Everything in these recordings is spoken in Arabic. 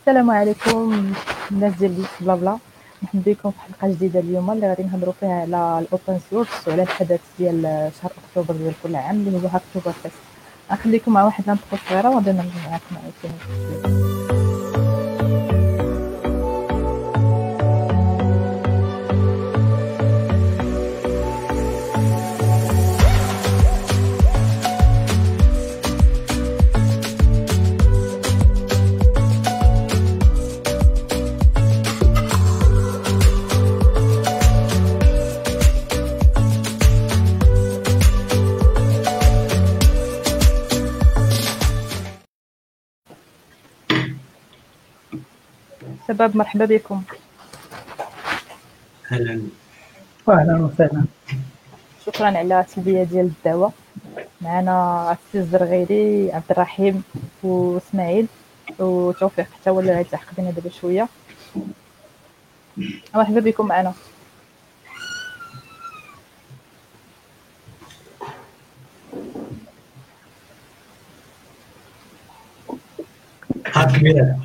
السلام عليكم الناس ديال بلا بلا. مرحبا بكم في حلقه جديده اليوم اللي غادي نهضروا فيها على الاوبن سورس وعلى الحدث ديال شهر اكتوبر ديال كل عام اللي هو اكتوبر فيست. غنخليكم مع واحد النقطه صغيره وغادي نرجع معكم عاوتاني. شباب مرحبا بكم. اهلا وسهلا. شكرا على التلبيه ديال الدعوه. معنا السي الزرغيري، عبد الرحيم واسماعيل وتوفيق حتى هو اللي غيتلحق بينا دابا شويه. مرحبا بكم معنا. هاك كبيرة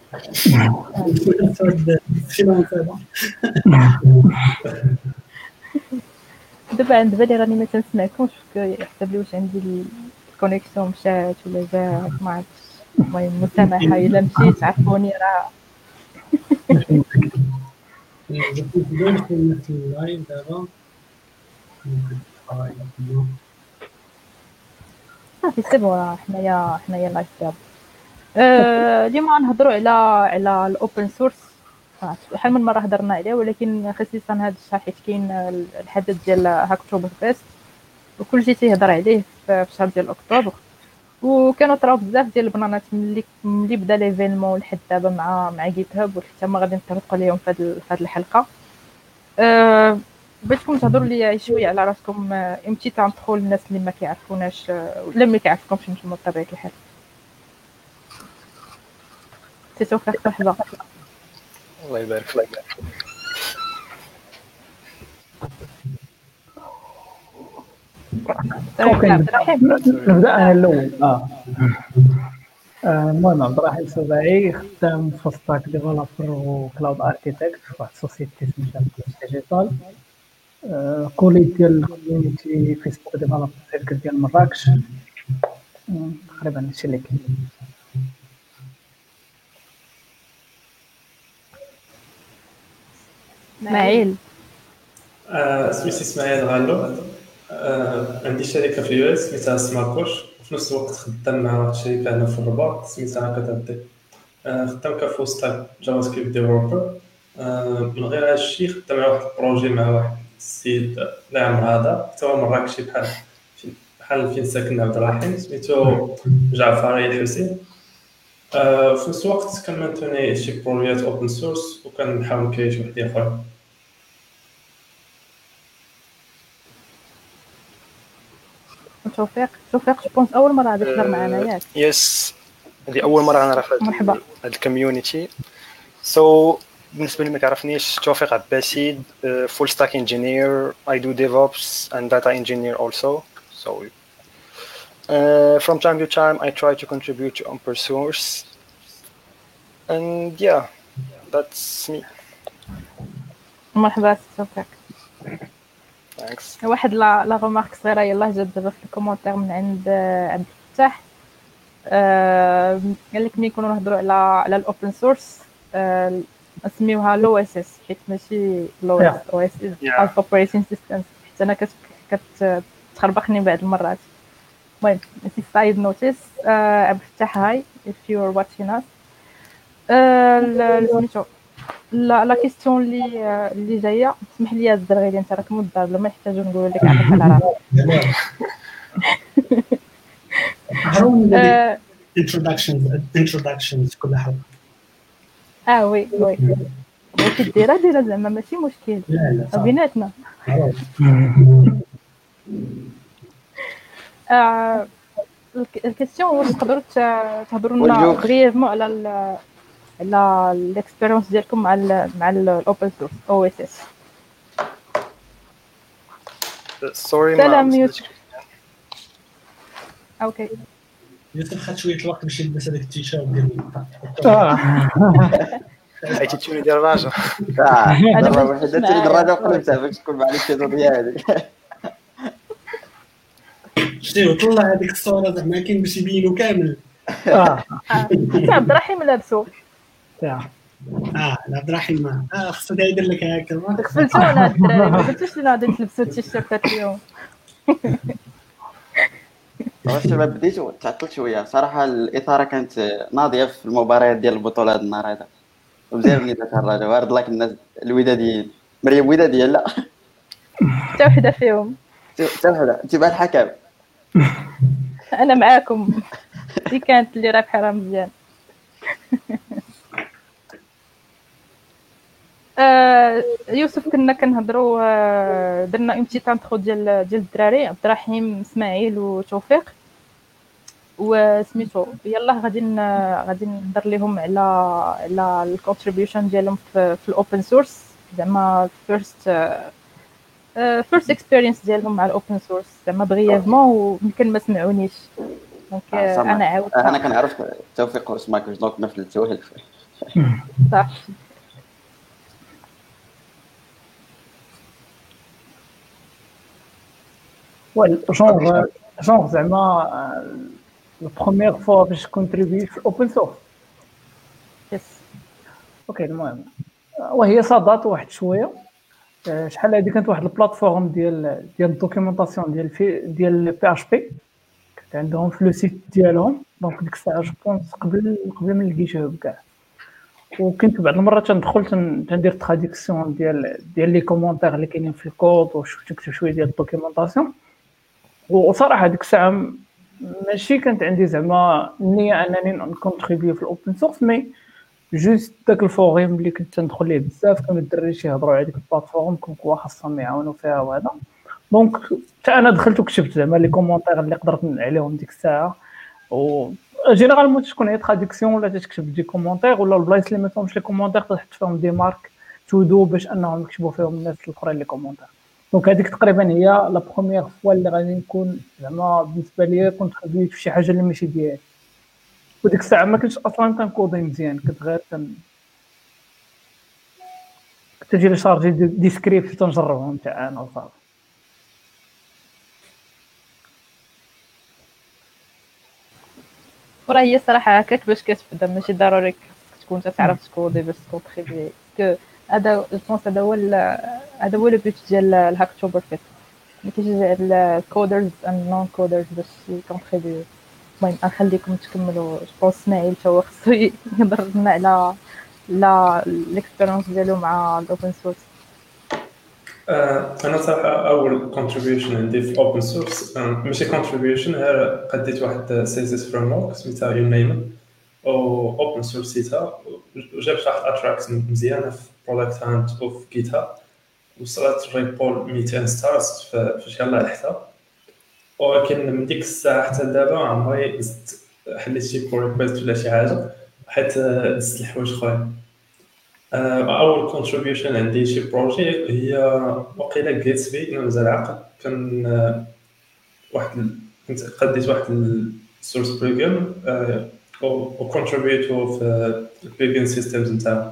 دابا عند بالي راني ما تنسمعكمش، يحسب لي واش عندي الكونيكسيون مشات ولا جات، ما عرفتش. المهم مسامحه الا مشيت عرفوني راه في اللايف دابا صافي سيبو. حنايا لايف دابا. اليوم غنهضروا على الاوبن سورس. شحال من مره هضرنا عليه، ولكن خصيصا هذا الشهر حيت كاين الحدث ديال هاكتوبر فيست وكلشي تيهضر عليه في شهر ديال اكتوبر. وكانوا طراو بزاف ديال البلانات ملي بدا ليفينمون لحد دابا مع جيت هاب، وحتى ما غادي نطرقوا ليهم في هذه الحلقه. بغيتكم تهضروا لي شويه على راسكم، امتى تندخل الناس اللي ما كيعرفوناش ولا ما كيعرفكمش نتوما بطبيعه الحال. توفيق مرحبا. الله يبارك فيك. نبدا انا الاول. المهم عبد الرحيم السباعي، خدام في ستاك ديفلوبر وكلاود اركيتكت في واحد السوسيتي سميتها ديجيتال. كوليت ديال الكوميونيتي فيسبوك ديفلوبر سيركل ديال مراكش. تقريبا هادشي اللي كاين. اسماعيل. سميتي اسماعيل غالو. عندي شركه في اليو اس سميتها سماكوش، وفي نفس الوقت خدام مع واحد الشركه هنا في الرباط سميتها كاتابتي. خدام كفول ستاك جافا سكريبت ديفلوبر. من غير هذا الشيء خدام مع واحد البروجي مع واحد السيد الله يعمر هذا حتى هو مراكشي بحال فين ساكن عبد الرحيم، سميتو جعفري الحسين. في نفس الوقت كنمانتوني شي بروجيات اوبن سورس وكنحاول نكري شي وحدين اخرين. توفيق جوبونس اول مره غادي تهضر معنا ياك؟ يس، هذه اول مره غنعرف مرحبا. هاد الكوميونيتي. سو بالنسبه لي ما كيعرفنيش، توفيق عباسي، فول ستاك انجينير. I do DevOps and data engineer also. So from time to time I try to contribute to open source, and yeah, that's me. مرحبا توفيق. Thanks. واحد لا غومارك صغيره يلاه جات دابا في الكومونتير من عند عبد الفتاح. قال لك ملي نكونوا نهضروا على الاوبن سورس نسميوها لو اس اس، حيت ماشي لو اس او اس از اوبريتنج سيستم، حيت انا كتخربقني بعض المرات. المهم سي سايد نوتيس. عبد الفتاح هاي if you are watching us. سميتو لا كيستيون اللي جايه. اسمح لي الزرغيري، انت راك مدار بلا ما نحتاجو نقول لك عطيك العراق. introductions كل حلقه. وي بغيتي ديرها زعما ماشي مشكل بيناتنا. الكيستيون واش تقدروا تهضروا لنا بريفمون على الاكسبيريونس ديالكم مع الاوبن سورس او اس اس. Sorry, سلام يوسف. اوكي يوسف خد شويه الوقت باش يلبس هذاك التيشيرت ديال حيت توني ديال الراجل. أنا دابا ما واحد جبتش تولي معايا دراجه صافي. وقلبتها باش تكون مع الاستيطوديه هذيك. شتي طلع هذيك الصوره زعما كاين باش يبينوا كامل. حتى عبد الرحيم لابسو عبد الرحيم خصو يدير لك هكا غفلتونا الدراري، ما قلتوش لينا غادي تلبسوا التيشيرتات اليوم. الشباب بديتو تعطلت شويه صراحه، الاثاره كانت ناضيه في المباريات ديال البطوله هذا النهار هذا، ومزيان بني الدراجه وارد لك الناس الوداديين. مريم وداديه لا حتى وحده فيهم. حتى وحده انتباه الحكم. انا معاكم، دي كانت اللي رابحه راه مزيان. يوسف كنا كنهضروا، درنا اون بتيت انترو ديال الدراري عبد الرحيم اسماعيل وتوفيق وسميتو. يلا غادي نهضر لهم على الكونتريبيوشن ديالهم في الاوبن سورس، زعما فيرست اكسبيرينس ديالهم مع الاوبن سورس زعما بغيافمون، ويمكن ما سمعونيش دونك انا عاودت. انا كنعرف توفيق وسماكوش دونك ما فلتوه صافي. جونغ زعما لا بروميير فوا باش كونتريبي في الاوبن سورس. يس اوكي المهم وهي صادات واحد شويه. شحال هادي كانت واحد البلاتفورم ديال الدوكيومونطاسيون ديال بي اش بي، كانت عندهم في لو سيت ديالهم. دونك ديك الساعه جو بونس قبل من الجيت هاب كاع، وكنت بعض المرات تندخل تندير تراديكسيون ديال لي كومونتير اللي كاينين في الكود، وشفت نكتب شويه ديال الدوكيومونطاسيون. وصراحه ديك الساعه ماشي كانت عندي زعما النيه انني نكونتريبيو في الاوبن سورس، مي جوست داك الفوريم اللي كنت ندخل ليه بزاف كانوا الدراري يهضروا على ديك البلاتفورم كوا خاصهم يعاونوا فيها وهذا. دونك حتى انا دخلت وكتبت زعما لي كومونتير اللي قدرت عليهم ديك الساعه. و جينيرالمون تكون هي تراديكسيون ولا تكتب دي كومونتير، ولا البلايص اللي ما فيهمش لي كومونتير تحط فيهم دي مارك تودو باش انهم يكتبوا فيهم الناس الاخرين لي كومونتير. دونك هذيك تقريبا هي لا بروميير فوا اللي غادي نكون زعما بالنسبه ليا كنت خديت في شي حاجه اللي ماشي ديالي. وديك الساعه ما كنتش اصلا كنكودي مزيان، كنت غير تجي لي شارجي دي سكريبت تنجربهم تاع انا وصافي. وراه هي صراحه هكاك باش كتبدا، ماشي ضروري تكون تعرف تكودي باش تكونتريبي. هذا البونس هذا هو لو بوت ديال الهاكتوبر فيت، اللي كيجي الكودرز اند نون كودرز باش يكونتريبيو. المهم نخليكم تكملوا. جو اسماعيل تا هو خصو يهضر لنا على الاكسبيرينس ديالو مع الاوبن سورس. انا صراحه اول كونتريبيوشن عندي في اوبن سورس ماشي كونتريبيوشن، غير قديت واحد سيزيس فريم ورك سميتها يونيم او اوبن سورس سيتها، وجابت واحد اتراكس مزيانه في برودكت هانت وفي جيت هاب، وصلت ريبول 200 ستارز فاش يلاه لحتها. ولكن من ديك الساعه حتى دابا عمري حليت شي بول ريكويست ولا شي حاجه، حيت دزت الحوايج اخرين. اول كونتريبيوشن عندي شي بروجي هي وقيله جيتسبي، انا مازال عاقل. كان كنت قديت واحد السورس بلجن و كونتريبيوتو في البلجن سيستمز نتاعو.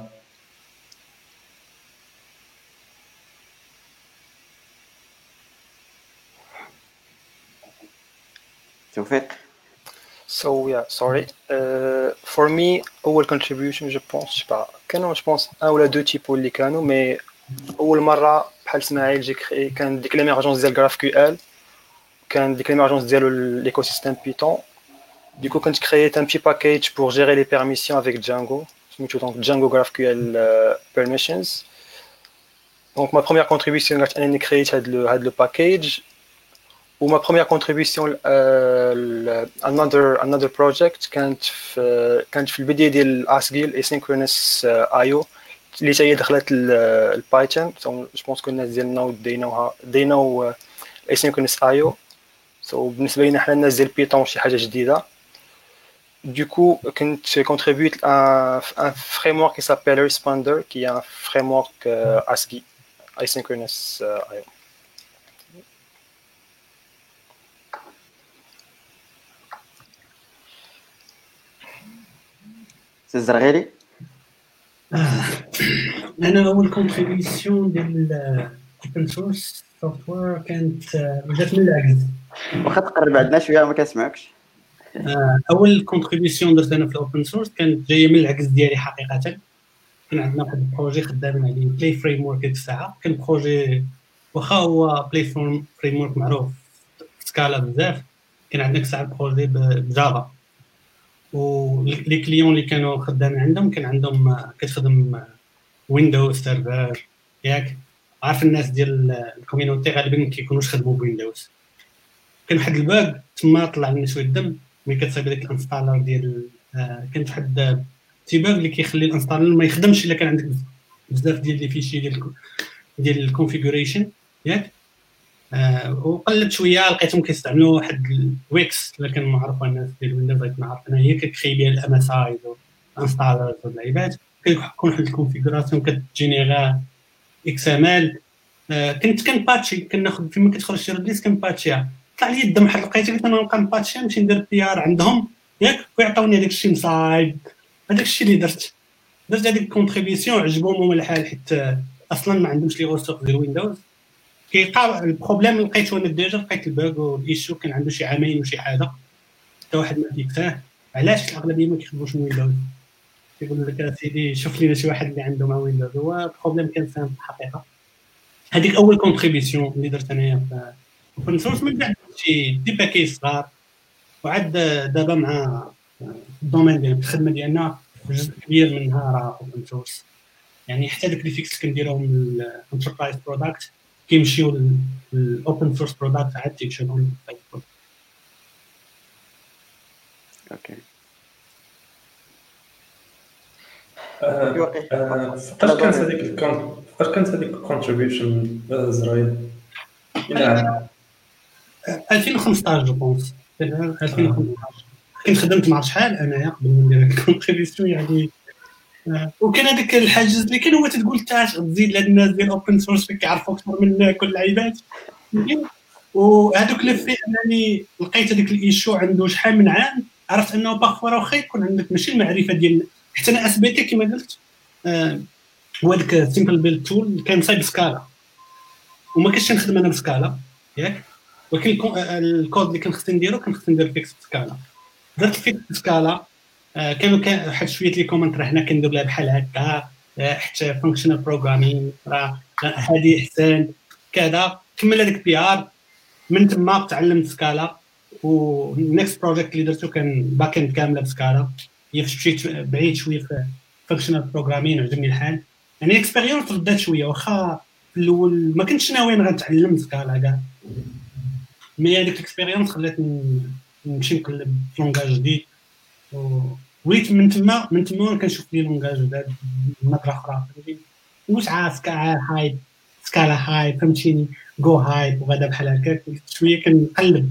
توفيق. So yeah, sorry. For me, أول contribution je pense كانوا je pense un ou deux types اللي كانوا، mais أول مرة بحال اسماعيل جي كري كان ديك l'émergence ديال GraphQL، كان ديك l'émergence ديال l'écosystème Python. Du coup, quand je créais un petit package pour gérer les permissions avec Django, donc Django GraphQL permissions. Donc ma première contribution j'ai créé le package. Ou ma première contribution another project كانت في البداية ديال ASGIL asynchronous IO اللي هي دخلت البايثون. جو بونس كو الناس ديالنا they know asynchronous IO. So بالنسبة لنا حنا الناس ديال بيتون شي حاجة جديدة. Du coup, je contribue à un framework qui s'appelle Responder, qui est un framework ASCII, asynchronous IO. سي الزرغيلي. انا اول كونتريبيسيون ديال الاوبن سورس سوفتوير كانت جات من العجز. واخا تقرب عندنا شويه ما كنسمعكش. اول كونتريبيسيون درت انا في الاوبن سورس كانت جايه من العجز ديالي حقيقه. كان عندنا واحد البروجي خدامين عليه بلاي فريم ورك ديك الساعه. كان بروجي واخا هو بلاي فريم ورك معروف سكالا بزاف، كان عندنا ساعه بروجي بجافا، ولي كليون اللي كانوا خدامين عندهم كان عندهم كتخدم ويندوز سيرفر ياك. عارف الناس ديال الكوميونيتي غالبا ما كيكونوش خدموا بويندوز. كان واحد الباغ تما طلع لنا شويه الدم ملي كتصايب داك الانستالر ديال كان واحد تي باغ اللي كيخلي الانستالر ما يخدمش الا كان عندك بزاف ديال لي فيشي ديال الكونفيغوريشن ياك. وقلبت شويه لقيتهم كيستعملوا واحد الويكس اللي كان معروف الناس ديال ويندوز غير نعرف انا هي كتخي بها الام اس اي والانستالرز واللعيبات. كيكون واحد الكونفيغوراسيون كتجينيرا اكس ام ال. كان باتشي كناخذ فيما كتخرج شي ريليس كان باتشيها. طلع لي الدم حيت لقيت قلت انا نبقى نباتشي نمشي ندير بي ار عندهم ياك ويعطوني هذاك الشيء مصايب. هذاك الشيء اللي درت هذيك الكونتريبيسيون عجبهم هما الحال حيت اصلا ما عندهمش لي ريسورس ديال ويندوز. كيلقى البروبليم لقيته انا ديجا لقيت الباغ والايشو كان عنده شي عامين وشي حاجه حتى واحد ما فيكساه. علاش الاغلبيه ما كيخدموش من ويندوز؟ كيقول لك سيدي شوف لينا شي واحد اللي عنده مع ويندوز. هو البروبليم كان سامبل الحقيقه. هذيك اول كونتريبيسيون اللي درت انايا في اوبن سورس. من بعد شي دي باكي صغار وعاد دابا مع الدومين ديال الخدمه ديالنا جزء كبير منها راه اوبن سورس. يعني حتى داك لي فيكس كنديرهم من الانتربرايز برودكت كيمشيو للاوبن سورس برودكت عاد تيكشنهم. اوكي فقط كانت هذيك الكونتريبيوشن زرايد الى 2015 جو بونس. 2015 كنت خدمت مع شحال انايا قبل ما ندير الكونتريبيوشن يعني. وكان هذاك الحاجز اللي كان هو تقول تاش تزيد لهاد الناس ديال اوبن سورس كيعرفوا اكثر من كل اللعيبات. وهذوك لي في انني لقيت هذيك الايشو عنده شحال من عام. عرفت انه باغفوا واخا يكون عندك ماشي المعرفه ديال حتى انا اس بي تي كما قلت هو داك سيمبل بيلد تول كان صايب سكالا وما كنتش نخدم انا بسكالا ياك. ولكن الكود اللي كان خصني نديرو كان خصني ندير فيكس سكالا. درت فيكس سكالا. كانوا واحد شويه لي كومنت راه حنا كندير لها بحال هكا حتى فانكشنال بروغرامين راه هذه احسن كذا. كمل هذاك بي ار من تما تعلمت سكالا. والنكست بروجيكت اللي درتو كان باك اند كامله بسكالا. هي مشيت بعيد شويه في فانكشنال بروغرامين وعجبني الحال. يعني اكسبيريونس ردات شويه واخا في الاول ما كنتش ناوي غنتعلم سكالا كاع. مي هذيك الاكسبيريونس خلاتني نمشي نقلب في لونغاج جديد. وليت من تما كنشوف لي لونغاج جداد نظره اخرى. واش هايب سكالا هايب فهمتيني جو هايب وغدا بحال هكاك شويه كنقلب.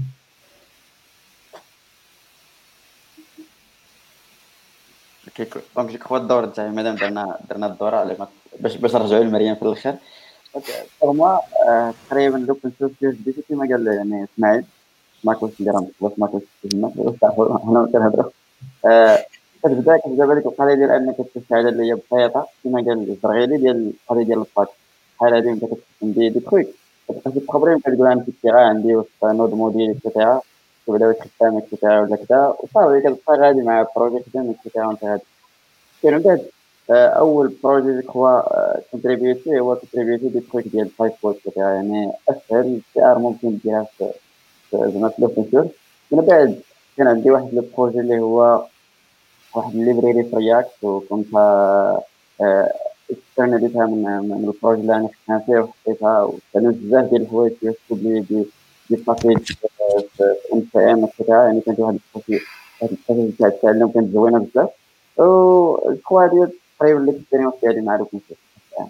دونك جو كخوا الدور تاعي مادام درنا الدوره على باش نرجعوا لمريم في الاخر. فورما تقريبا لوبن سورس بديتي كما قال يعني اسماعيل ما كنتش نديرها ما كنتش هنا كنهضروا. كتبدا بالك القضيه ديال انك تستعد اللي هي بسيطه كما قال الزرغيلي ديال القضيه ديال الباك بحال هذه انت كتستعمل دي ترويك كتبقى تخبرين كتقول انا في التيغا عندي وسط نود موديل اكسيتيرا تبدا تخدم اكسيتيرا ولا كذا وصافي كتبقى غادي مع بروجي خدام اكسيتيرا وانت غادي. كاين بعد اول بروجي هو كونتريبيوتي هو كونتريبيوتي دي ترويك ديال البايب اكسيتيرا يعني اسهل بي ار ممكن ديرها في زعما في الاوبن سورس. من بعد كان عندي واحد لو بروجي اللي هو واحد الليبراري في رياكت وكنت استعملتها من البروجي اللي انا خدمت فيه وحطيتها وتعلمت بزاف ديال الحوايج كيكتب لي دي باسيج في ام سي ام اكسيتيرا. يعني كانت واحد البروجي تاع التعلم كانت زوينه بزاف. و هذه تقريبا الاكسبيريونس ديالي مع لوبن سورس.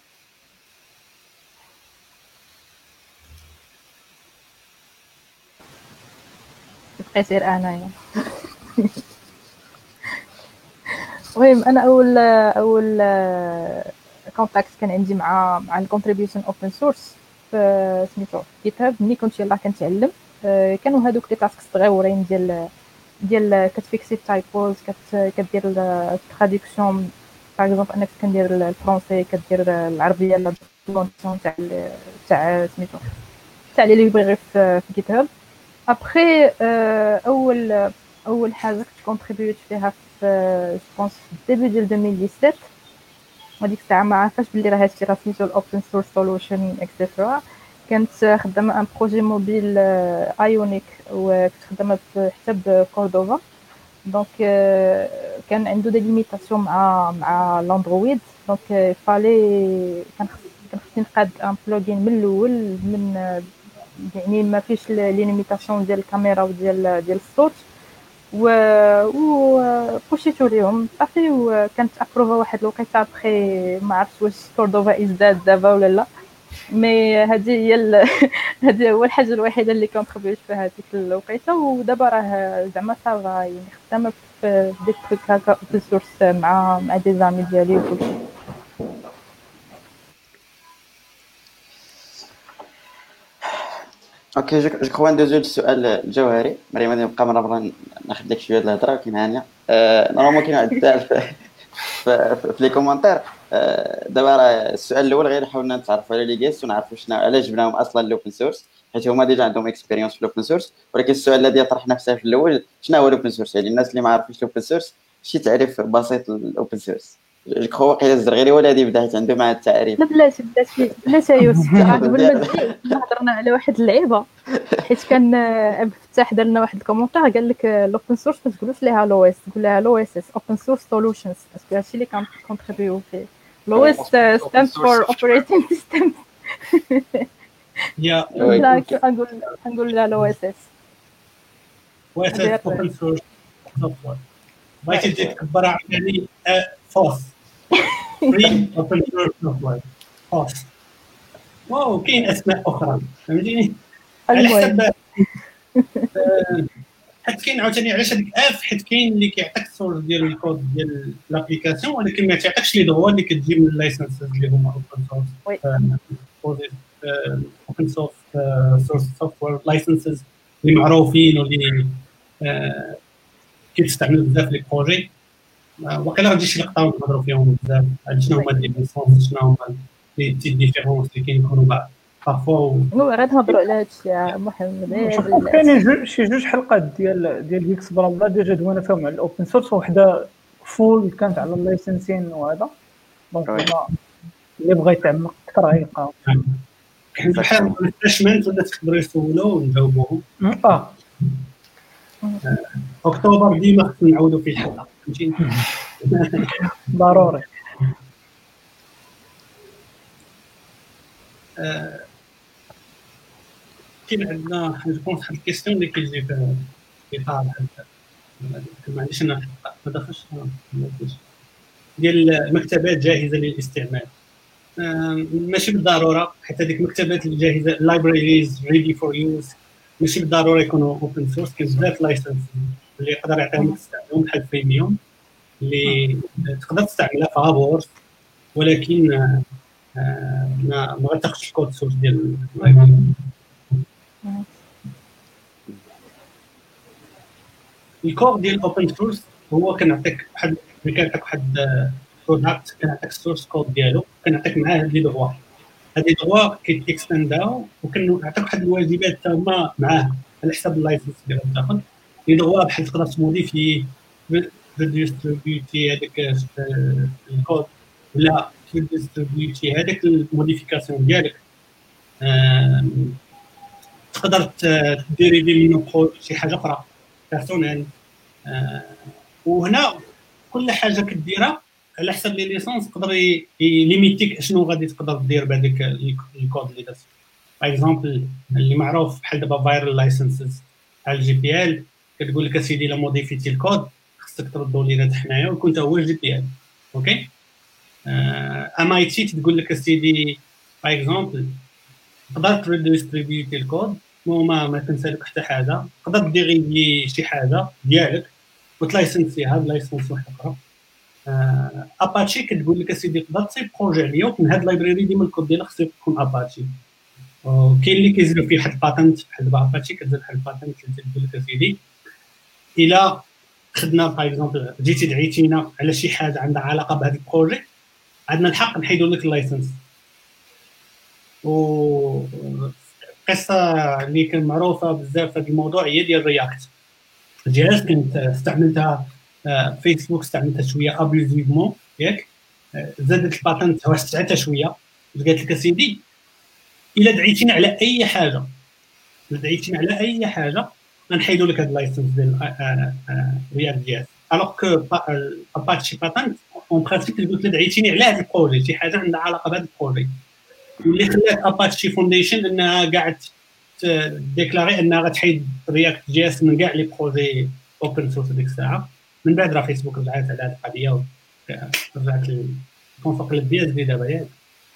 بقى يصير انايا. المهم انا اول كونتاكت كان عندي مع الكونتريبيوشن اوبن سورس في سميتو جيت هاب. ملي كنت يلاه كنتعلم كانوا هذوك لي تاسك صغيورين ديال ديال كتفيكسي تايبوز، كدير التراديكسيون باغ اكزومبل انك كندير الفرونسي، كدير العربيه لا دونسيون تاع سميتو تاع لي ليبراري في جيت هاب. ابخي اول حاجه كنت كونتريبيوت فيها في جوبونس ديبي ديال 2017. وديك الساعه ما عرفاش بلي راه هادشي راه سميتو الاوبن سورس سولوشن اكسترا. كانت خدامه ان بروجي موبيل ايونيك، وكنت خدامه حتى بكوردوفا. دونك كان عنده دي ليميتاسيون مع الاندرويد. دونك فالي كان خصني نقاد ان بلوجين من الاول، من يعني ما فيش لي ليميتاسيون ديال الكاميرا وديال الصوت، و بوشيتو ليهم صافي. وكانت ابروفا واحد الوقيته بخي ما عرفتش واش كوردوفا ازداد دابا ولا لا. مي هذه هي هذه هو الحاجه الوحيده اللي كونتريبيوت فيها هذيك الوقيته. ودابا راه زعما صافا يعني خدامه في ديك هكا اوبن سورس مع دي زامي ديالي وكلشي. اوكي جو كخوا ندوزو للسؤال الجوهري. مريم غادي نبقى مره ناخذ لك شويه د الهضره، ولكن هانيه نورمالمون كاين واحد السؤال في لي كومونتير. دابا راه السؤال الاول غير حاولنا نتعرفوا على لي جيست ونعرفوا شنو علاش جبناهم اصلا الاوبن سورس، حيت هما ديجا عندهم اكسبيريونس في الاوبن سورس. ولكن السؤال الذي يطرح نفسه في الاول، شنو هو الاوبن سورس؟ يعني الناس اللي ما عارفينش الاوبن سورس، شي تعريف بسيط للاوبن سورس. جو كخوا واقيلا الزرغيري ولا هذه بدات عنده مع التعريف. لا بلاش يوسف. قبل ما تجي كنا هضرنا على واحد اللعيبه، حيت كان فتاح درنا واحد الكومونتير قال لك الاوبن سورس ما تقولوش ليها لو اس، تقول لها لو اس اس اوبن سورس سولوشنز، باسكو هادشي اللي كان كونتريبيو فيه. لو اس ستاند فور اوبريتنج سيستم. يا لا نقول لها لو اس اس. واساس اوبن سورس سوفتوير. بغيتي تكبرها يعني فوس فري اوبن سورس سوفتوير فوس. واو كاين اسماء اخرى فهمتيني على حسب. حيت كاين عاوتاني علاش هذيك حيت كاين اللي كيعطيك السورس ديال الكود ديال لابليكاسيون، ولكن ما تعطيكش لي دغوا اللي كتجي من اللايسنسز اللي هما اوبن سورس. اوبن سورس سوفتوير لايسنسز اللي معروفين واللي كيتستعملوا بزاف لي بروجي. وقيلا غادي شي لقطه نهضروا فيهم بزاف على شنو هما لي ليسونس، شنو هما لي تي ديفيرونس اللي كيكونوا بعض بارفوا. غادي نهضروا على هادشي يا محمد. شوف كاينين شي جوج حلقات ديال ويكس برامبلا ديجا دوانا فيهم على الاوبن سورس، وحده فول كانت على اللايسنسين وهذا. دونك اللي بغى يتعمق اكثر غيلقاو بحال الريفريشمنت ولا تقدروا يسولوا ونجاوبوهم. اكتوبر ديما خصنا نعاودوا فيه الحلقه فهمتيني. ضروري. كاين عندنا جوبونس واحد الكيستيون اللي كيجي في اطار ما عنديش انا ما دخلش ديال المكتبات جاهزه للاستعمال. ماشي بالضروره، حيت هذيك المكتبات الجاهزه لايبراريز ريدي فور يوز ماشي بالضروره يكونوا اوبن سورس. كاين بزاف لايسنس اللي يقدر يعطيهم تستعملهم بحال بريميوم اللي تقدر تستعملها في هابورس، ولكن ما غتاخذش الكود سورس ديال اللايبراري. الكود ديال الاوبن سورس هو كنعطيك واحد برودكت، كنعطيك السورس كود ديالو، كنعطيك معاه هاد لي دغوا. هاد لي دغوا كيتكستنداو وكنعطيك واحد الواجبات حتى هما معاه على حساب اللايسنس ديالو تاخذ لي دغوا بحال تقدر تموديفي ديستريبيوتي هذاك الكود ولا ديستريبيوتي هذاك الموديفيكاسيون ديالك. تقدر ديريفي منه شي حاجه اخرى بيرسونيل. وهنا كل حاجه كديرها على حسب لي ليسونس يقدر يليميتيك شنو غادي تقدر دير بهذاك الكود اللي درت. باغ اكزومبل اللي معروف بحال دابا فايرال لايسنسز على الجي بي ال كتقول لك اسيدي الا موديفيتي الكود خصك تردوا لينا حنايا ويكون تا هو الجي بي ال. اوكي ام اي تي تقول لك اسيدي باغ اكزومبل تقدر تريديستريبيوتي الكود وما تنسالك حتى حاجه، تقدر ديريفي شي حاجه ديالك وتلايسنسيها بلايسنس واحد اخرى. اباتشي كتقول لك اسيدي تقدر تصيب بروجي عليا ومن هاد اللايبراري ديما الكود ديالها خصو يكون اباتشي. كاين اللي كيزيدوا فيه واحد الباتنت بحال دابا اباتشي كتزيد واحد الباتنت اللي تقول لك اسيدي الى خدنا باغ اكزومبل جيتي دعيتينا على شي حاجه عندها علاقه بهذا البروجي، عندنا الحق نحيدوا لك اللايسنس. و قصه اللي كان معروفه بزاف في هذا الموضوع هي ديال رياكت. جهاز كنت استعملتها فيسبوك، استعملتها شويه ابيوزيفمون ياك، زادت الباتنت وسعتها شويه، قالت لك سيدي الا دعيتينا على اي حاجه، الا دعيتينا على اي حاجه غنحيدوا لك هذا اللايسنس ديال رياكت جي اس. الوغ كو اباتشي باتنت اون برانسيب قلت لك دعيتيني على هذا البروجي، شي حاجه عندها علاقه بهذا البروجي، واللي خلات اباتشي فونديشن انها قاعد ديكلاري انها غتحيد رياكت جي اس من كاع لي بروجي اوبن سورس ديك الساعه. من بعد راه فيسبوك رجعت على هذه القضيه ورجعت للكونفوق البي اس دي دابا ياك.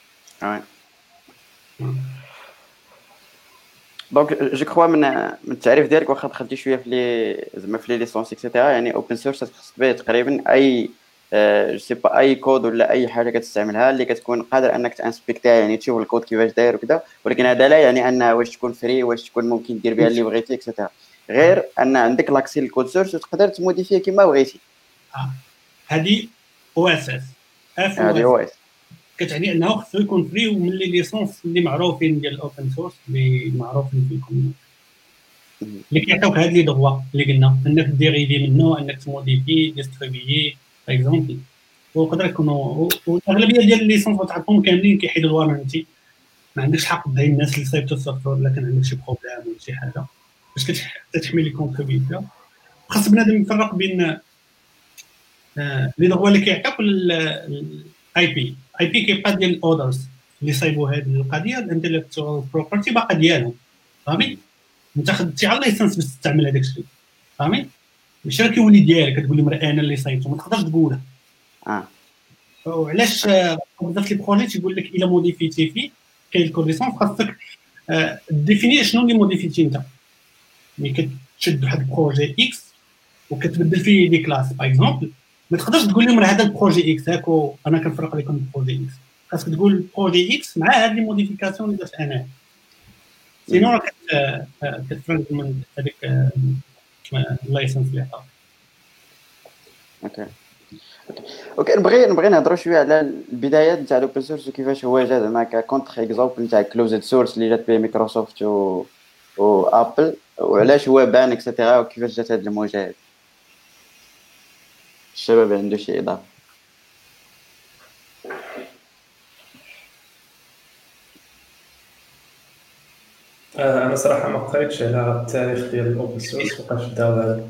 دونك جو كخوا من التعريف ديالك واخا دخلتي شويه في لي زعما في لي ليسونس اكسيتيرا، يعني اوبن سورس خصك تبيع تقريبا اي جو سي با اي كود ولا اي حاجه كتستعملها اللي كتكون قادر انك تانسبكتيها، يعني تشوف الكود كيفاش داير وكذا، ولكن هذا لا يعني انها واش تكون فري، واش تكون ممكن دير بها اللي بغيتي اكسيتيرا، غير ان عندك لاكسي للكود سورس وتقدر تموديفيه كما بغيتي. هذه او اس اس هذه او اس كتعني انه خصو يكون فري ومن لي ليسونس اللي معروفين ديال الاوبن سورس اللي معروفين في الكوميونيتي اللي كيعطيوك هاد لي دغوا اللي قلنا انك ديريفي منه، انك تموديفي ديستريبيي باغ اكزومبل. ويقدر يكونوا والاغلبيه ديال الليسونس تعرفهم كاملين كيحيدوا الوارنتي، ما عندكش حق تدعي الناس اللي صايبتوا السوفتوير الا كان عندك شي بروبليم ولا شي حاجه باش كتحمي لي كونتريبيوتور. خاص بنادم يفرق بين لي دغوا اللي كيعطيوك الاي بي كيبقى ديال الاودرز اللي صايبوا هذه القضيه الانتلكتوال بروبرتي باقا ديالهم، فهمي؟ انت خدتي على اللايسنس باش تستعمل هذاك الشيء، فهمي؟ ماشي راه كيولي ديالك كتقول لي مرا انا اللي صايبته، ما تقدرش تقولها. وعلاش بزاف لي بروجي تيقول لك الا موديفيتي فيه كاين الكوريسونس خاصك ديفيني شنو اللي موديفيتي انت. ملي كتشد واحد البروجي اكس وكتبدل فيه دي كلاس باغ اكزومبل، ما تقدرش تقول لهم راه هذا البروجي اكس هاك انا كنفرق لكم البروجي اكس، خاصك تقول البروجي اكس مع هاد لي موديفيكاسيون اللي درت انا، سينو راك كتفرق من هذيك اللايسنس اللي عطاك. اوكي نبغي نهضروا شويه على البدايات نتاع الاوبن سورس وكيفاش هو جا زعما كونتر اكزامبل نتاع كلوزد سورس اللي جات به مايكروسوفت و ابل، وعلاش هو بان اكسيتيرا وكيفاش جات هذه المواجهه. الشباب عنده شي اضافه؟ انا صراحه ما قريتش على التاريخ ديال الاوبن سورس وقاش بداو هذا.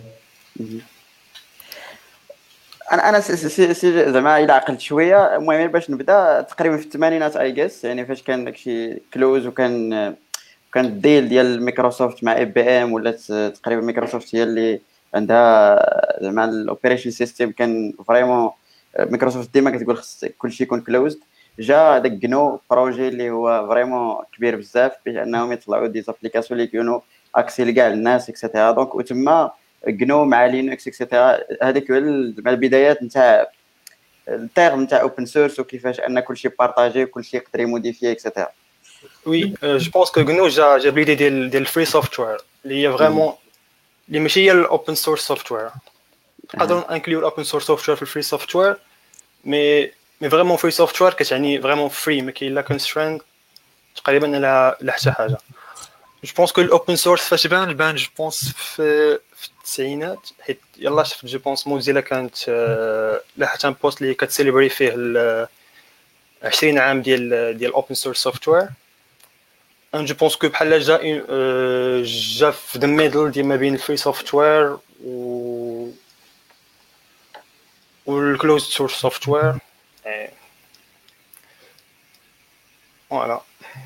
انا زعما الا عقلت شويه، المهم باش نبدا تقريبا في الثمانينات اي جيس، يعني فاش كان داكشي كلوز وكان الديل ديال مايكروسوفت مع اي بي ام، ولات تقريبا مايكروسوفت هي اللي عندها زعما الاوبريشن سيستم. كان فريمون مايكروسوفت ديما كتقول خص كلشي يكون كلوزد. جا داك جنو بروجي اللي هو فريمون كبير بزاف باش انهم يطلعوا دي زابليكاسيون اللي يكونوا اكسي لكاع الناس اكسيتيرا. دونك وتما جنو مع لينكس اكسيتيرا، هذيك هو البدايات نتاع التيرم نتاع اوبن سورس وكيفاش ان كلشي بارطاجي وكلشي يقدر يموديفي اكسيتيرا. وي جو بونس كو غنو جا بليدي ديال الفري سوفتوير اللي هي فريمون اللي ماشي هي الاوبن سورس سوفتوير. نقدروا انكليو الاوبن سورس سوفتوير في الفري سوفتوير، مي فريمون فري سوفتوير كتعني فريمون فري، ما كاين لا كونسترينت تقريبا لا حتى حاجه. جو بونس كو الاوبن سورس فاش بان جو بونس في التسعينات، حيت يلاه شفت جو بونس موزيلا كانت لاحت ان بوست اللي كتسيليبري فيه 20 عام ديال اوبن سورس سوفتوير. ان جو بونس كو بحال جا في ذا ميدل ديال ما بين الفري سوفتوير والكلوز سورس سوفتوير. فوالا.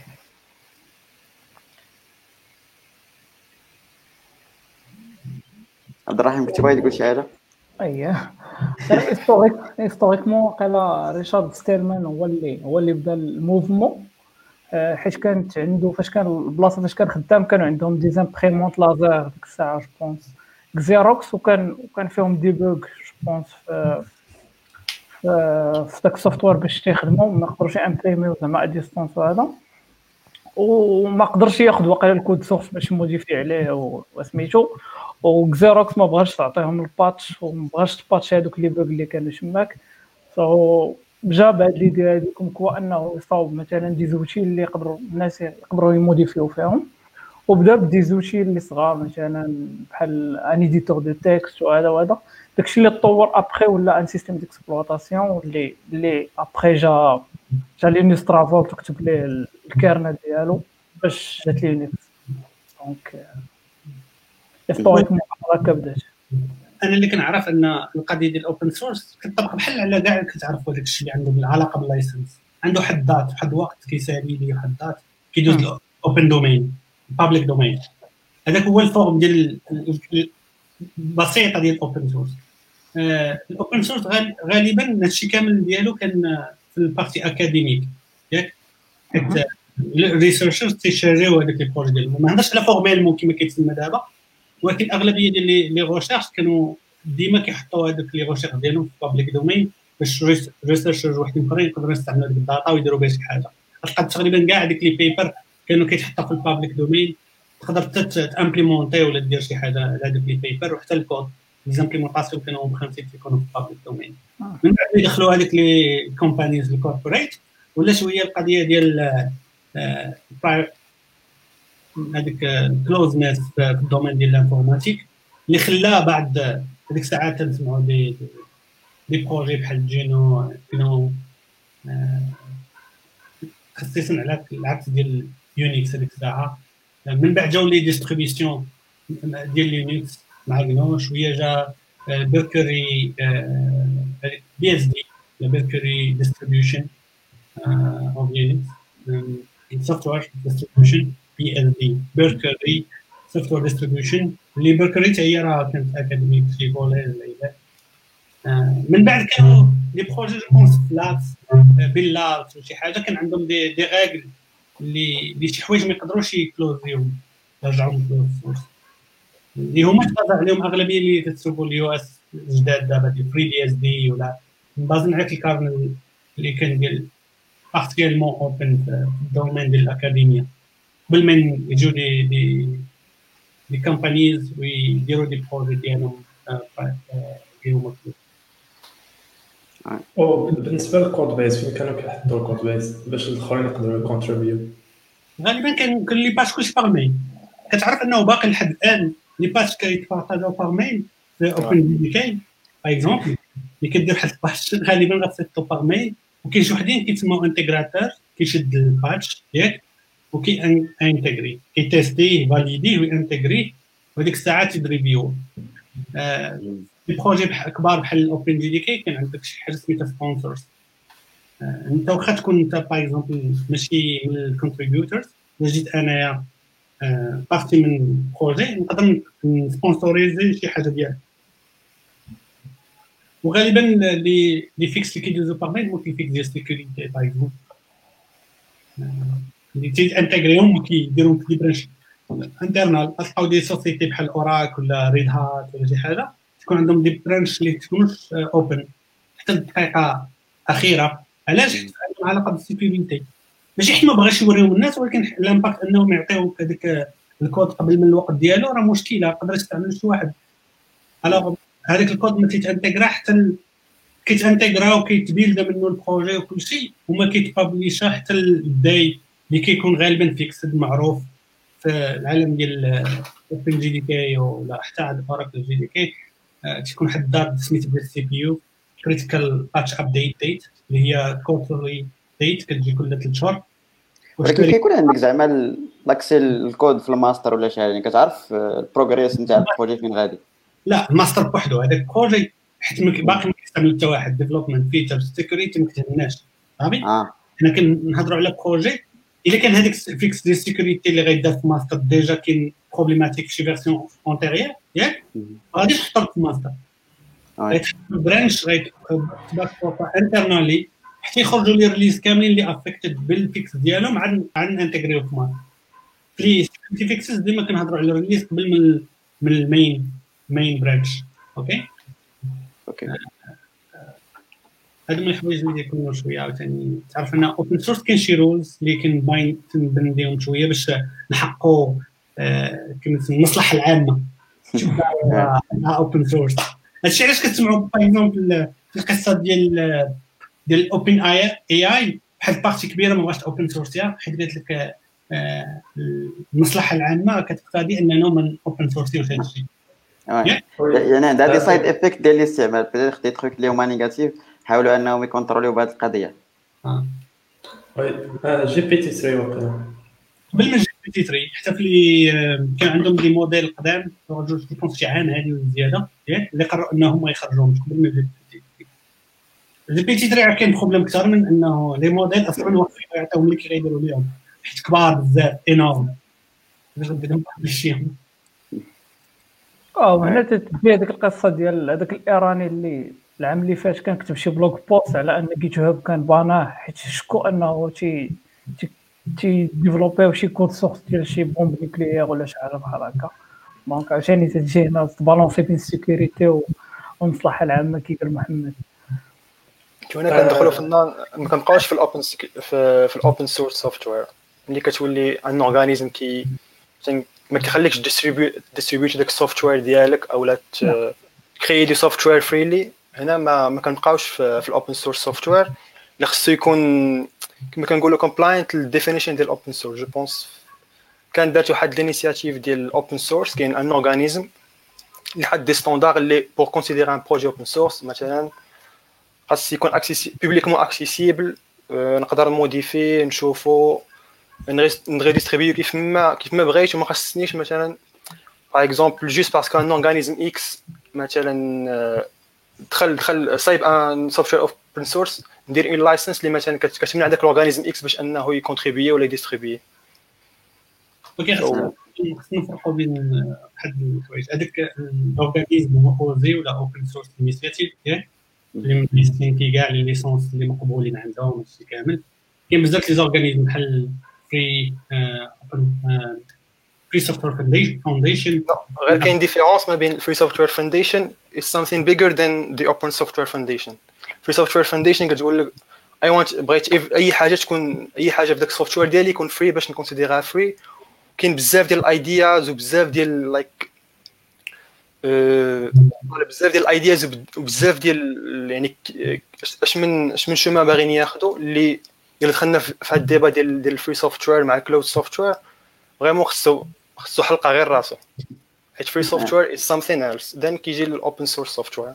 عبد الرحيم كنت باغي تقول شي حاجه؟ اييه هيستوريكمون قال ريشارد ستيلمان هو اللي بدا الموفمون، حيت كانت عنده فاش كان البلاصه فاش كان خدام كانوا عندهم دي زامبريمونط لازر ديك الساعه جو بونس كزيروكس، وكان فيهم ديبوغ جو بونس في داك السوفتوير باش تيخدموا ما قدروش امبريميو زعما ا ديستانس وهذا، وما قدرش ياخذ واقيلا الكود سورس باش يموديفي عليه وسميتو. وكزيروكس ما بغاش تعطيهم الباتش وما بغاش تباتش هذوك لي بوغ اللي كانوا تماك. سو جا بعد ليدي هذيك كو انه يصاوب مثلا دي زوتي اللي يقدروا الناس يقدروا يموديفيو فيهم، وبدا بدي زوتي اللي صغار مثلا بحال ان ايديتور دو تكست وهذا داكشي اللي تطور ابخي ولا ان سيستيم ديكسبلوطاسيون اللي ابخي جا لينكس ترافول تكتب ليه الكيرنل ديالو باش جات لينكس. دونك هيستوريكمون هكا بدات. انا اللي كنعرف ان القضيه ديال الاوبن سورس كتطبق بحال على كاع كتعرفوا داك الشيء اللي عنده العلاقه باللايسنس، عنده حد ذات واحد الوقت كيسالي لي واحد ذات كيدوز الاوبن دومين بابليك دومين. هذاك هو الفورم ديال البسيطه ديال الاوبن سورس. الاوبن سورس غالبا هادشي كامل ديالو كان في البارتي اكاديميك ياك، حيت الريسيرشرز تيشاريو هذاك البروجي ديالهم. ما هضرش على فورميلمون كما كيتسمى دابا، ولكن الاغلبيه ديال لي ريشيرش كانوا ديما كيحطوا هذوك لي ريشيرش ديالهم في بابليك دومين باش ريسيرشرز وحدين اخرين يقدروا يستعملوا ديك الداتا ويديروا بها شي حاجه. تلقى تقريبا كاع هذيك لي بيبر كانوا كيتحطوا في البابليك دومين، تقدر تامبليمونتي ولا دير شي حاجه على هذوك لي بيبر، وحتى الكود ليزامبليمونطاسيون كانوا مخلصين يكونوا في البابليك دومين. من بعد يدخلوا هذيك لي كومبانيز الكوربوريت ولا شويه القضيه ديال هذيك الكلوزنس في الدومين ديال الانفورماتيك اللي خلاه بعد هذيك الساعات تنسمعوا دي بروجي بحال جينو خصيصا على العكس ديال يونيكس هذيك الساعه. من بعد جاو لي ديستريبيسيون ديال يونيكس مع جنو، شويه جا بيركوري بي اس دي بيركوري ديستريبيوشن اوف يونيكس سوفتوير ديستريبيوشن بي اس دي بيركوري سوفتوير ديستريبيوشن اللي بيركوري حتى هي راه كانت اكاديميك في كوليج ولا من بعد كانوا لي بروجي جونس فلات بيلا شي حاجه كان عندهم دي ريغل اللي شي حوايج ما يقدروش يكلوزيهم يرجعوهم كلوز سورس اللي هما تبازا عليهم اغلبيه اللي كتسوقوا اليو اس جداد دابا ديال فري دي اس دي ولا بازن على الكارنل اللي كان ديال بارتيكولمون اوبن في الدومين ديال الاكاديميه قبل ما يجيو دي كومبانيز ويديروا دي بروجي ديالهم فيهم. وبالنسبه للكود بيس فين كانوا كيحطوا الكود بيس باش الاخرين يقدروا يكونتريبيو؟ غالبا كان لي باج كلشي باغ ميل. كتعرف انه باقي لحد الان لي باج كيتبارطاجاو باغ ميل في اوبن دي كي باغ اكزومبل اللي كدير واحد الباج غالبا غتسيطو باغ ميل، وكاين شي وحدين كيتسموا انتيغراتور كيشد الباتش ياك وكي انتيغري كيتيستيه فاليديه وانتيغري وديك الساعات يدريفيو. لي بروجي كبار بحال الاوبن جي دي كي كان عندك شي حاجه سميتها سبونسرز. انت واخا تكون انت باغ اكزومبل ماشي من الكونتريبيوتورز، الا جيت انايا بارتي من بروجي نقدر نسبونسوريزي شي حاجه ديالك. وغالبا لي فيكس اللي كيدوزو باغ ميل ممكن فيكس ديال سيكوريتي باغ اكزومبل اللي تيانتيغريهم وكيديرهم في برانش انترنال. تلقاو دي سوسيتي بحال اوراك ولا ريد هات ولا شي حاجه تكون عندهم دي برانش اللي تكونش اوبن حتى الدقيقه اخيره. علاش؟ عندهم علاقه بالسيكوريتي، ماشي حيت ما بغاش يوريهم الناس، ولكن الامباكت انهم يعطيو هذاك الكود قبل من الوقت ديالو راه مشكله يقدر يستعمل شي واحد. الوغ هذاك الكود ما تيتانتيغرا حتى كيتانتيغرا وكيتبيلد منه البروجي وكلشي، وما كيتبابليشا حتى الداي اللي كيكون غالبا فيكسد معروف في العالم ديال اوبن جي دي كي ولا حتى عند اوراكل جي دي كي. تكون واحد الدات سميتها ديال السي بي يو كريتيكال باتش ابديت ديت اللي هي كوارترلي ديت كتجي كل 3 شهور. ولكن كيكون عندك زعما لاكسي الكود في الماستر ولا شي حاجه كتعرف البروغريس نتاع البروجي فين غادي؟ لا الماستر بوحدو هذاك البروجي حيت باقي ما كيستعمل حتى واحد ديفلوبمنت فيتشر سيكوريتي ما كتهمناش صافي. حنا كنهضروا على بروجي الا كان هذيك فيكس ديال السيكوريتي اللي غيدار في ماستر ديجا كاين بروبليماتيك في شي فيرسيون اونتيريير ياك غادي تحطها في ماستر برانش غيتبقى انترنالي حتى يخرجوا لي ريليز كاملين اللي افكتد بالفيكس ديالهم عن انتغريو في ماستر. في سيكوريتي فيكسز ديما كنهضروا على الريليز قبل من المين برانش. اوكي هادو من الحوايج اللي يكونوا شويه عاوتاني تعرف ان اوبن سورس كاين شي رولز اللي كنباين تنبنديهم شويه باش نحققوا كما المصلحه العامه تبع اوبن سورس. هادشي علاش كتسمعوا باغ اكزومبل في القصه ديال الاوبن اي بحال بارتي كبيره ما بغاش اوبن سورسيا، حيت قالت لك المصلحه العامه كتقتضي اننا من اوبن سورسيوش هادشي. يعني عندها دي سايد افكت ديال الاستعمال، بيتيتر دي تروك اللي هما نيجاتيف حاولوا انهم يكونتروليو بهذه القضيه. وي جي بي تي 3 وقيلا قبل من جي بي تي 3 حتى في اللي كان عندهم دي موديل قدام جوج ديبونس شي عام هذه وزياده ياك اللي قرروا انهم ما يخرجوهمش قبل من جي بي تي 3 كاين بروبليم اكثر من انه لي موديل اصلا واقفين يعطيوهم اللي كيديروا لهم حيت كبار بزاف انورم باش نديرهم بشيهم. هنا تتبع هذيك القصه ديال هذاك الايراني اللي العام اللي فات كان كتب شي بلوغ بوست على ان جيت هاب كان باناه حيت شكوا انه تي ديفلوبيو شي كود سورس ديال شي بومب نيوكليير ولا شي حاجه بحال هكا. دونك عشان تجي هنا تبالونسي بين السيكوريتي والمصلحه العامه كي قال محمد. هنا كندخلوا في ما كنبقاوش في الاوبن في الاوبن سورس سوفتوير ملي كتولي ان اورغانيزم كي ما كيخليكش ديستريبيوت داك السوفتوير ديالك او لا كريي دي سوفتوير فريلي. هنا ما كنبقاوش في الاوبن سورس سوفتوير اللي خصو يكون كما كنقولوا كومبلاينت للديفينيشن ديال الاوبن سورس. جو بونس كان دارت واحد الانيشياتيف ديال الاوبن سورس كاين ان اورغانيزم اللي حد دي ستاندار اللي بور كونسيدير ان بروجي اوبن سورس مثلا خاص يكون بوبليكمون اكسيسيبل، نقدر موديفي نشوفو نغي ديستريبيو كيف ما بغيت وما خصنيش مثلا باغ اكزومبل جوست باسكو ان اورغانيزم اكس مثلا دخل صايب ان سوفتوير اوبن سورس ندير اون لايسنس اللي مثلا كتمنع داك الاورغانيزم اكس باش انه يكونتريبيي ولا يديستريبيي. اوكي خصنا نفرقوا بين واحد الحوايج هذاك الاورغانيزم هو اوزي ولا اوبن سورس انيشياتيف ياك اللي مليستين كاع لي ليسونس اللي مقبولين عندهم هادشي كامل. كاين بزاف لي زورغانيزم بحال فري سوفتوير فاونديشن. غير كاين ديفيرونس ما بين الفري سوفتوير فاونديشن is something bigger than the open software foundation. free software foundation كتقول لك I want بغيت اي حاجه تكون اي حاجه في داك السوفتوير ديالي يكون فري باش نكونسيديرها فري. كاين بزاف ديال الايدياز وبزاف ديال لايك بزاف ديال الايدياز وبزاف ديال يعني اش من شوما باغيين ياخذوا اللي دخلنا في هاد الديبا ديال الفري سوفتوير مع كلاود سوفتوير فريمون خصو حلقه غير راسو حيت فري سوفتوير is something else then كيجي الاوبن سورس سوفتوير.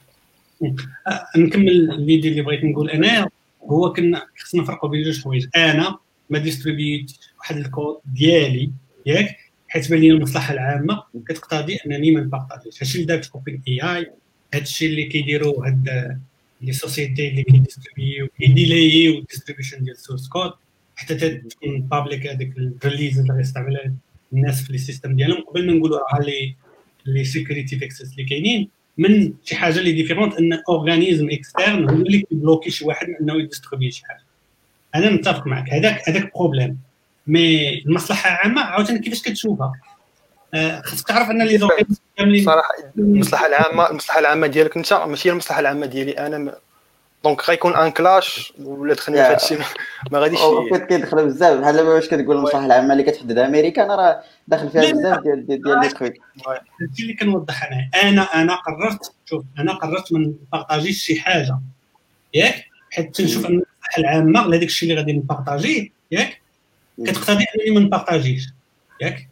نكمل الفيديو اللي بغيت نقول انا هو كنا خصنا نفرقوا بين جوج حوايج. انا ما ديستريبيوت واحد الكود ديالي ياك حيت بان لي المصلحه العامه كتقتضي انني ما نبارطاجيش. هادشي اللي دارت اوبن اي اي، هادشي اللي كيديروا هاد لي سوسيتي اللي كيديستريبيو كيديلايو الديستريبيوشن ديال السورس كود حتى تكون بابليك هذيك الريليز اللي غيستعملها الناس في لي سيستم ديالهم قبل ما نقولوا راه لي سيكوريتي فيكسز اللي كاينين من شي حاجه اللي ديفيرونت ان اورغانيزم اكسترن هو اللي كيبلوكي شي واحد انه يديستريبيو شي حاجه. انا متفق معك هذاك بروبليم مي المصلحه العامه عاوتاني كيفاش كتشوفها خاصك تعرف ان لي زورغانيزم كاملين صراحه المصلحه العامه ديالك انت ماشي المصلحه العامه ديالي انا دونك غيكون ان كلاش ولا دخلنا في هذا الشيء ما غاديش كيدخلوا بزاف بحال دابا واش كتقول المصلحه العامه اللي كتحددها امريكا انا راه داخل فيها بزاف ديال لي تخويك. هادشي اللي كنوضح انا قررت ما نبارطاجيش شي حاجه ياك حيت تنشوف ان المصلحه العامه لهذاك الشيء اللي غادي نبارطاجيه ياك كتقتضي انني ما نبارطاجيش ياك.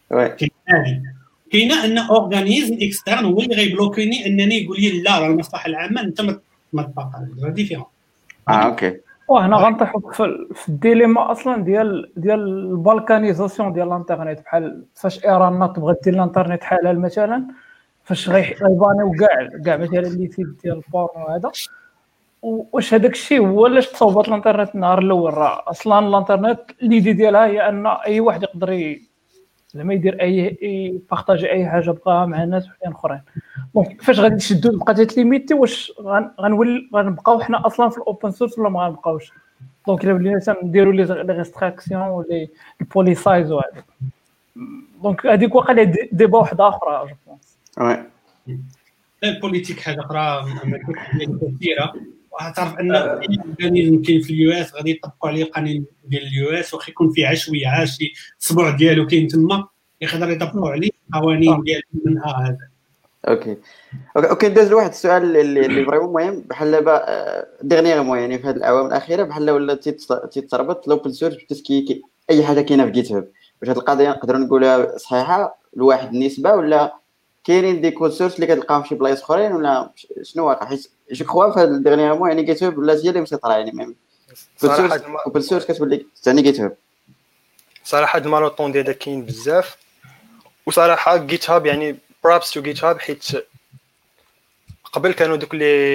كاينه ان اورغانيزم اكسترن هو اللي غيبلوكيني انني يقول لي لا راه المصلحه العامه انت ما تبارطاجيش راه ديفيرون. اوكي وهنا غنطيحوا في الديليما اصلا ديال البالكانيزاسيون ديال الانترنت بحال فاش ايران تبغى دير الانترنت حلال مثلا فاش غيبانيو كاع مثلا اللي سيت ديال البورن وهذا. واش هذاك الشيء هو علاش تصوبات الانترنت النهار الاول؟ راه اصلا الانترنت ليدي ديالها هي ان اي واحد يقدر زعما يدير اي بارطاجي اي حاجه بقاها مع الناس اخرين. دونك فاش غادي تشدو بقى تليميتي واش غنبقاو حنا اصلا في الاوبن سورس ولا ما غنبقاوش؟ دونك الا ولينا نديروا لي ريستريكسيون ولا البوليسايز وهذا دونك هذيك واقيلا ديبا واحده اخرى جو بونس. البوليتيك حاجه اخرى كثيره وغتعرف ان الاورغانيزم كاين في اليو اس غادي يطبقوا عليه القانون ديال اليو اس واخا يكون فيه عشويه شي صبع ديالو كاين تما يقدر يطبقوا عليه قوانين ديال منها هذا. اوكي ندوز لواحد السؤال اللي فريمون مهم. بحال دابا ديغنيغمون يعني في هذه الاعوام الاخيره بحال ولا تيتربط لوبن سورس بتسكي اي حاجه كاينه في جيت هاب. واش هذه القضيه نقدروا نقولها صحيحه لواحد النسبه، ولا كاينين دي كود سورس اللي كتلقاهم في شي بلايص اخرين، ولا شنو واقع؟ حيت جو كخوا في هذا ديغنيغمون يعني جيت هاب ولا هي اللي مسيطره يعني ميم صراحه اوبن سورس كتولي ثاني جيت هاب. صراحه المالوطون ديال كاين بزاف، وصراحه جيت هاب يعني بروبس تو جيت هاب، حيت قبل كانوا دوك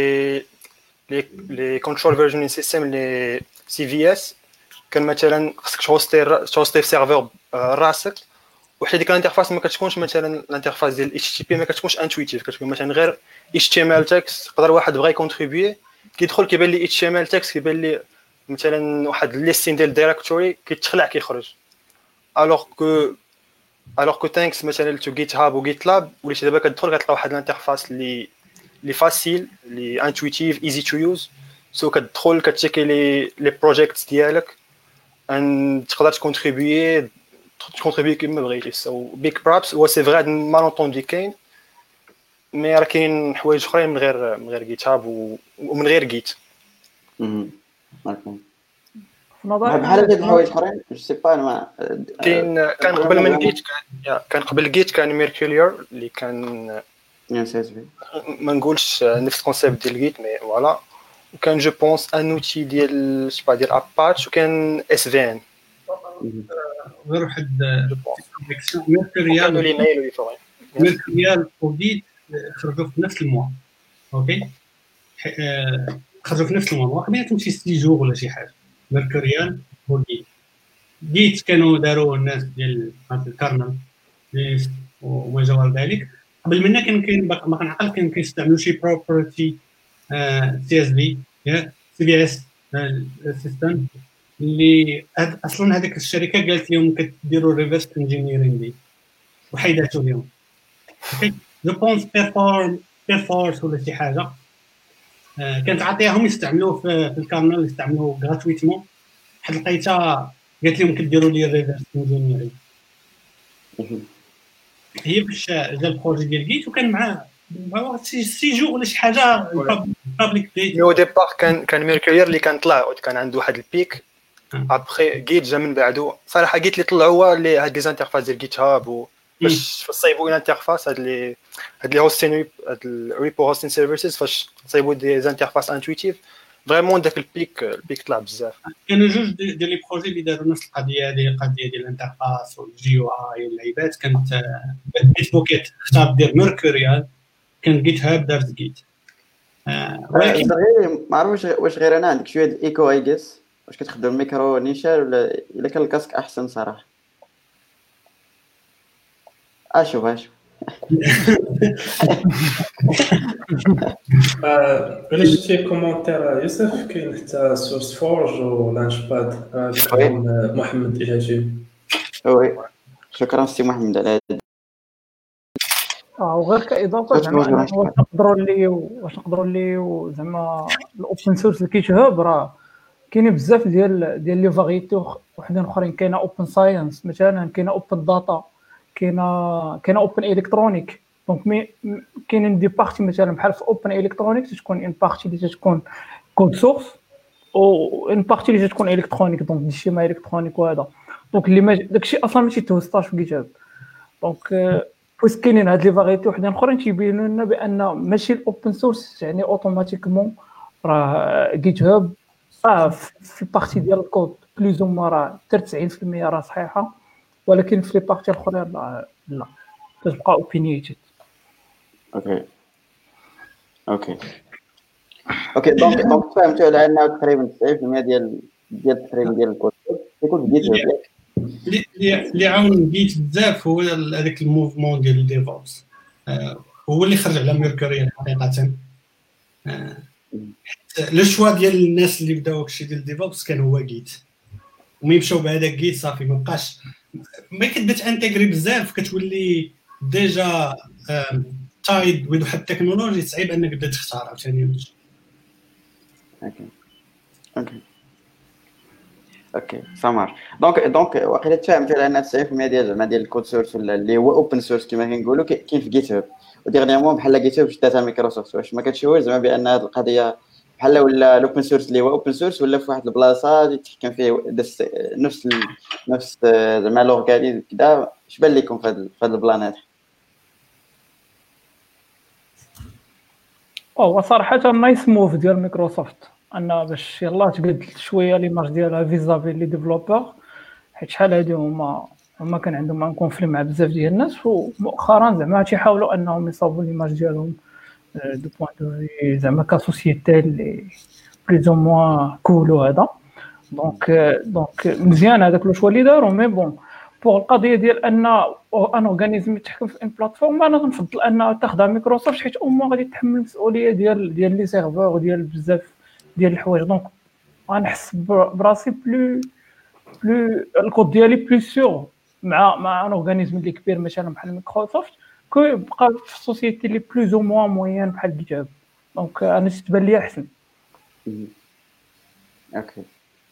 لي كنترول فيرجن سيستم لي سي في اس، كان مثلا خصك تهوستي في سيرفر راسك، وحتى ديك الانترفاس ما كتكونش مثلا الانترفاس ديال اتش تي بي ما كتكونش انتويتيف، كتكون مثلا غير اتش تي ام ال تكست. يقدر واحد بغى يكونتريبيي كيدخل كيبان لي اتش تي ام ال تكست، كيبان لي مثلا واحد ليستين ديال الدايركتوري كيتخلع كيخرج. الوغ كو ثانكس مثلا تو جيت هاب وجيت لاب وليتي دابا كتدخل كتلقى واحد الانترفاس اللي فاسيل، اللي انتويتيف، ايزي تو يوز. سو كتدخل كتشيكي لي بروجيكتس ديالك ان تقدر تكونتريبيي كيما بغيتي. سو بيك برابس هو سي فري مالونطوندي كاين، مي راه كاين حوايج اخرين من غير جيت هاب ومن غير جيت. بحال هاد الحوايج اخرين جو سي با ما كان قبل من جيت كان قبل جيت كان ميركوريور اللي كان ما نقولش نفس الكونسيبت ديال جيت مي فوالا. وكان جو بونس ان اوتي ديال سبا ديال اباتش، وكان اس في ان غير واحد كانوا لي ميل ويفوري ميركوريال وجيت خرجوا في نفس الموا. اوكي خرجوا في نفس الموا بيناتهم شي 6 جوغ ولا شي حاجه. ميركوريال وجيت كانوا داروا الناس ديال الكارنل وما جوار ذلك. قبل منا كاين ما كنعقل كان كيستعملوا شي بروبرتي سي اس في سي في اس سيستم اللي اصلا هذيك الشركه قالت لهم كديروا ريفرس انجينيرينغ دي وحيداتو لهم. اوكي جو بونس بيرفورس ولا شي حاجه كانت عطيهم يستعملوه في الكارنل، يستعملوه غراتويتمون. واحد لقيتها قالت لهم كديروا لي ريفرس انجينيرينغ. هي باش جا البروجي ديال جيت وكان معاه سي جو ولا شي حاجه بابليك ديتا. او ديبار كان ميركوريور اللي كان طلع كان عنده واحد البيك. ابخي جيت جا من بعدو. صراحه جيت اللي طلعوا هو اللي هاد لي زانترفاس ديال جيت هاب باش تصايبوا الانترفاس هاد لي هوستين هاد الريبو هوستين سيرفيسز فاش تصايبوا دي زانترفاس انتويتيف فريمون داك البيك طلع بزاف. كانوا جوج ديال لي بروجي اللي داروا نفس القضيه هذه، القضيه ديال الانترفاس والجي او اي واللعيبات. كانت بيت بوكيت اختار دير ميركوريال، كان جيت هاب دارت جيت. ولكن ما عرفتش واش غير انا عندك شويه الايكو اي جيس. واش كتخدم الميكرو نيشان ولا الا كان الكاسك احسن صراحه؟ اشوف الا شفتي كومونتير يوسف كاين حتى سورس فورج ولانش باد كلام محمد الهاشمي. وي شكرا سي محمد على هذا. وغير كاضافه زعما واش نقدروا لي زعما الاوبن سورس اللي كيتهاب راه كاينين بزاف ديال لي فاريتي وحدين اخرين. كاينه اوبن ساينس مثلا، كاينه اوبن داتا، كاينه اوبن الكترونيك. دونك كاينين دي بارتي مثلا بحال في اوبن الكترونيك تكون ان بارتي اللي تكون كود سورس او ان بارتي اللي تكون الكترونيك. دونك داكشي ما الكترونيك وهذا دونك اللي داكشي اصلا ماشي توستاش في جيت هاب. دونك بويس كاينين هاد لي فاريتي وحدين اخرين تيبينوا لنا بان ماشي الاوبن سورس يعني اوتوماتيكمون راه جيت هاب في بارتي ديال الكود بلوز او راه 90% راه صحيحه، ولكن في لي بارتي الاخرين لا كتبقى اوبينيتد. اوكي دونك فهمتوا على انه تقريبا 90% ديال التقريبا ديال الكود يكون جيت هاب. اللي عاون جيت بزاف هو هذاك الموفمون ديال الديفوبس، هو اللي خرج على ميركوريال حقيقه. لو شوا ديال الناس اللي بداو هادشي ديال الديفوبس كان هو جيت، وملي مشاو بهذاك جيت صافي ما بقاش ما كتبدا تانتيغري بزاف، كتولي ديجا تايد وذ واحد التكنولوجي صعيب انك تبدا تختار عاوتاني. اوكي اوكي سامر. دونك واقيلا تفهمت على ان 90% ديال الكود سورس ولا اللي هو اوبن سورس كما كنقولوا كاين في جيت هاب، وديغنيامون بحال جيت هاب شداتها مايكروسوفت. واش ما كتشوفوش زعما بان هذه القضيه بحال ولا الاوبن سورس اللي هو اوبن سورس ولا في واحد البلاصه يتحكم فيه نفس زعما لورغانيزم كذا؟ اش بان لكم في هذا البلان هذا؟ هو صراحه نايس موف ديال مايكروسوفت ان باش يلاه تبدل شويه ليماج ديالها فيزافي لي ديفلوبور، حيت شحال هادي هما كان عندهم ان كونفلي مع بزاف ديال الناس، ومؤخرا زعما تيحاولوا انهم يصاوبوا ليماج ديالهم دو بوين دو في زعما كسوسيتي اللي بليز او موان كولو هذا. دونك مزيان هذاك الشوا اللي داروا. مي بون بوغ القضيه ديال ان اورغانيزم يتحكم في ان بلاتفورم، انا كنفضل ان تاخذها مايكروسوفت حيت امو غادي تحمل المسؤوليه ديال لي سيرفور وديال بزاف ديال الحوايج. دونك غنحس براسي بلو الكود ديالي بلو سيغ مع ان اورغانيزم اللي كبير مثلا بحال مايكروسوفت كو يبقى في سوسيتي اللي بلوز او موان موين بحال جيت هاب. دونك انا تبان لي احسن. اوكي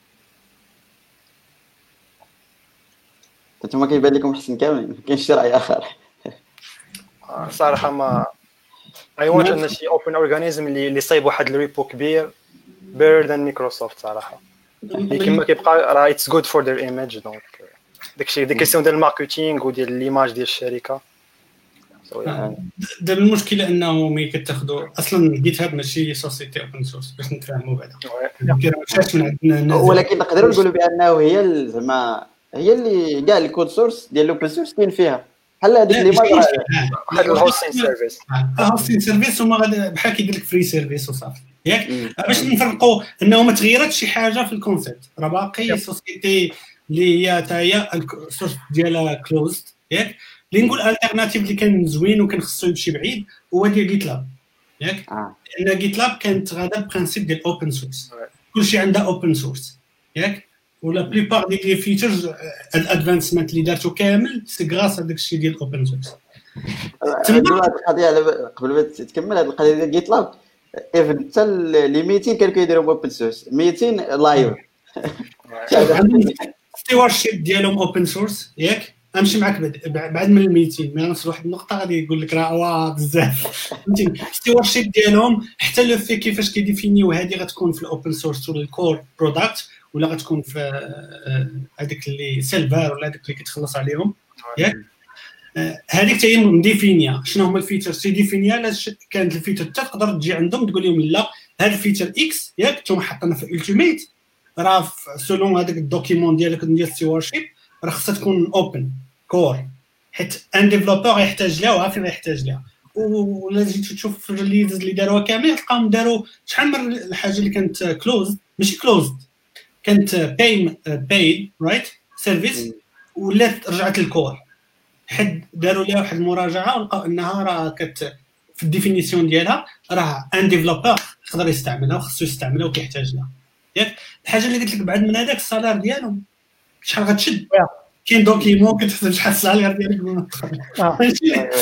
انتما كيبان لكم احسن كاملين؟ ما كاينش شي راي اخر؟ صراحه ما اي وانت ان شي اوبن اورغانيزم اللي صايب واحد الريبو كبير better than مايكروسوفت صراحه. كما كيبقى راه اتس جود فور ذير ايميج. دونك داكشي دي كيسيون ديال الماركتينغ وديال ليماج ديال الشركه. دابا المشكله انه ملي كتاخذوا اصلا جيت هاب ماشي سوسيتي اوبن سورس باش نتفاهموا بعدا، كيرجعش من عندنا. ولكن نقدروا نقولوا بانه هي زعما هي اللي كاع الكود سورس ديال الاوبن سورس كاين فيها بحال هذيك اللي واحد الهوستين سيرفيس. الهوستين سيرفيس هما بحال كيدير لك فري سيرفيس وصافي ياك. باش نفرقوا انه ما تغيرتش شي حاجه في الكونسيبت، راه باقي سوسيتي اللي هي حتى هي السورس ديالها كلوزد ياك. اللي نقول الالتيرناتيف اللي كان زوين وكان خصو يمشي بعيد هو ديال جيت لاب ياك. لان جيت لاب كانت غادا برينسيپ ديال اوبن سورس، كلشي عندها اوبن سورس ياك. ولا بليبار ديال لي فيتشرز الادفانسمنت اللي دارتو كامل سي غراس هذاك الشيء ديال الاوبن سورس. تما هذه القضيه قبل ما تكمل هذه القضيه ديال جيت لاب ايفن حتى لي 200 كانوا كيديروا اوبن سورس 200 لايف. ستيوارشيب ديالهم اوبن سورس ياك. امشي معك بعد من 200 مي نوصل لواحد النقطه غادي يقول لك راه بزاف فهمتي. ستيوارشيب ديالهم حتى لو في كيفاش كيديفينيو هذه غتكون في الاوبن سورس ولا الكور برودكت ولا غتكون في هذيك اللي سيلفر ولا هذيك اللي كتخلص عليهم ياك. هذيك حتى هي مديفينيا شنو هما الفيتشرز تيديفينيا. لا كانت الفيتشر تقدر تجي عندهم تقول لهم لا هذا الفيتشر اكس ياك نتوما حطنا في التيميت راه سولون هذاك الدوكيمون ديالك ديال ستيوارشيب راه خصها تكون اوبن كور، حيت ان ديفلوبر يحتاج لها وعارف يحتاج لها. ولا جيت تشوف في الريليز اللي داروها كامل تلقاهم داروا شحال من الحاجه اللي كانت كلوز ماشي كلوزد كانت بايد رايت سيرفيس ولات رجعت للكور. حد داروا لها واحد المراجعه ولقاو انها راه في الديفينيسيون ديالها راه ان ديفلوبر يقدر يستعملها وخصو يستعملها وكيحتاج لها ياك. الحاجه اللي قلت لك بعد من هذاك السالار ديالهم شحال غتشد كاين دوكيمون كتحسب شحال السالار ديالك فاش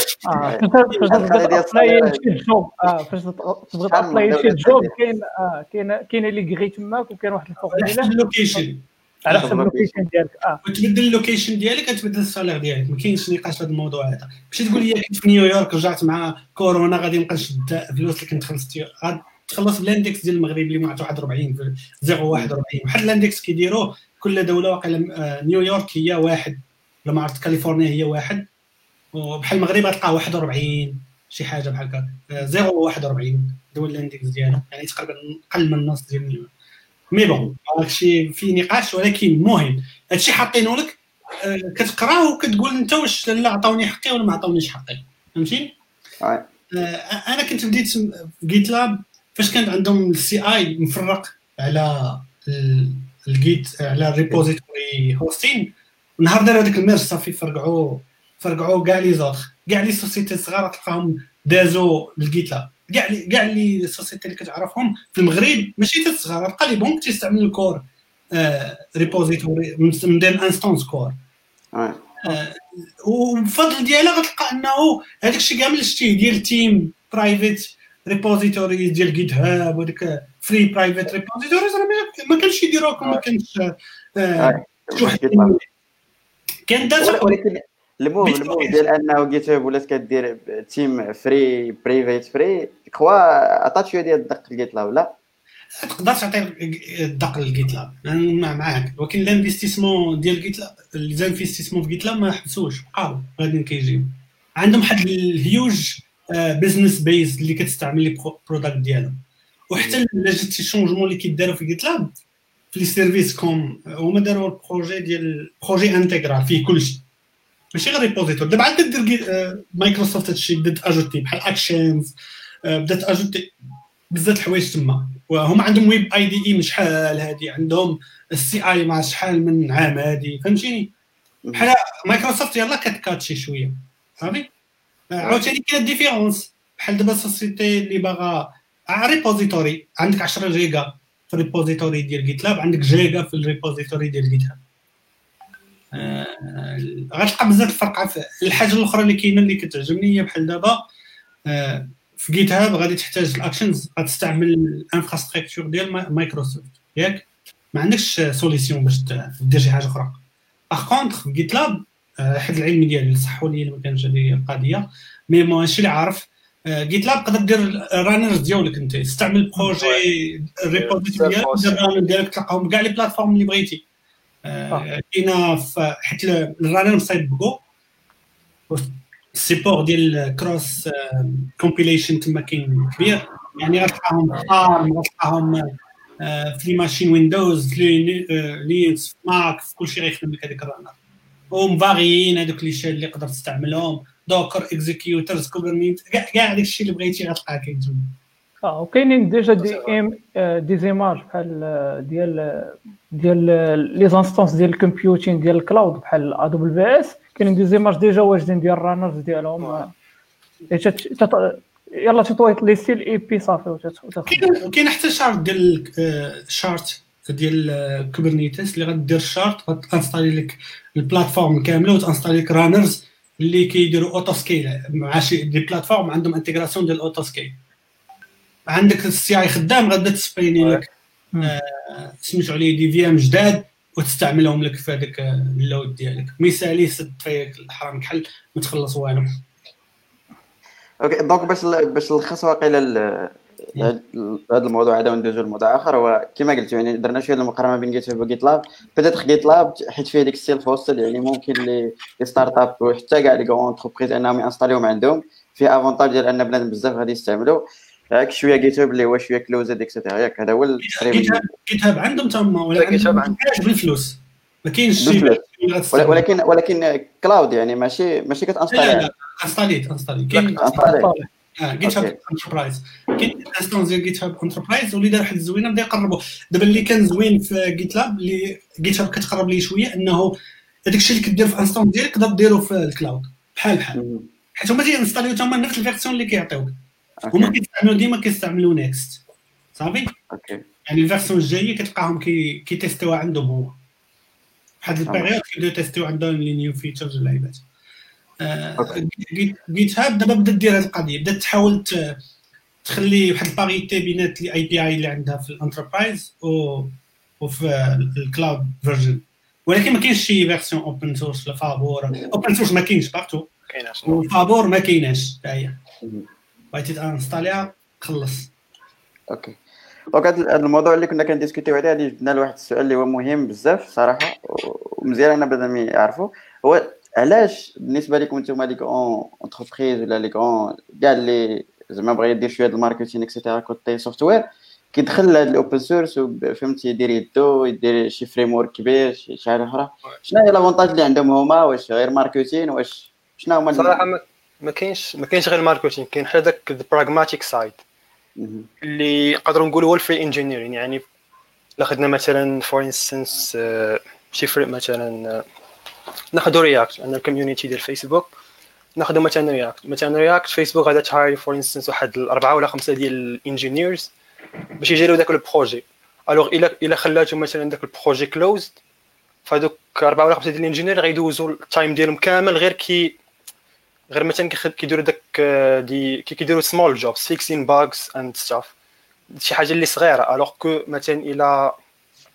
تبغي تابلاي شي جوب كاين اللي كغي تماك وكاين واحد الفورمولا اللوكيشن على حسب اللوكيشن ديالك. وتبدل اللوكيشن ديالك كتبدل السالار ديالك. ما كاينش نقاش في هذا الموضوع هذا. ماشي تقول لي كنت في نيويورك رجعت مع كورونا غادي نبقى نشد فلوس اللي كنت تخلص بالاندكس ديال المغرب اللي معطو 41 في 0.41 واحد الاندكس كيديروه كل دوله. واقيلا نيويورك هي واحد ولا ما عرفت كاليفورنيا هي واحد وبحال المغرب غتلقى 41 شي حاجه بحال هكا 0.41 دول الاندكس ديالو يعني تقريبا اقل من النص ديال نيويورك. مي بون هادشي في نقاش ولكن المهم هادشي حاطينه لك كتقراه وكتقول انت واش لا عطاوني حقي ولا ما عطاونيش حقي فهمتيني. انا كنت بديت في جيت لاب فاش كان عندهم السي اي مفرق على الجيت على الريبوزيتوري هوستين. ونهار داروا هذاك الميرج صافي فرقعوا كاع لي زوطخ كاع لي سوسيتي صغار تلقاهم دازوا للجيت لاب. كاع لي سوسيتي اللي كتعرفهم في المغرب ماشي حتى صغار قليبهم كيستعملوا الكور ريبوزيتوري من ديال انستانس كور. وبفضل ديالها غتلقى انه هذاك الشيء كامل شتيه ديال تيم برايفت ريبوزيتوري ديال جيت هاب وديك فري برايفت ريبوزيتوريز ما كانش يديروها ما كانش شوف كان داتا ولكن الموف ديال انه جيت هاب ولات كدير تيم فري بريفيت فري كوا عطات شويه ديال الدق لجيت لاب لا تقدر تعطي الدق للجيت لاب انا معاك ولكن الانفستيسمون ديال جيت لاب الانفستيسمون في جيت لاب ما حبسوش بقاو غاديين كيجيو عندهم واحد الهيوج بزنس بيز اللي كتستعمل لي بروداكت ديالهم وحتى الا جات شي شونجمون اللي كيداروا في جيت لاب في لي سيرفيس كوم هما داروا البروجي ديال بروجي انتيغرال فيه كلشي ماشي غير ريبوزيتور دابا عاد كدير مايكروسوفت هادشي بدات اجوتي بحال اكشنز بدات اجوتي بزاف الحوايج تما وهما عندهم ويب اي دي من شحال هادي عندهم السي اي مع شحال من عام هادي فهمتيني بحال مايكروسوفت يلاه كتكاتشي شويه صافي عاوتاني كاين ديفيرونس بحال دابا سوسيتي اللي باغا ريبوزيتوري عندك 10 جيجا في الريبوزيتوري ديال جيت لاب عندك جيجا في الريبوزيتوري ديال جيت هاب غتلقى بزاف الفرق في الحاجه الاخرى اللي كاينه اللي كتعجبني هي بحال دابا في جيت هاب غادي تحتاج الاكشنز غتستعمل الانفراستركتور ديال مايكروسوفت ياك ما عندكش سوليسيون باش دير شي حاجه اخرى باغ كونطخ في جيت لاب حد العلمي ديالي صحوا لي ما كانش هذه القضيه مي ماشي اللي عارف جيت لاب تقدر دير الرانرز ديالك انت تستعمل بروجي ريبوزيتوري ديالك تلقاهم كاع لي بلاتفورم اللي بغيتي كاينه حيت الرانر مصايبكو السيبور ديال كروس كومبيليشن تما كاين كبير يعني غتلقاهم غتلقاهم في لي ماشين ويندوز في لينكس في ماك في كلشي غيخدم لك هذيك الرانر ومفاغيين هذوك لي شال اللي تقدر تستعملهم دوكر اكزيكيوترز كوبرنيت كاع داك الشيء اللي بغيتي غتلقاه كاين تما وكاينين ديجا دي زيماج بحال ديال لي زانستونس ديال الكمبيوتين ديال الكلاود بحال ا دبليو بي اس كاينين دي زيماج ديجا واجدين ديال الرانرز ديالهم يلا تطويط لي ستيل اي بي صافي كاين حتى شارت ديال شارت ديال كوبرنيتس اللي غدير شارت غتانستالي لك البلاتفورم كامله وتانستالي لك رانرز اللي كيديروا اوتو سكيل مع شي دي بلاتفورم عندهم انتغراسيون ديال اوتو سكيل عندك السي اي خدام غادا تسبيني لك سميتو عليه دي في ام جداد وتستعملهم لك في هذاك اللود ديالك مثالي سد فيك الحرام كحل ما تخلص والو اوكي دونك باش نلخص واقيلا هذا الموضوع هذا وندوزو لموضوع اخر هو كما قلت يعني درنا شويه المقارنه بين جيت هاب وجيت لاب بدات جيت لاب حيت فيه ديك السيلف هوستل يعني ممكن لي ستارت اب وحتى كاع لي كون انتربريز انهم ينستاليوهم عندهم فيه افونتاج ديال ان بنادم بزاف غادي يستعملوا هاك شويه جيت هاب اللي هو شويه كلوزد اكسيتيرا ياك هذا هو جيت هاب عندهم تما ولا جيت هاب بالفلوس ما كاينش شي ولكن كلاود يعني ماشي كتانستالي انستالي كاين جيت هاب انتربرايز كاين انستانس ديال جيت هاب انتربرايز واللي دار واحد الزوينه بدا يقربوا دابا اللي كان زوين في جيت لاب اللي جيت هاب كتقرب ليه شويه انه هذاك الشيء اللي كدير في انستانس ديالك تقدر ديرو في الكلاود بحال حيت هما تينستاليو تما نفس الفيرسيون اللي كيعطيوك هما كيستعملوا نيكست صافي اوكي يعني الفيرسيون الجايه كتلقاهم كيتيستيو عندهم هو واحد البيريود كيبداو يتيستيو عندهم لي نيو فيتشرز اللعيبات جيت هاب دابا بدات دير هذه القضيه بدات تحاول تخلي واحد الباريتي بينات لي اي بي اي اللي عندها في الانتربرايز وفي الكلاود فيرجن ولكن ما كاينش شي فيرسيون اوبن سورس ولا فابور اوبن سورس ما كاينش بارتو وفابور ما كايناش حتى هي بغيتي تانستاليها خلص اوكي دونك هذا الموضوع اللي كنا كنديسكوتيو عليه غادي جبنا لواحد السؤال اللي هو مهم بزاف صراحه ومزيان انا بدا يعرفوا هو علاش بالنسبه لكم نتوما لي كون انتربريز ولا لي كون كاع اللي زعما بغا يدير شويه د الماركتينغ اكسيتيرا كوتي سوفتوير كيدخل هذا الاوبن سورس فهمتي يدير يدو يدير شي فريم ورك كبير شي حاجه اخرى شنو هي لافونتاج اللي عندهم هما واش غير ماركتينغ واش شنو هما صراحه ما كاينش غير الماركتينغ كاين حتى داك البراغماتيك سايد اللي نقدروا نقولوا هو الفري انجينيرين يعني الا خدنا مثلا فور انستنس شي فريم مثلا ناخذ رياكت عندنا الكوميونيتي ديال فيسبوك ناخذ مثلا رياكت فيسبوك غادا تهاير فور انستنس واحد 4 ولا 5 ديال الانجينيرز باش يجيروا داك البروجي الوغ الا خلاتهم مثلا داك البروجي كلوزد فهذوك 4 ولا 5 ديال الانجينير غيدوزوا التايم ديالهم كامل غير مثلا كيديروا داك كيديروا سمول جوبز فيكسين باغز اند ستاف شي حاجه اللي صغيره الوغ كو مثلا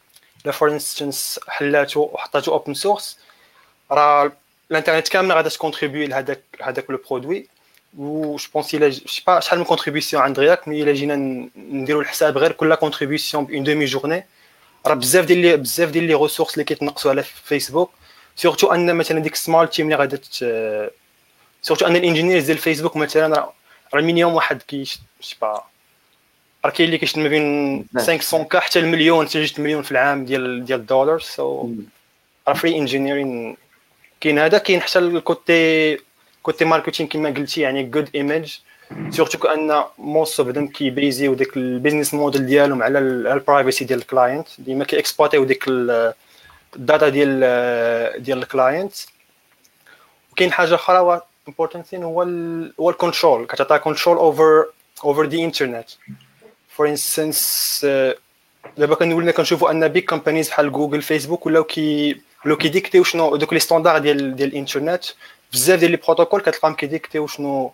لا فور انستنس حلاتو وحطاتو اوبن سورس، راه الانترنت كامله غادا تكونتريبيو لهذاك لو برودوي. و جو بونس الا شي با شحال من كونتريبيسيون عند رياكت، مي الا جينا نديرو الحساب غير كل كونتريبيسيون بون دومي جورني، راه بزاف ديال لي ريسورس اللي كيتنقصوا على فيسبوك. سورتو ان مثلا ديك سمال تيم اللي غادا سورتو ان الانجينيرز ديال فيسبوك مثلا راه مينيموم واحد شي با، راه كاين اللي كيشد ما بين 500 كا حتى المليون، حتى 2 مليون في العام ديال الدولار. سو راه فري انجينيرين كاين هذا. كاين حتى الكوتي ماركتينغ كما قلتي، يعني جود ايميج، سورتو كان موست اوف ذم كيبيزيو ديك البيزنس موديل ديالهم على البرايفسي ديال الكلاينت، ديما كيكسبلوتيو ديك الداتا ديال الكلاينت. وكاين حاجه اخرى important thing هو الكنترول، كتعطي كنترول over the internet. for instance دابا كنولينا كنشوفوا ان بيج كومبانيز بحال جوجل فيسبوك ولاو كيديكتيو شنو دوك لي ستاندار ديال الانترنت. بزاف ديال لي بروتوكول كتلقاهم كيديكتيو شنو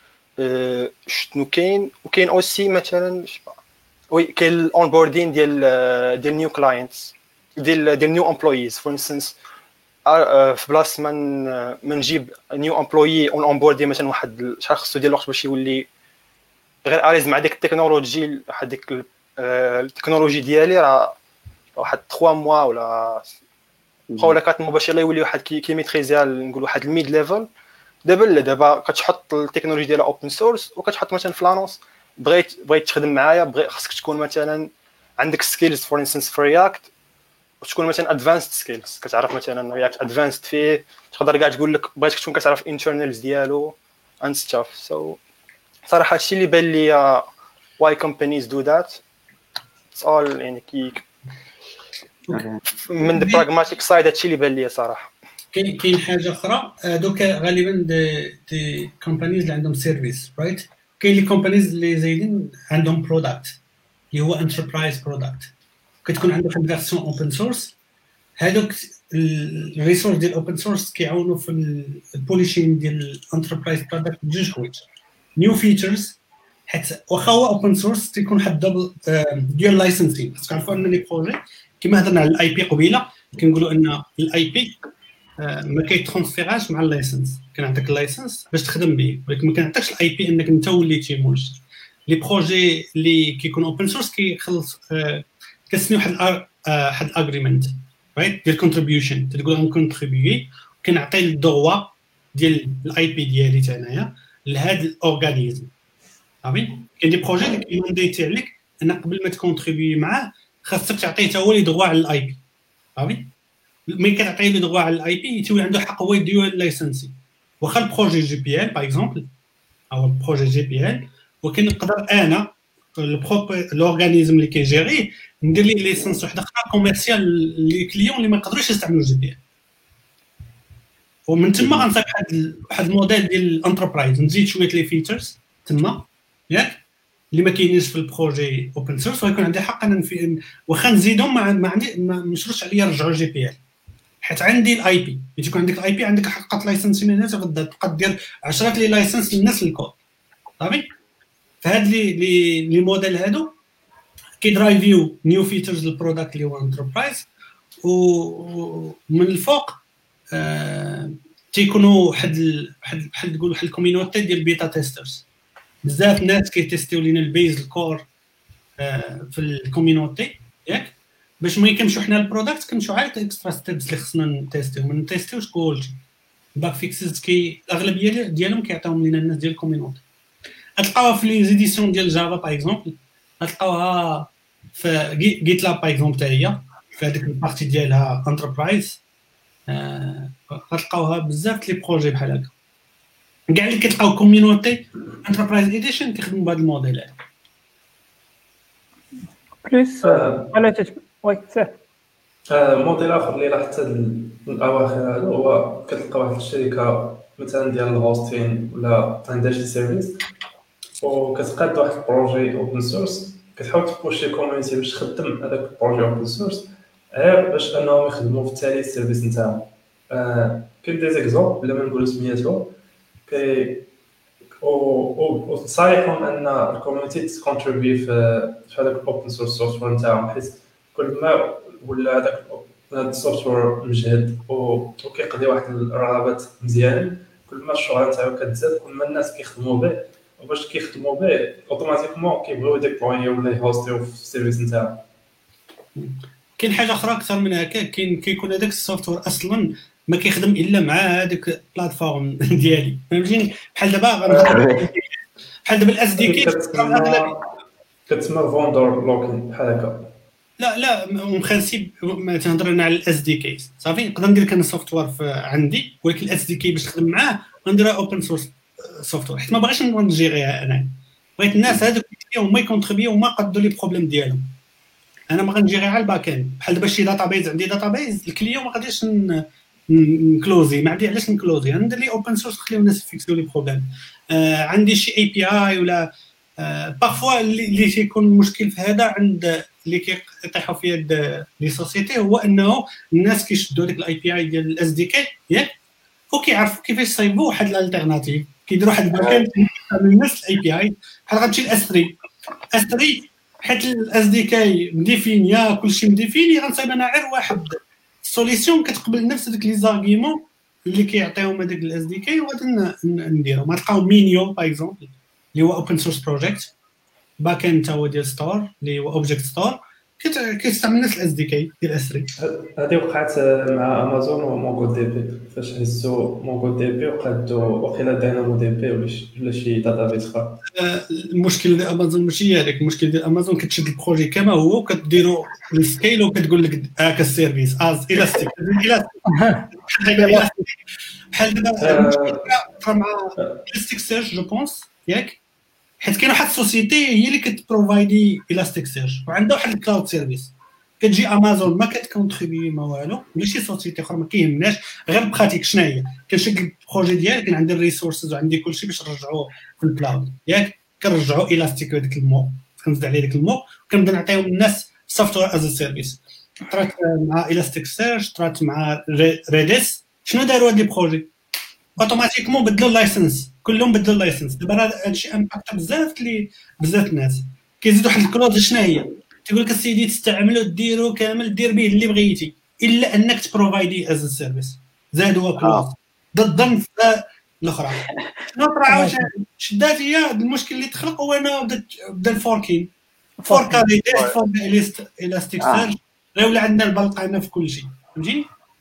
كاين. وكاين اوسي مثلا وي كاين الاونبوردين ديال نيو كلاينتس ديال نيو امبلويز. فور انستنس في بلاصه من نجيب نيو امبلوي اون بوردي مثلا واحد شحال خصو ديال الوقت باش يولي غير اريز مع ديك التكنولوجي، واحد ديك التكنولوجي ديالي راه واحد 3 موا ولا 4 موا باش يولي واحد كيميتريزيها نقول واحد الميد ليفل. دابا كتحط التكنولوجي ديالها اوبن سورس وكتحط مثلا في لانونس بغيت تخدم معايا، خاصك تكون مثلا عندك سكيلز فور انستنس في رياكت، وتكون مثلا ادفانسد سكيلز كتعرف مثلا رياكت ادفانسد فيه، تقدر كاع تقول لك بغيتك تكون كتعرف انترنالز ديالو اند ستاف. سو صراحه هادشي اللي بان لي why companies do that. It's all يعني من the pragmatic side هادشي اللي بان لي صراحه. كاين حاجه اخرى، دوك غالبا دي كومبانيز اللي عندهم سيرفيس رايت. كاين لي كومبانيز اللي زايدين عندهم برودكت اللي هو انتربرايز برودكت، كتكون عندك فيرسيون اوبن سورس. هذوك الريسورس ديال الاوبن سورس كيعاونوا في البوليشين ديال الانتربرايز برودكت بجوج حوايج. نيو فيتشرز، حيت واخا هو اوبن سورس تيكون واحد دبل ديال لايسنسين. خاصك تعرفوا ان لي بروجي كما هضرنا على الاي بي قبيله، كنقولوا ان الاي بي ما كيترونسفيراش مع اللايسنس. كنعطيك اللايسنس باش تخدم به، ولكن ما كنعطيكش الاي بي انك انت وليتي منشئ. لي بروجي اللي كيكون اوبن سورس كيخلص كتسني واحد الاغريمنت رايت ديال كونتريبيوشن، تقول انا كونتريبيي كنعطي الدروا ديال الاي بي ديالي تاع انايا لهذا الاورغانيزم. صافي كاين دي بروجي اللي كيمانديتي عليك ان قبل ما تكونتريبيي معاه خاصك تعطيه حتى هو لي دروا على الاي بي. صافي ملي كتعطيه لي دروا على الاي بي تولي عنده حق هو يديو اللايسنسي. واخا البروجي جي بي ال باغ اكزومبل او البروجي جي بي ال، ولكن نقدر انا الاورغانيزم اللي كيجيري ندير ليه ليسنس وحده اخرى كوميرسيال لي كليون اللي ما يقدروش يستعملوا جي بي ال. ومن تما غنصايب واحد الموديل ديال الانتربرايز، نزيد شويه لي فيتشرز تما ياك اللي ما كاينينش في البروجي اوبن سورس، ويكون عندي حق انا واخا نزيدهم ما عندي ما مشروش عليا نرجعوا جي بي ال، حيت عندي الاي بي. ملي تكون عندك الاي بي عندك حق لايسنس من الناس، تقدر دير 10 لي لايسنس للناس الكود. صافي فهاد لي موديل هادو كيدرايفيو نيو فيتشرز للبرودكت اللي هو انتربرايز، ومن الفوق تيكونوا بحال تقول واحد الكوميونيتي ديال بيتا تيسترز. بزاف ناس كيتيستيو لينا البيز الكور في الكوميونيتي ياك، باش ملي كنمشيو حنا البرودكت كنمشيو عاد اكسترا ستيبس اللي خصنا نتيستيو. ما نتيستيوش كلشي، باك فيكسز الاغلبيه ديالهم كيعطيوهم لينا الناس ديال الكوميونيتي. غتلقاوها في لي زيديسيون ديال جافا باغ اكزومبل، غتلقاوها في جيت لاب باغ اكزومبل حتى هي في هذيك البارتي ديالها انتربرايز. غتلقاوها بزاف لي بروجي بحال هكا. كاع اللي كتلقاو كوميونيتي انتربرايز اديشن كيخدموا بهذا الموديل هذا. بليس على وي سير. موديل اخر اللي لاحظت هاد الاواخر هذا هو كتلقى واحد الشركه مثلا ديال الهوستين ولا عندها شي سيرفيس وكتقاد واحد البروجي اوبن سورس، كتحاول تبوشي كوميونيتي باش تخدم هذاك البروجي اوبن سورس غير باش انهم يخدموا في التالي السيرفيس نتاعهم. كاين دي زيكزومبل بلا ما نقولوا سميتو كي او صحيحهم ان الكوميونيتي تكونتريبي في هذاك الاوبن سورس سوفتوير نتاعهم، حيت كل ما ولا هذا السوفتوير مجهد وكيقضي واحد الرغبات مزيان، كل ما الشهره نتاعو كتزاد كل ما الناس كيخدموا به، وباش كيخدموا به اوتوماتيكمون كيبغيو يديبلويو ولا يهوستيو في السيرفيس نتاعو. كاين حاجه اخرى اكثر من هكا، كيكون هذاك السوفتوير اصلا ما كيخدم الا مع هذيك البلاتفورم ديالي، فهمتيني؟ بحال دابا بحال دابا الاس دي كي كتسمى فوندور لوكين بحال هكا. لا اون برينسيپ ما تهضر انا على الاس دي كي صافي، نقدر ندير كان السوفتوير عندي، ولكن الاس دي كي باش نخدم معاه غنديرها اوبن سورس سوفتوير، حيت ما بغيتش نجيريها انا، بغيت الناس هذوك هما يكونتريبيو وما يقدوا لي بروبليم ديالهم. انا ما غنجيري على الباك اند، بحال دابا شي داتابيز عندي داتابيز الكليون ما غاديش نكلوزي، ما عندي علاش نكلوزي، غندير لي اوبن سورس نخليو الناس يفيكسيو لي بروبليم. عندي شي اي بي اي ولا بارفوا اللي تيكون المشكل في هذا عند اللي كيطيحوا فيه لي سوسيتي، هو انه الناس كيشدوا ديك الاي بي اي ديال الاس دي كي ياك، وكيعرفوا كيفاش يصايبوا واحد الالتيرناتيف، كيديروا واحد الباك اند من نفس الاي بي اي. بحال غتمشي لاس 3 حيت الاس دي كي مديفينيا كلشي مديفيني، غنصايب انا غير واحد سوليسيون كتقبل نفس ديك لي زارغيمون اللي كيعطيهم هذاك الاس دي كي، وغادي نديرو. ما تلقاو مينيو باغ اكزومبل اللي هو اوبن سورس بروجيكت، باك اند تا هو ديال ستور اللي هو اوبجيكت ستور، كيستعمل نفس الاس دي كي ديال اس 3. هذه وقعت مع امازون ومونغو دي بي، فاش هزوا مونغو دي بي وقادوا وقيلا داينامو دي بي ولا شي داتابيس اخرى. المشكل ديال امازون ماشي هذاك، المشكل ديال امازون كتشد البروجي كما هو وكديرو السكيل وكتقول لك هاك السيرفيس از الاستيك بحال دابا مع الاستيك سيرش جو بونس ياك، حيت كاين واحد السوسيتي هي اللي كتبروفايدي الاستيك سيرش وعندها واحد الكلاود سيرفيس، كتجي امازون ما كتكونتريبي ما والو، ولا شي سوسيتي اخرى ما كيهمناش، غير براتيك شنو هي كنشكل البروجي ديالي، كان عندي الريسورسز وعندي كلشي باش نرجعوه في الكلاود ياك، كنرجعوا الاستيك هذاك المو، كنزيد عليه داك المو وكنبدا نعطيهم الناس سوفتوير از سيرفيس. طرات مع الاستيك سيرش، طرات مع ريديس، شنو داروا هاد لي بروجي اوتوماتيكمون بدلوا اللايسنس، كلهم بدلوا اللايسنس. دابا هادشي امباكت بزاف الناس كيزيدوا واحد الكلوز، شنو هي تقول لك السيدي تستعملوا ديروا كامل، دير به اللي بغيتي الا انك تبروفايدي از سيرفيس، زادوا كلوز ضد الظن الاخرى. شنو طرا شدات هي المشكل اللي تخلق، هو انه بدا الفوركين فوركا ليست الاستيك سيرش، غير ولا عندنا البلقانه في كل شيء، فهمتيني؟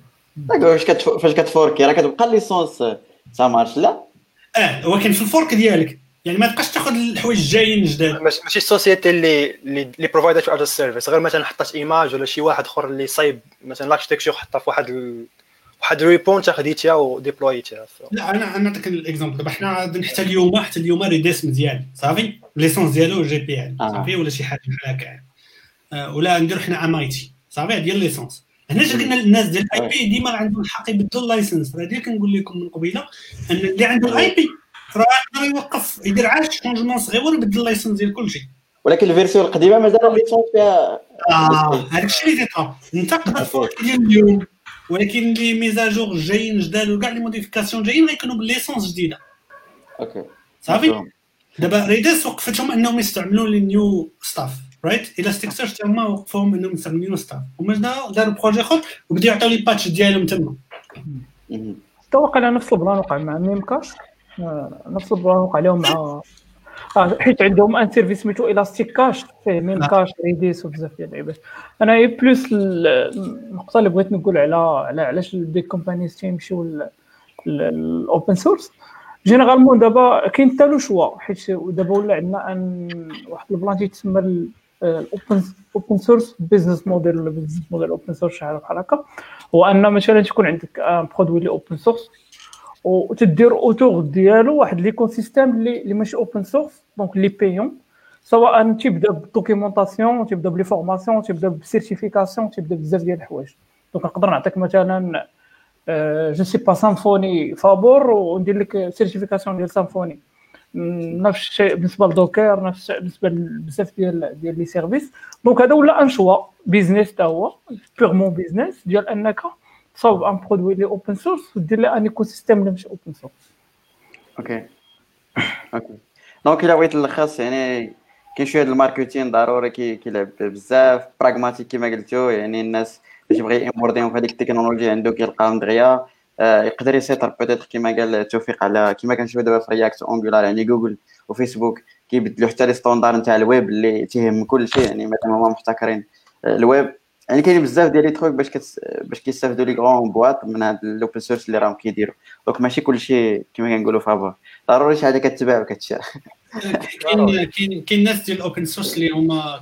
فاش كتفوركي راه كتبقى ليسونس سامارش لا هو كاين في الفورك ديالك، يعني ما تبقاش تاخذ الحوايج الجايين جداد. ماشي السوسيتي اللي بروفايدات على السيرفيس، غير مثلا حطات ايماج ولا شي واحد اخر اللي صايب مثلا لاكشتكشر حطها في واحد ريبون خديتيها وديبلويتيها. لا انا نعطيك الاكزامبل. دابا حنا حتى اليوم ريديس مزيان صافي، ليسونس ديالو جي بي ال صافي، ولا شي حاجه بحال هكا، ولا نديرو حنا امايتي صافي ديال ليسونس. هنا قلنا للناس ديال الاي بي ديما عندهم الحق يبدلوا اللايسنس، هذه كنقول لكم من قبيله ان اللي عنده الاي بي راه يوقف يدير عاد شونجمون صغير ويبدل اللايسنس ديال كلشي، ولكن الفيرسيون القديمه مازال الليسونس فيها هذاك الشيء اللي تيطرا. انت تقدر ديال اليوم، ولكن لي ميزاجور جايين جداد وكاع لي موديفيكاسيون جايين غيكونوا بالليسونس جديده. اوكي صافي دابا ريديس وقفتهم انهم يستعملوا لي نيو ستاف رايت، الاستيك سيرش تما وقفوهم انهم يستعملوا نيو ستاف، هما داروا بروجي اخر وبداو يعطيو لي باتش ديالهم تما. توقع على نفس البلان وقع مع ميمكاش، نفس البلان وقع لهم مع حيت عندهم ان سيرفيس سميتو الاستيك كاش فيه ميمكاش ريديس وبزاف ديال اللعيبات. انا هي بلوس النقطه اللي بغيت نقول على علاش البيك كومبانيز تيمشيو الاوبن سورس جينيرالمون. دابا كاين حتى له شوا، حيت دابا ولا عندنا ان واحد البلان تيتسمى الاوبن سورس بيزنس موديل ولا بيزنس موديل اوبن سورس شحال بحال هكا. هو ان مثلا تكون عندك ان برودوي اللي اوبن سورس وتدير اوتور ديالو واحد ليكو سيستيم اللي ماشي اوبن سورس، دونك لي بيون، سواء تيبدا بالدوكيومونطاسيون، تيبدا بلي فورماسيون، تيبدا بالسيرتيفيكاسيون، تيبدا بزاف ديال الحوايج. دونك نقدر نعطيك مثلا جو سي با سامفوني فابور وندير لك سيرتيفيكاسيون ديال سامفوني، نفس الشيء بالنسبه لدوكر، نفس الشيء بالنسبه بزاف ديال لي سيرفيس. دونك هذا ولا ان شوا بيزنس تا هو بيغمون بيزنس ديال انك تصاوب ان برودوي لي اوبن سورس ودير له ان ايكو سيستيم اللي ماشي اوبن سورس. اوكي دونك الا بغيت نلخص يعني كاين شويه الماركتين ضروري كيلعب بزاف براغماتيك كما قلتو، يعني الناس باش يبغي يمورديهم في هذيك التكنولوجيا عنده كيلقاهم دغيا. يقدر يسيطر بوتيتر كما قال توفيق على كما كنشوفوا دابا في رياكت اونغولار، يعني جوجل وفيسبوك كيبدلوا حتى لي ستوندار نتاع الويب اللي تيهم كل شيء، يعني مثلا هما محتكرين الويب. يعني كاين بزاف ديال لي تروك باش كيستافدوا لي غون بواط من هاد الاوبن سورس اللي راهم كيديروا. دونك ماشي كل شيء كما كنقولوا فابور، ضروري شي حاجه كتباع وكتشرى. كاين ناس ديال الاوبن سورس اللي هما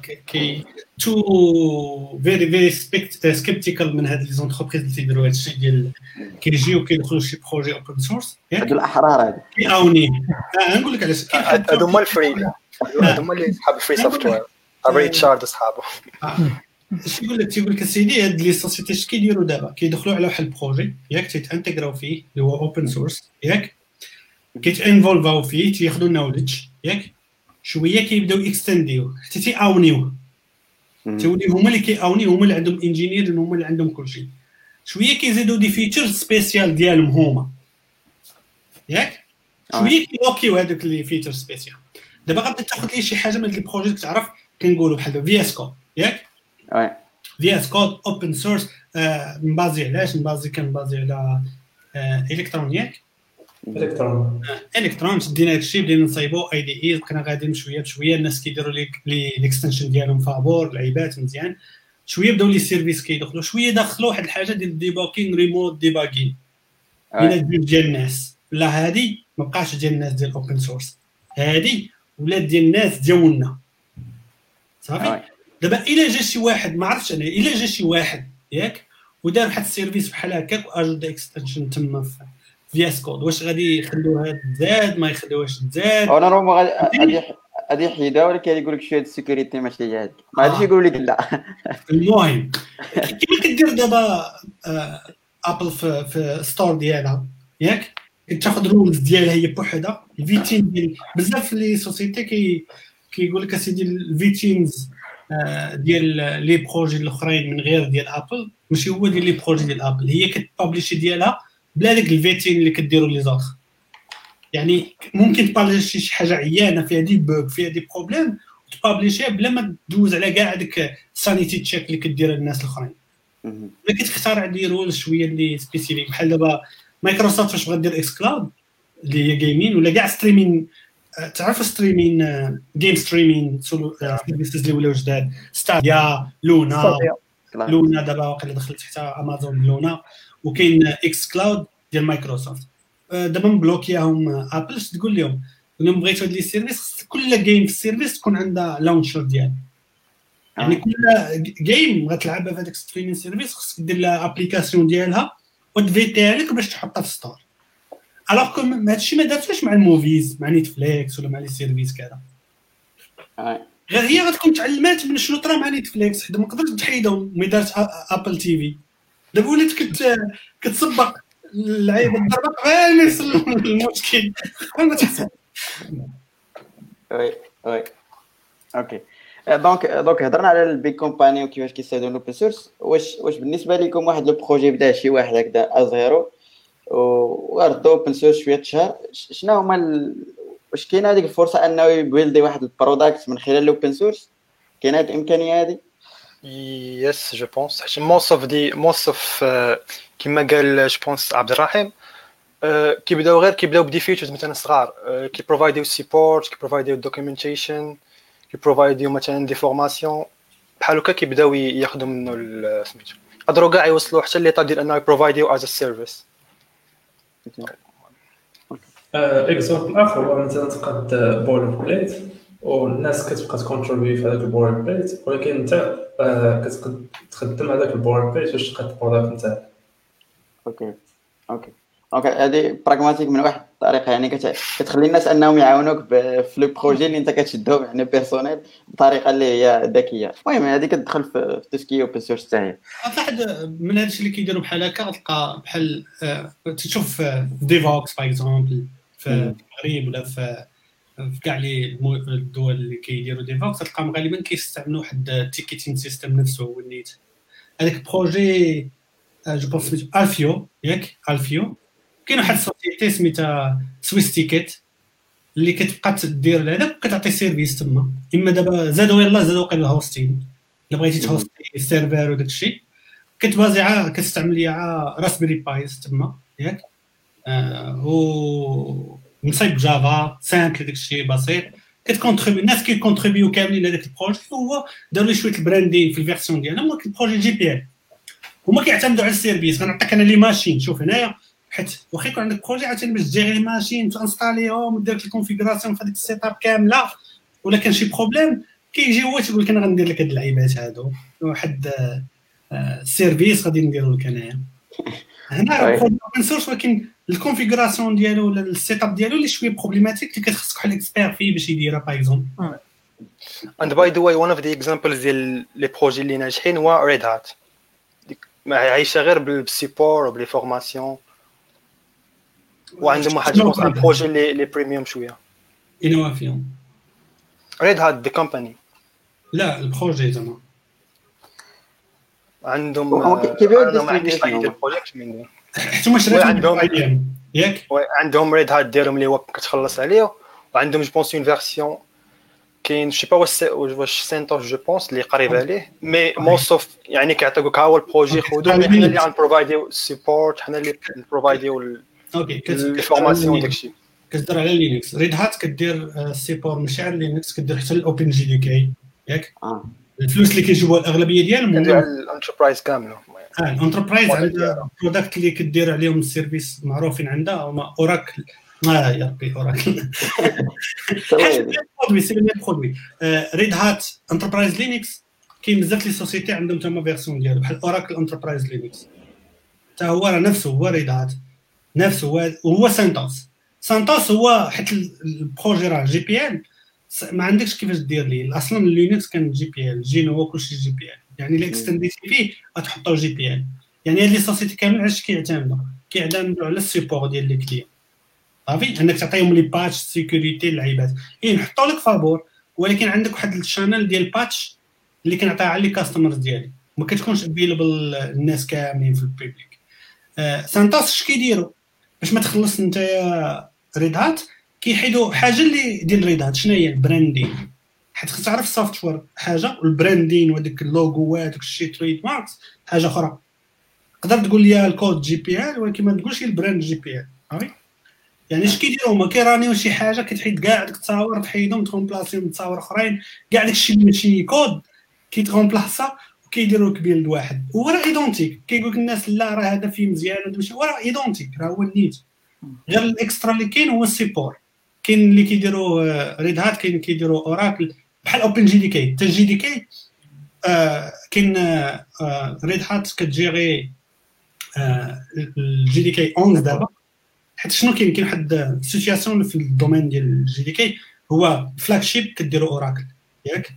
تو فيري سكيبتيكال من هاد لي زونتربريز اللي تيديروا هادشي ديال كيجيو كيدخلوا شي بروجي اوبن سورس هاد الاحرار هادي كيعاونيه. نقول لك علاش هادو هما الفري، هادو هما اللي صحاب الفري سوفتوير ابري تشارد صحابو. تيقول لك اسيدي هاد لي سوسيتي اش كيديروا دابا كيدخلوا على واحد البروجي ياك تيتانتيغراو فيه اللي هو اوبن سورس ياك كيتانفولفاو فيه تياخذوا نوليدج ياك شويه كيبداو اكستنديو حتى تيعاونيوه تولي هما اللي كيعاونيو هما اللي عندهم انجينير هما اللي عندهم كلشي شويه كيزيدوا دي فيتشرز سبيسيال ديالهم هما ياك شويه كيلوكيو هذوك لي فيتشر سبيسيال. دابا غادي تاخذ لي شي حاجه من هاد البروجي كتعرف كنقولوا بحال في اس كود ياك في اس كود اوبن سورس مبازي علاش كنبازي على الكترونيك الكترون دينا هادشي بدينا نصايبو اي دي اي بقينا غاديين شويه بشويه الناس كيديروا لي الاكستنشن ديالهم فابور لعيبات مزيان شويه بداو لي سيرفيس كيدخلوا شويه دخلوا واحد الحاجه ديال ديباكين ريموت ديباكين الى ديال الناس لا هادي ما بقاش ديال الناس ديال اوبن سورس هادي ولات ديال الناس ديالنا صافي. دابا الا جا شي واحد ما عرفتش انا الا جا شي واحد ياك ودار واحد السيرفيس بحال هكاك واجد اكستنشن تما في اس كود واش غادي يخلوها تزاد ما يخلوهاش تزاد انا راه غادي يحيدها ولكن يقول لك شويه السيكوريتي ماشي هي هذيك ما غاديش يقول لك لا. المهم كيما كدير دابا ابل في ستور ديالها ياك كتاخذ رولز ديالها هي بوحدها الفيتين ديال بزاف لي سوسيتي كيقول لك اسيدي الفيتينز ديال لي بروجي الاخرين من غير ديال ابل ماشي هو ديال لي بروجي ديال ابل هي كتبابليشي ديالها بلا داك الفيتين اللي كديروا لي زوطخ. يعني ممكن تبابليشي شي حاجه عيانه فيها دي بوغ فيها دي بروبليم وتبابليشيها بلا ما تدوز على كاع داك سانيتي تشيك اللي كدير الناس الاخرين. ملي كتختار دي رول شويه اللي سبيسيفيك بحال دابا مايكروسوفت فاش بغات دير اكس كلاود اللي هي جيمين ولا كاع ستريمين تعرفوا ستريمين جيم ستريمين سيرفيسز اللي ولاو جداد ستاديا لونا دابا واقيلا دخلت حتى امازون لونا وكاين اكس كلاود ديال مايكروسوفت دابا مبلوكياهم ابل تقول لهم بغيتوا هاد لي سيرفيس كل جيم في السيرفيس تكون عندها لونشر ديالها يعني كل جيم غتلعبها في هذاك ستريمين سيرفيس خصك دير لها ابليكاسيون ديالها وتفيتيها لك باش تحطها في ستور الوغ كو هادشي ما دارتوش مع الموفيز مع نيتفليكس ولا مع لي سيرفيس كذا غير هي غتكون تعلمات من شنو طرا مع نيتفليكس حيت ما قدرتش تحيدهم ملي دارت ابل تي في دابا ولات كتسبق اللعيبه الضربه غير يصل المشكل ما تحسب وي اوكي دونك هضرنا على البيك كومباني وكيفاش كيستافدوا من الاوبن سورس. واش بالنسبه لكم واحد لو بروجي بدا شي واحد هكذا ازيرو وردوا اوبن سورس شويه شهر شنو هما واش كاينه هذيك الفرصه انه يبيلدي واحد البرودكت من خلال الاوبن سورس؟ كاينه هذه الامكانيه هذه؟ يس جو بونس حيت موست اوف كما قال جو بونس عبد الرحيم كيبداو بدي فيتشرز مثلا صغار كيبروفايديو سيبورت كيبروفايديو دوكيومنتيشن كيبروفايديو مثلا دي فورماسيون بحال هكا كيبداو ياخذوا منه سميتو قدروا كاع يوصلوا حتى ليطا ديال انه يبروفايديو از سيرفيس. اكزامبل اخر هو مثلا تقاد بول بليت والناس كتبقى تكونتريبيوت في هذاك البول بليت ولكن انت كتقد تخدم هذاك البول بليت باش تقاد البرودكت نتاعك. اوكي هذه براغماتيك من واحد الطريقه يعني كتخلي الناس انهم يعاونوك في لو بروجي اللي انت كتشدو يعني بيرسونيل بطريقه اللي هي ذكيه. المهم هذه كتدخل في تسكي اوبن سورس حتى هي واحد من هادشي اللي كيديروا بحال هكا غتلقى بحال تشوف ديفوكس باغ اكزومبل في المغرب ولا في كاع لي الدول اللي كيديروا ديفوكس تلقاهم غالبا كيستعملوا واحد التيكيتين سيستم نفسه هو النيت هذاك بروجي جو بونس سميتو الفيو ياك الفيو كاين واحد السوسيتي سميتها سويس تيكيت اللي كتبقى تدير هذاك وكتعطي سيرفيس تما. اما دابا زادوا قال الهوستين، الا بغيتي تهوستي السيرفر وداك الشيء كتبازي كتستعمل ليها راسبيري بايز تما ياك. و مصايب جافا سامبل داك الشيء بسيط. كتكونتريبي الناس كيكونتريبيو كاملين هذاك البروجي. هو داروا لي شويه البراندين في الفيرسيون ديالهم، ولكن البروجي جي بي ال هما كيعتمدوا على السيرفيس. غنعطيك انا لي ماشين، شوف هنايا حيت واخا يكون عندك بروجي عاوتاني باش تجيري لي ماشين تانستاليهم ودير لك الكونفيغوراسيون في هذيك السيت اب كامله، ولا كان شي بروبليم كيجي هو تيقول لك انا غندير لك هاد اللعيبات هادو واحد السيرفيس غادي نديرو لك انايا. هنا اوبن سورس، ولكن الكونفيغوراسيون ديالو ولا السيت اب ديالو اللي شويه بروبليماتيك اللي كتخصك واحد الاكسبير فيه باش يديرها باغ اكزومبل. And by the way, one of the examples ديال لي بروجي اللي ناجحين هو ريد هات، ما عايشه غير بالسيبور وبلي فورماسيون، وعندهم واحد بروجي لي بريميوم شويه. انوا فيهم ريد هات دي كومباني؟ لا البروجي زعما عندهم ما عنديش اي بروجيكت من حتى هما شراو عندهم ياك عندهم ريد هات ديالهم اللي هو كتخلص عليه، وعندهم جو بونس اون فيرسيون كاين شي با واش سنتوش جو بونس اللي قريب عليه، مي موست اوف يعني كيعطيوك ها هو البروجي خذوه، حنا اللي غنبروفايديو السيبورت، حنا اللي نبروفايديو الفورماسيون داكشي. كتدير على لينكس. ريد هات كدير السيبور ماشي على لينكس، كدير حتى الاوبن جي دي كي ياك. الفلوس اللي كيجيبوها الاغلبيه ديالهم كدير على الانتربرايز كامله. الانتربرايز عندها برودكت اللي كدير عليهم السيرفيس معروفين عندها هما اوراكل. يا ربي اوراكل سي لي برودوي. ريد هات انتربرايز لينكس كاين بزاف لي سوسيتي عندهم تما فيرسيون ديالو بحال اوراكل انتربرايز لينكس، حتى هو راه نفسه هو ريد هات نفسه هو سانتوس هو حيت البروجي راه جي بي ال ما عندكش كيفاش دير ليه. اصلا اللينكس كان جي بي ال جينو هو كلشي جي بي ال، يعني الا اكستنديتي فيه غتحطو جي بي ال. يعني هاد لي سوسيتي كامل علاش كيعتمدوا على السيبور ديال لي كليون صافي، انك تعطيهم لي باتش سيكوريتي اللعيبات نحطوا لك فابور، ولكن عندك واحد الشانل ديال باتش اللي كنعطيها على لي كاستمرز ديالي ما كتكونش افيلبل الناس كاملين في البوبليك. سانتوس اش كيديروا باش ما تخلص انت ريد هات؟ كيحيدوا حاجه اللي ديال ريد هات. شنو هي البراندين؟ حيت خصك تعرف السوفتوير حاجه والبراندين وداك اللوغوات وداك الشيء تريد ماركس حاجه اخرى. تقدر تقول لي الكود جي بي ال ولكن ما تقولش البراند جي بي ال صافي. يعني اش كيديروا هما كيرانيو شي حاجه كتحيد كاع داك التصاور تحيدهم تكونبلاسيهم بتصاور اخرين، كاع داكشي اللي ماشي كود كيتكونبلاسا وكيديروا بيلد واحد هو راه ايدونتيك. كيقول لك الناس لا راه هذا فيه مزيان هذا ماشي، راه ايدونتيك راه هو النيت. غير الاكسترا اللي كاين هو السيبور. كاين اللي كيديروا ريد هات، كاين كيديروا اوراكل بحال اوبن جي دي كي. حتى جي دي كي كاين ريد هات كتجيري الجي دي كي 11 دابا. حيت شنو كاين واحد السيتوياسيون في الدومين ديال الجي دي كي هو فلاج شيب كديروا اوراكل ياك،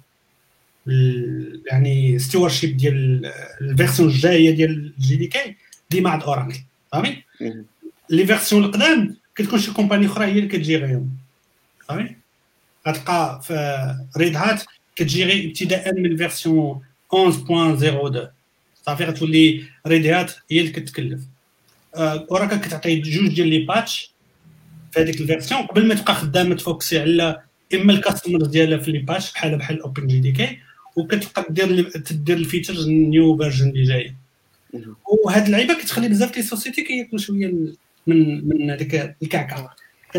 يعني ستيور شيب ديال الفيرسيون الجايه ديال الجي دي كي ديما عند اوراكل صافي. لي فيرسيون القدام كتكون شي كومباني اخرى هي اللي كتجيريهم صافي. غتلقى في ريد هات كتجيري ابتداء من الفيرسيون 11.02 صافي. غتولي ريد هات هي اللي كتكلف. اوراكل كتعطي جوج ديال لي باتش في هذيك الفيرسيون قبل ما تبقى خدامه تفوكسي على اما الكاستمرز ديالها في لي باتش بحال اوبن جي دي كي، وكتبقى تدير الفيتشرز النيو فيرجن اللي جايه. وهاد اللعيبه كتخلي بزاف لي سوسيتي كياكلوا شويه من هذيك الكعكه.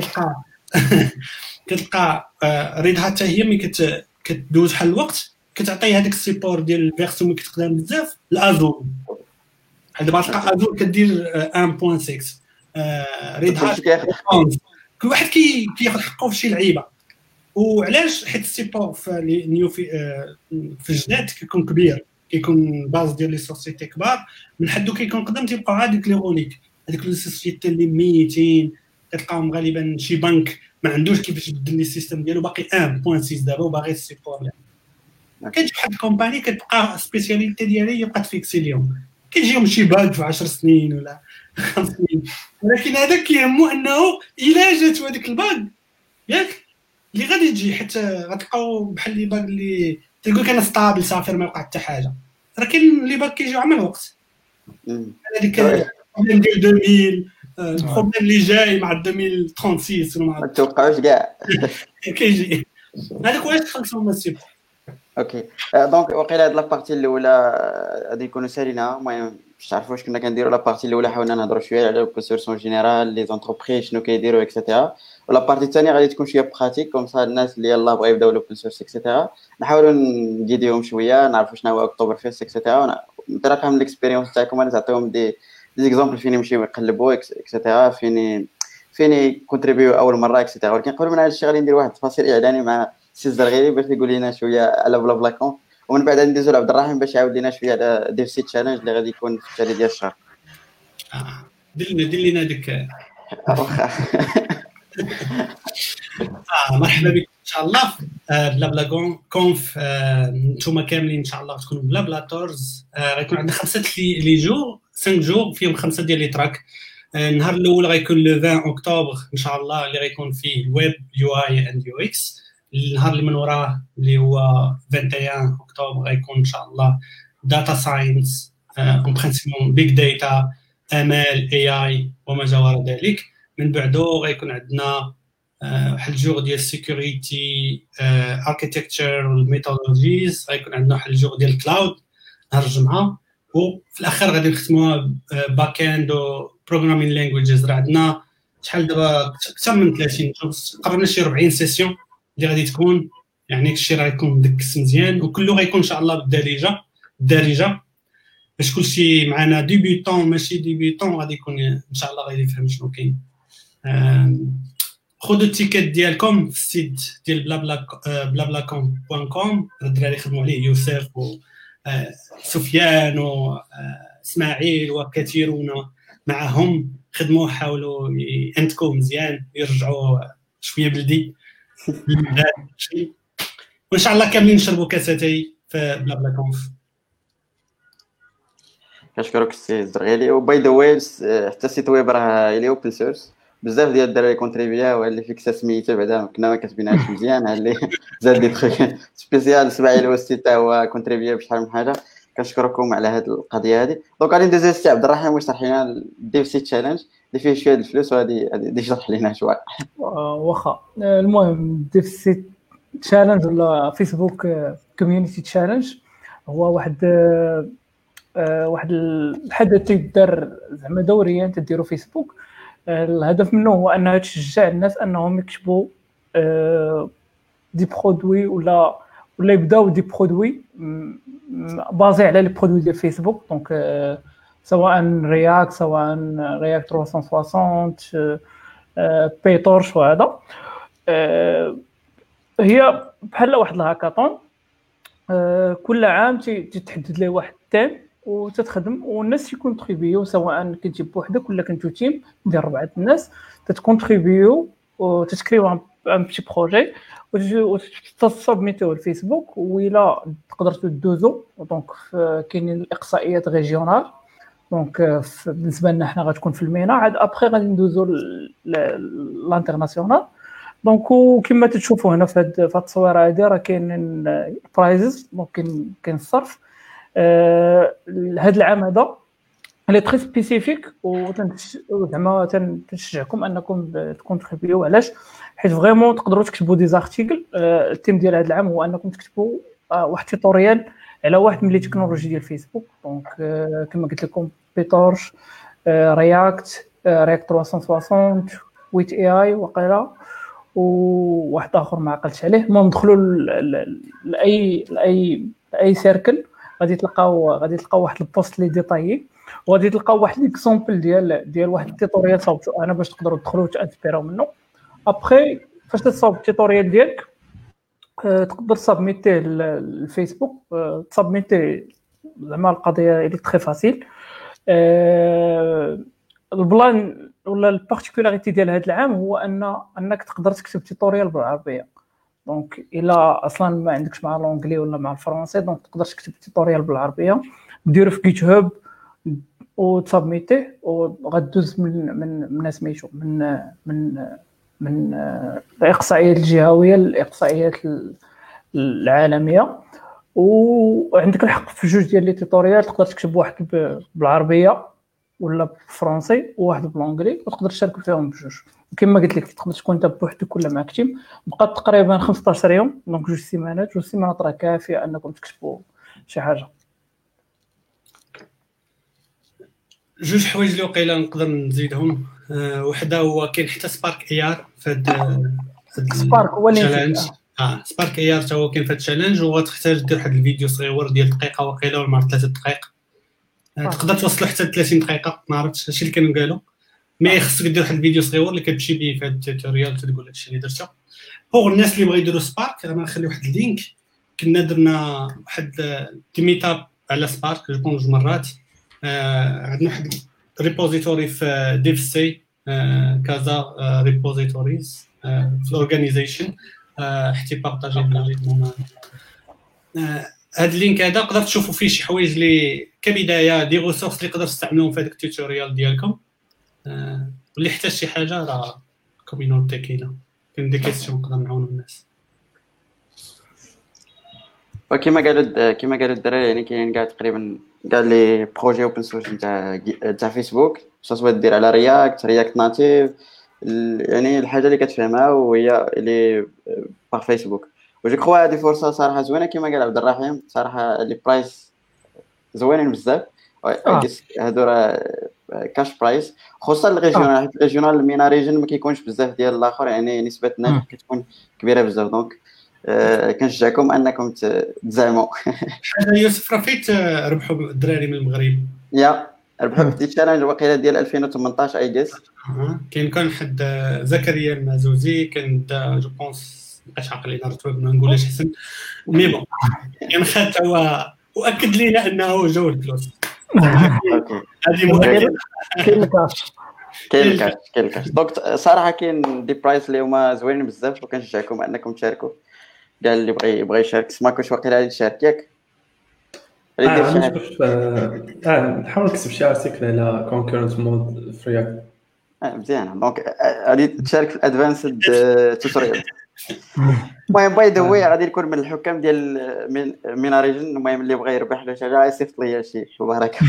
كتلقى ريد هات هي ملي كتدوز بحال الوقت كتعطي هذاك السيبور ديال الفيرسيون اللي كتخدم بزاف الازور. دابا تلقى ازور كدير 1.6 ريد هات كل واحد كياخذ حقه في شي لعيبه. وعلاش؟ حيت السيبور في نيو في الجداد كيكون كبير، كيكون باز ديال لي سوسيتي كبار، من حدو كيكون قدام تيبقاو هذيك لي غونيك هذيك لي سوسيتي اللي ميتين كتلقاهم غالبا شي بنك ما عندوش كيفاش يبدل لي السيستم ديالو باقي 1.6 دابا وباغي السيبور. كتجي واحد الكومباني كتبقى سبيسياليتي ديالها هي بقات فيكسي اليوم، كيجيهم شي باج في 10 سنين ولا 5 سنين، ولكن هذاك كيهمو انه الا جات هذيك الباج ياك اللي غادي تجي حيت غتلقاو بحال لي باج اللي تيقول لك انا ستابل صافي ما وقع حتى حاجه، راه كاين لي باج كيجيو عام الوقت. هذيك ديال 2000 البروبليم اللي جاي مع 2036 ما تتوقعوش كاع كيجي هذاك واش ترانسفورماسيون. اوكي دونك وقيلا هاد لابارتي الاولى غادي نكونوا ساليناها. المهم باش تعرفوا واش كنا كنديروا. لابارتي الاولى حاولنا نهضروا شويه على الاوبن سورس اون جينيرال، لي زونتربريز شنو كيديروا اكسيتيرا. ولابارتي الثانيه غادي تكون شويه براتيك كوم سا الناس اللي يلاه بغاو يبداو الاوبن سورس اكسيتيرا نحاولوا نجيديهم شويه، نعرفوا شنو هو اكتوبر فيست اكسيتيرا، نطرقهم من الاكسبيريونس تاعكم، انا تعطيهم دي زيكزامبل فين يمشيو يقلبوا اكسيتيرا، فين كونتريبيو اول مره اكسيتيرا. ولكن قبل من هذا الشيء غادي ندير واحد التفاصيل اعلاني مع سي الزرغيري باش يقول لنا شويه على بلا بلا كون، ومن بعد ندوزو لعبد الرحيم باش يعاود لنا شويه على ديف سي تشالنج اللي غادي يكون في التالي ديال الشهر. دير لنا ديك واخا مرحبا بكم ان شاء الله في بلا بلا كونف. نتوما كاملين ان شاء الله تكونوا بلا بلا تورز. غيكون عندنا 5 جور فيهم 5 ديال لي تراك. النهار الاول غيكون لو 20 اكتوبر ان شاء الله اللي غيكون فيه الويب يو اي اند يو اكس. النهار اللي من وراه اللي هو 21 اكتوبر غيكون ان شاء الله داتا ساينس اون برينسيبون بيج داتا ام ال اي اي وما جاور ذلك. من بعده غيكون عندنا واحد الجور ديال سيكوريتي اركيتكتشر والميثودولوجيز. غيكون عندنا واحد الجور ديال كلاود نهار الجمعه. وفي الاخر غادي نختموها باك اند و بروغرامين لانجويجز. راه عندنا شحال دابا اكثر من 30 قربنا شي 40 سيسيون اللي غادي تكون، يعني كلشي راه يكون مدكس مزيان وكله غيكون ان شاء الله بالدارجه باش كلشي معنا ديبيوتون ماشي ديبيوتون غادي يكون ان شاء الله غادي يفهم شنو كاين. خذوا التيكيت ديالكم في السيت ديال blablaCon.com. الدراري خدموا عليه يوسف وسفيان واسماعيل وكثيرون معهم خدموا حاولوا ينتكوا مزيان يرجعوا شويه بلدي وان شاء الله كاملين نشربوا كاساتي في بلا كونف. كنشكرك السي الزرغيلي. وباي ذا واي حتى السيت ويب راه اللي اوبن سورس بزاف ديال الدراري كونتريبيا اللي فيك سميتو بعدا كنا ما كاتبينهاش مزيان اللي زاد دي تخي سبيسيال اسماعيل الوسطي حتى هو كونتريبيا بشحال من حاجه. كنشكركم على هذه القضيه هذه. دونك غادي ندوزو للسي عبد الرحيم واش شرح لنا ديف سي تشالنج اللي فيه شويه الفلوس وغادي يشرح لنا شويه. واخا المهم ديف سي تشالنج ولا فيسبوك كوميونيتي تشالنج هو واحد الحدث تيدار زعما دوريا تديروا فيسبوك. الهدف منه هو انه تشجع الناس انهم يكتبوا دي برودوي ولا يبداو دي برودوي بازي على لي برودوي ديال فيسبوك. دونك سواء رياكت سواء رياكت 360 بيتورش وهذا هي بحال واحد الهاكاطون. كل عام تتحدد له واحد التيم وتتخدم والناس يكونتريبيو سواء كنتي بوحدك ولا كنتو تيم ديال 4 الناس تتكونتريبيو وتتكريو ان بيتي بروجي وتسبميتوه الفيسبوك وإلا تقدر تدوزو. دونك كاينين الاقصائيات ريجيونال. دونك بالنسبه لنا حنا غتكون في المينا عاد ابري غادي ندوزو لانترناسيونال. دونك وكما تشوفوا هنا في هاد التصويره هذه راه كاينين برايزز. دونك كاين الصرف. هذا العام هذا اللي تري سبيسيفيك وزعما تنشجعكم انكم تكونتريبيو. علاش؟ حيت فريمون تقدروا تكتبوا دي زارتيكل. التيم ديال هذا العام هو انكم تكتبوا واحد توتوريال على واحد من لي تكنولوجي ديال فيسبوك. دونك كما قلت لكم بيتورش رياكت 360 ويت اي اي وقيلا وواحد اخر ما عقلتش عليه. المهم دخلوا لاي سيركل غادي تلقاو واحد البوست لي ديتايي وغادي تلقاو واحد ليكزامبل ديال واحد التيتوريال صاوبتو انا باش تقدروا تدخلوا وتانسبيراو منه. ابري فاش تصاوب التيتوريال ديالك تقدر تسبميتيه للفيسبوك. تسبميتي زعما القضيه اللي تري فاسيل. البلان ولا البارتيكولاريتي ديال هذا العام هو انك تقدر تكتب تيتوريال بالعربيه. دونك الا اصلا ما عندكش مع لونجلي ولا مع الفرنسي دونك تقدر تكتب تيتوريال بالعربيه ديرو في جيت هاب وتسبميتيه وغدوز من سميتو من الاقصائيات الجهويه للاقصائيات العالميه. وعندك الحق في جوج ديال لي تيتوريال تقدر تكتب واحد بالعربيه ولا بالفرنسي وواحد بالانجلي، وتقدر تشارك فيهم بجوج. وكما قلت لك تقدر تكون انت بوحدك ولا معك تيم. بقات تقريبا 15 يوم، دونك 2 سيمانات راه كافيه انكم تكتبوا شي حاجه. جوج حوايج اللي وقيلا نقدر نزيدهم. وحده هو كاين حتى سبارك اي ار في هذا سبارك هو اللي التشالنج. سبارك اي ار حتى هو كاين في التشالنج، وغتحتاج دير واحد الفيديو صغير ديال دقيقه وقيلا ولا 3 دقائق. تقدر توصلوا حتى 30 دقيقه، ما عرفتش هادشي اللي كانوا قالوا، مي خصك دير واحد الفيديو صغير اللي كتمشي به في هذا التوتوريال تقول هادشي اللي درته. بوغ الناس اللي بغاو يديروا سبارك انا نخلي واحد اللينك. كنا درنا واحد ميتاب على سبارك جوج مرات. عندنا واحد ريبوزيتوري في ديفسي كذا ريبوزيتوريز في الاورغانيزيشن حتى بارطاجي هاد اللينك هذا تقدر تشوفوا فيه شي حوايج اللي كبدايه دي ريسورس اللي تقدر تستعملوهم في هذاك التوتوريال ديالكم. واللي احتاج شي حاجه راه كوميونيتي كاينه دي كيسيون نقدر نعاونوا الناس. وكما قالوا الدراري يعني كاين كاع تقريبا كاع لي بروجي اوبن سورس تاع فيسبوك، سواء دير على رياكت ناتيف، يعني الحاجه اللي كتفهمها وهي اللي باغ فيسبوك. وجو كخوا هذه فرصه صراحه زوينه كما قال عبد الرحيم، صراحه لي برايس زوينين بزاف. هادو راه كاش برايس خصوصا الريجيونال، حيت الريجيونال المينا ريجن ما كيكونش بزاف ديال الاخر، يعني نسبه النجاح كتكون كبيره بزاف. دونك كنشجعكم انكم تزعموا. حاجه يوسف راه فيت ربحوا الدراري من المغرب، ربحوا في التشالنج وقيله ديال 2018 اي جيس. كان حد زكريا المازوزي كان جو بونس باش عقلي نرتب ما نقولش حسن مي بون يعني خدت هو واكد لينا انه جو الفلوس. هذه مؤكد كاين الكاش. دونك صراحه كاين دي برايس اللي هما زوينين بزاف، وكنشجعكم انكم تشاركوا. كاع اللي بغى يشارك سماكوش واقيلا غادي يشارك ياك. نحاول نكتب شي ارتيكل على كونكورنت مود في رياكت. مزيان. دونك غادي تشارك في الادفانسد توتوريال. المهم باي ذا واي غادي نكون من الحكام ديال مينا ريجن. المهم اللي بغى يربح له شي حاجه يصيفط ليا شي بركه.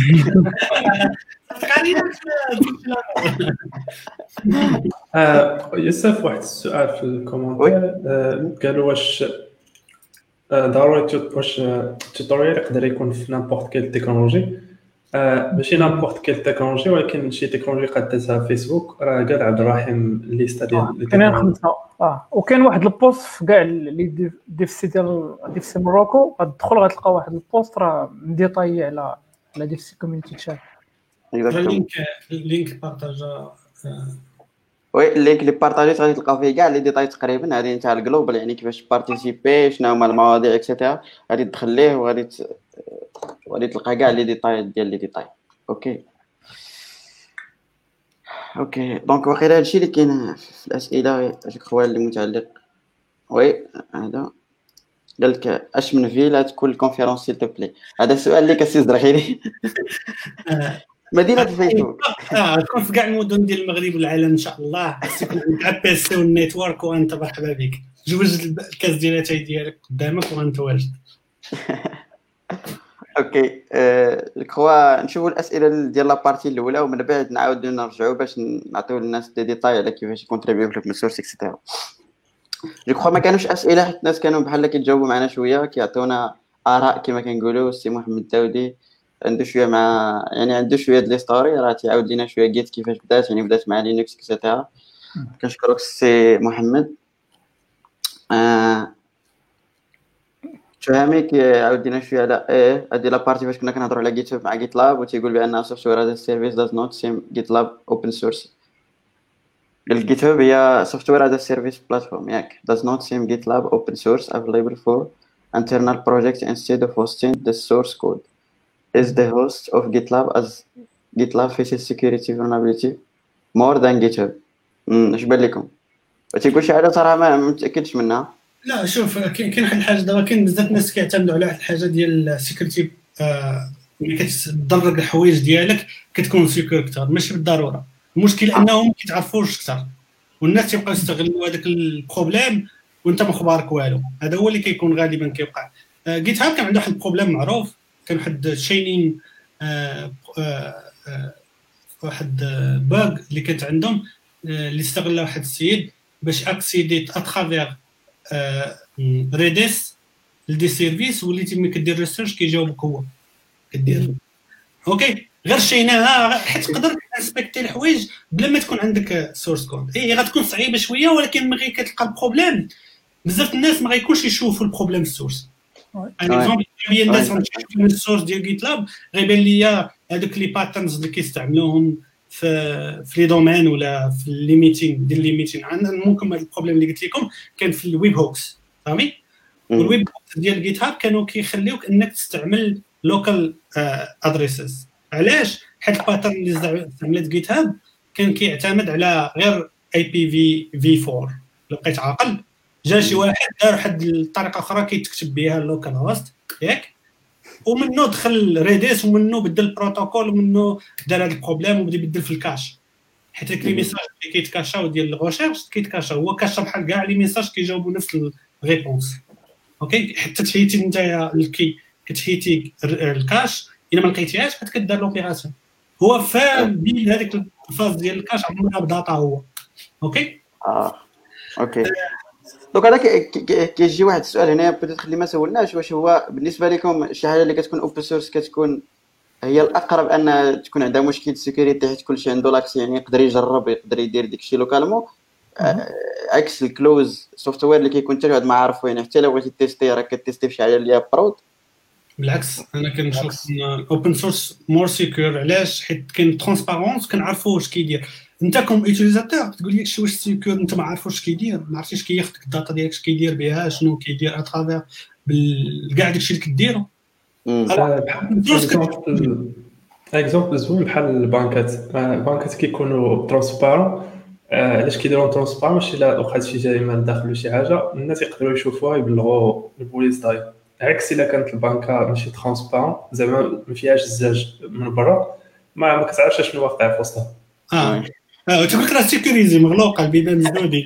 يوسف واحد السؤال في الكومنتير قالوا واش ضروري واش التوتوريال يقدر يكون في نامبورت كيل تكنولوجي؟ ماشي نامبورت كيل تكنولوجي، ولكن شي تكنولوجي قدتها فيسبوك. راه قال عبد الرحيم الليسته ديال كاين 5. وكاين واحد البوست في كاع اللي ديفسي ديال ديفسي موروكو، غتدخل غتلقى واحد البوست راه مديطاي على ديفسي كوميونيتي تشات. اللينك بارطاجا. وي اللينك اللي بارطاجيت غادي تلقاو فيه كاع لي ديتاي تقريبا. هذه نتاع الجلوبال، يعني كيفاش بارتيسيبي، شنو هما المواضيع اكسيتيرا. غادي تدخل ليه وغادي تلقى كاع لي ديتاي ديال لي ديتاي. اوكي دونك واخيرا هادشي اللي كاين في الاسئله جو كخوا اللي متعلق. وي هذا قال لك اش من فيلا تكون الكونفيرونس سيل تو بلي. هذا السؤال اللي كسيز درخيلي. مدينه فيسبوك تكون في كاع المدن ديال المغرب والعالم ان شاء الله. تكون عندك بي سي والنيتورك وانت مرحبا بك. جوج الكاس ديال اتاي ديالك قدامك وانت واجد. اوكي الكوا نشوفوا الاسئله ديال لابارتي الاولى، ومن بعد نعاودوا نرجعوا باش نعطيو للناس دي ديتاي على كيفاش يكونتريبيو في الاوبن سورس اكسيتيرا. جو كخوا ما كانوش اسئله، حيت الناس كانوا بحال كيتجاوبوا معنا شويه، كيعطيونا اراء كما كنقولوا. السي محمد الداودي عنده شويه مع يعني عنده شويه ديال ستوري، راه تيعاود لينا شويه جيت كيفاش بدات، يعني بدات مع لينكس اكسيتيرا. كنشكرك السي محمد. فهميك عاودينا شويه على هذه لابارتي فاش كنا كنهضروا على جيت هاب مع جيت لاب، وتيقول بان سوفتوير از سيرفيس داز نوت سيم جيت لاب اوبن سورس. الجيت هاب هي سوفتوير از سيرفيس بلاتفورم ياك. does not same GitLab open source available for internal projects instead of hosting the source code. Is the host of GitLab as GitLab faces security vulnerability more than GitHub. اش بان لكم؟ تيقول شي حاجه صراحه ما متاكدش منها. لا شوف كاين واحد الحاجه دابا كاين بزاف الناس كيعتمدوا على واحد الحاجه ديال السيكوريتي. ملي كتدرج الحوايج ديالك كتكون سيكور اكثر، ماشي بالضروره. المشكل انهم ما كيتعرفوش اكثر، والناس تيبقاو يستغلوا هذاك البروبليم وانت ما خبارك والو. هذا هو اللي كيكون غالبا كيوقع. جيت هاب كان عنده واحد البروبليم معروف، كان واحد شينين واحد باغ اللي كانت عندهم اللي استغلها واحد السيد باش اكسيدي اترافير ريديس لدي سيرفيس، وليتي ملي كدير ريسيرش كيجاوبك هو كدير اوكي غير شيناها حيت تقدر تنسبكتي الحوايج بلا ما تكون عندك سورس كود. هي غتكون صعيبه شويه، ولكن ملي كتلقى البروبليم بزاف الناس ما غيكونش يشوفوا البروبليم السورس. ان اكزومبل هي الناس غتشوف من السورس ديال جيت لاب غيبان ليا هذوك لي باترنز اللي كيستعملوهم في لي دومين ولا في ليميتين ديال ليميتين. ممكن هذا البروبليم اللي قلت لكم كان في الويب هوكس فهمي. والويب هوكس ديال جيت هاب كانوا كيخليوك انك تستعمل لوكال ادريسز. علاش؟ حيت الباترن اللي استعملت جيت هاب كان كيعتمد على غير اي بي في 4. لو بقيت عاقل جا شي واحد دار واحد الطريقه اخرى كيتكتب بها اللوكال هوست ياك، ومنه دخل ريديس ومنه بدل البروتوكول ومنه دار هذا البروبليم وبدا يبدل في الكاش. حيت لي ميساج اللي كيتكاشاو ديال الغوشيرش كيتكاشا هو كاشا بحال كاع لي ميساج كيجاوبوا نفس الريبونس اوكي. حتى تحيتي نتايا الكي كتحيتي الكاش الا ما لقيتيهاش كتدار لوبيراسيون. هو فاهم بين هذيك الفاز ديال الكاش عمرها بداتا هو اوكي. اوكي دونك هذا كيجي واحد السؤال هنا بدات اللي ما سولناش، واش هو بالنسبه لكم شي حاجه اللي كتكون اوبن سورس كتكون هي الاقرب ان تكون عندها مشكل سيكوريتي حيت كلشي عنده لاكس يعني يقدر يجرب يقدر يدير داكشي لوكالمون، عكس الكلوز سوفتوير اللي كيكون حتى واحد ما عارفو يعني حتى لو بغيتي تيستي راه كتيستي فشي حاجه اللي هي برود. بالعكس انا كنشوف اوبن سورس مور سيكور. علاش؟ حيت كاين ترونسبارونس كنعرفوا واش كيدير. انت كوم يوتيليزاتور تقول لي واش سيكور انت ما عارف واش كيدير، ما عرفتيش كياخذ الداتا ديالك اش كيدير بها شنو كيدير اترافير كاع داكشي اللي كديرو. اكزومبل زوين بحال البنكات كيكونوا ترونسبارون. علاش كيديروا ترونسبارون؟ باش الا وقعت شي جريمه داخل شي حاجه الناس يقدروا يشوفوها يبلغوا البوليس داير. عكس الا كانت البنكه ماشي ترونسبارون زعما ما فيهاش الزاج من برا ما كتعرفش شنو واقع في وسطها. تقولك راه سيكوريزي مغلوقه البيبان مسدودين.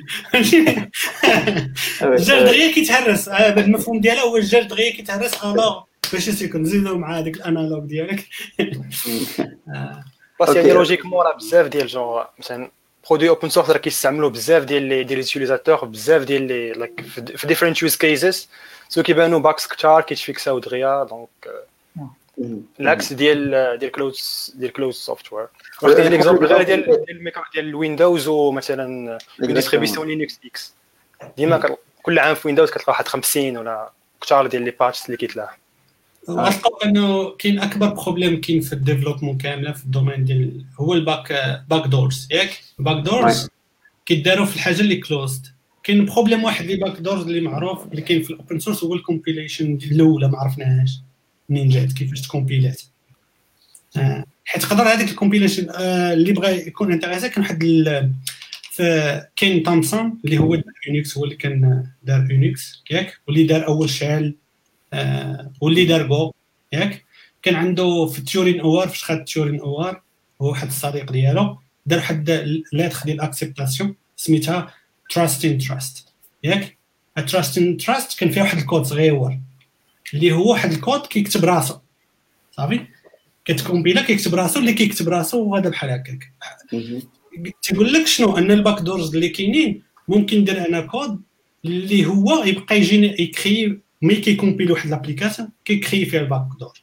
الجاج دغيا كيتهرس. هذا المفهوم ديالها هو الجاج دغيا كيتهرس. الو باش يكون نزيدو مع هذيك الانالوج ديالك. بس يعني لوجيكمون راه بزاف ديال جون مثلا برودوي اوبن سورس راه كيستعملوا بزاف ديال لي يوتيليزاتور بزاف ديال لي لايك في ديفرنت يوز كيسز سو كيبانوا باكس كثار كيتفيكساو دغيا. دونك العكس ديال كلوز سوفتوير. واخد ليكزامبل غير ديال الويندوز ومثلا ديستريبيسيون لينكس اكس ديما كل عام في ويندوز كتلقى واحد 50 ولا كثار ديال لي باتش اللي كيتلاح. غتلقاو انه كاين اكبر بروبليم كاين في الديفلوبمون كامله في الدومين ديال هو باك دورز ياك. باك دورز كيداروا في الحاجه اللي كلوزد. كاين بروبليم واحد اللي باك دورز اللي معروف اللي كاين في الاوبن سورس هو الكومبيليشن الاولى ما عرفناهاش منين جات كيفاش تكومبيلات. حيت تقدر هذيك الكومبيليشن اللي بغى يكون انتريسي كان واحد كاين تامسون اللي هو يونيكس هو اللي كان دار يونيكس ياك واللي دار اول شعل واللي دار جو ياك. كان عنده في تيورين اوار فاش خد تيورين اوار هو واحد الصديق ديالو دار واحد لاتر ديال اكسبتاسيون سميتها تراست ان تراست ياك. تراست ان تراست كان فيها واحد الكود صغير اللي هو واحد الكود كيكتب راسو صافي كتكومبيلا كيكتب راسو اللي كيكتب راسو وهذا بحال هكاك. تيقول لك شنو ان الباك دورز اللي كاينين ممكن ندير انا كود اللي هو يبقى يجيني يكري ملي كيكومبيل واحد لابليكاسيون كيكري فيها الباك دور.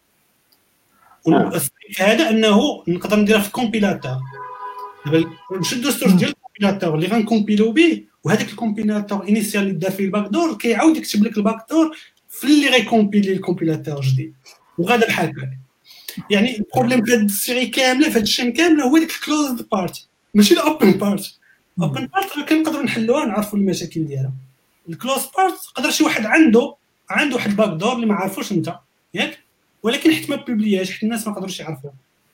هذا انه نقدر نديرها في الكومبيلاتور. دابا نشدو السورس ديال الكومبيلاتور اللي غنكومبيلو به وهذاك الكومبيلاتور انيسيال اللي دار فيه الباك دور كيعاود يكتب لك الباك دور في اللي غيكومبيلي الكومبيلاتور جديد وغادا بحال هكا. يعني البروبليم في هذه السيري كامله في هذا الشيء كامله هو ديك الكلوزد بارت ماشي الاوبن بارت. اوبن بارت راه كنقدروا نحلوها نعرفوا المشاكل ديالها. الكلوز بارت قدر شي واحد عنده واحد الباك دور اللي ما عارفوش انت ياك ولكن حيت ما بوبلياش حيت الناس ما قدروش يعرفوها.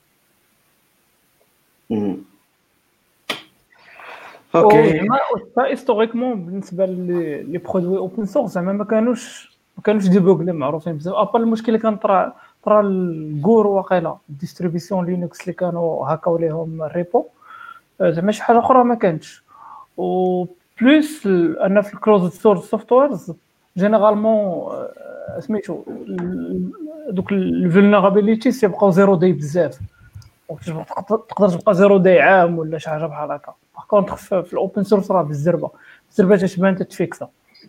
اوكي هيستوريكمون بالنسبه لي برودوي اوبن سورس زعما ما كانوش ديبوغلي معروفين بزاف ابا المشكل اللي كان طرا الكور واقيلا ديستريبيسيون لينكس اللي كانوا هاكاو ليهم الريبو زعما شي حاجه اخرى ما كانتش. و بلس ان في الكلوز سورس سوفتويرز جينيرالمون سميتو دوك الفولنرابيليتيز يبقاو زيرو داي بزاف تقدر تبقى 0 داي عام ولا شي حاجه بحال هكا. باغ كونطخ في الاوبن سورس راه بالزربه تتبان تتفيكسا.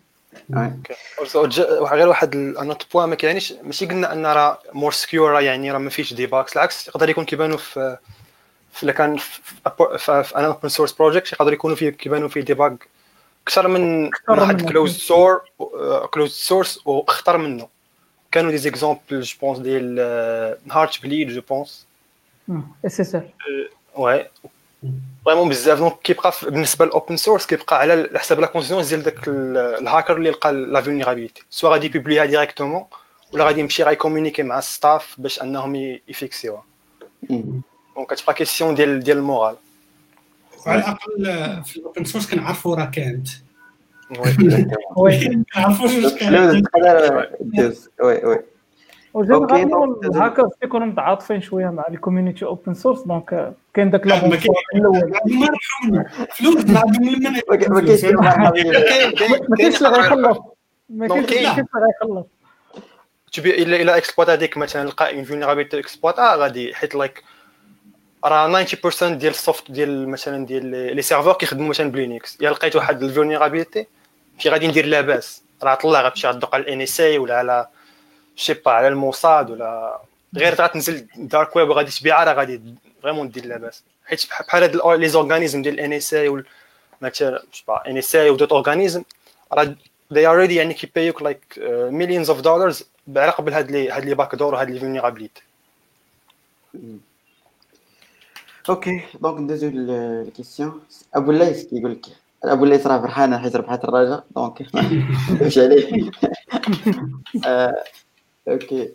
غير واحد النوت بوين ما كاينش، ماشي قلنا ان راه مور سكيور يعني راه ما فيش ديباكس، العكس يقدر يكون كيبانوا في الا كان في ان اوبن سورس بروجيكت يقدر يكونوا فيه كيبانوا فيه ديباج اكثر من واحد كلوز سورس واخطر منه. كانوا دي زيكزامبل جو بونس ديال هارت بليد جو بونس اس اس ال وي فريمون بزاف. دونك كيبقى بالنسبه للاوبن سورس كيبقى على حساب لا كونسيونس ديال داك الهاكر اللي لقى لا فولنيرابيليتي، سوا غادي يبوبليها ديريكتومون ولا غادي يمشي غايكومونيكي مع الستاف باش انهم يفيكسيوها. دونك كتبقى كيسيون ديال المورال. على الاقل في الاوبن سورس كنعرفوا راه كانت وي كنعرفوا واش وي وجينيرالمون الهاكرز كيكونوا متعاطفين شويه مع الكوميونيتي اوبن سورس، دونك كاين داك لا ما الاول ما ربحوا فلوس ما عندهم من ما كاينش ما كاينش اللي غيخلص، ما كاينش اللي غيخلص تبي الا اكسبلويت هذيك مثلا لقى اون فولنيرابيليتي اكسبلويت غادي حيت لايك راه 90% ديال السوفت ديال مثلا ديال لي سيرفور كيخدموا مثلا بلينكس، يا لقيت واحد الفولنيرابيليتي كي غادي ندير لاباس راه طلع غتمشي غدوق على الان اس اي ولا على شي با على الموساد ولا غير غتنزل دارك ويب وغادي تبيعها راه غادي فريمون دير لاباس. حيت بحال هاد لي زورغانيزم ديال الان اس اي مثلا ان اس اي ودوت اورغانيزم راه they already يعني كيبيوك like millions of dollars على قبل هاد لي باك دور وهاد لي فولنيرابيليتي. اوكي دونك ندوزو للكيسيون. ابو الليث كيقول لك ابو الليث راه فرحان حيت ربحت الرجاء دونك واش عليه. اوكي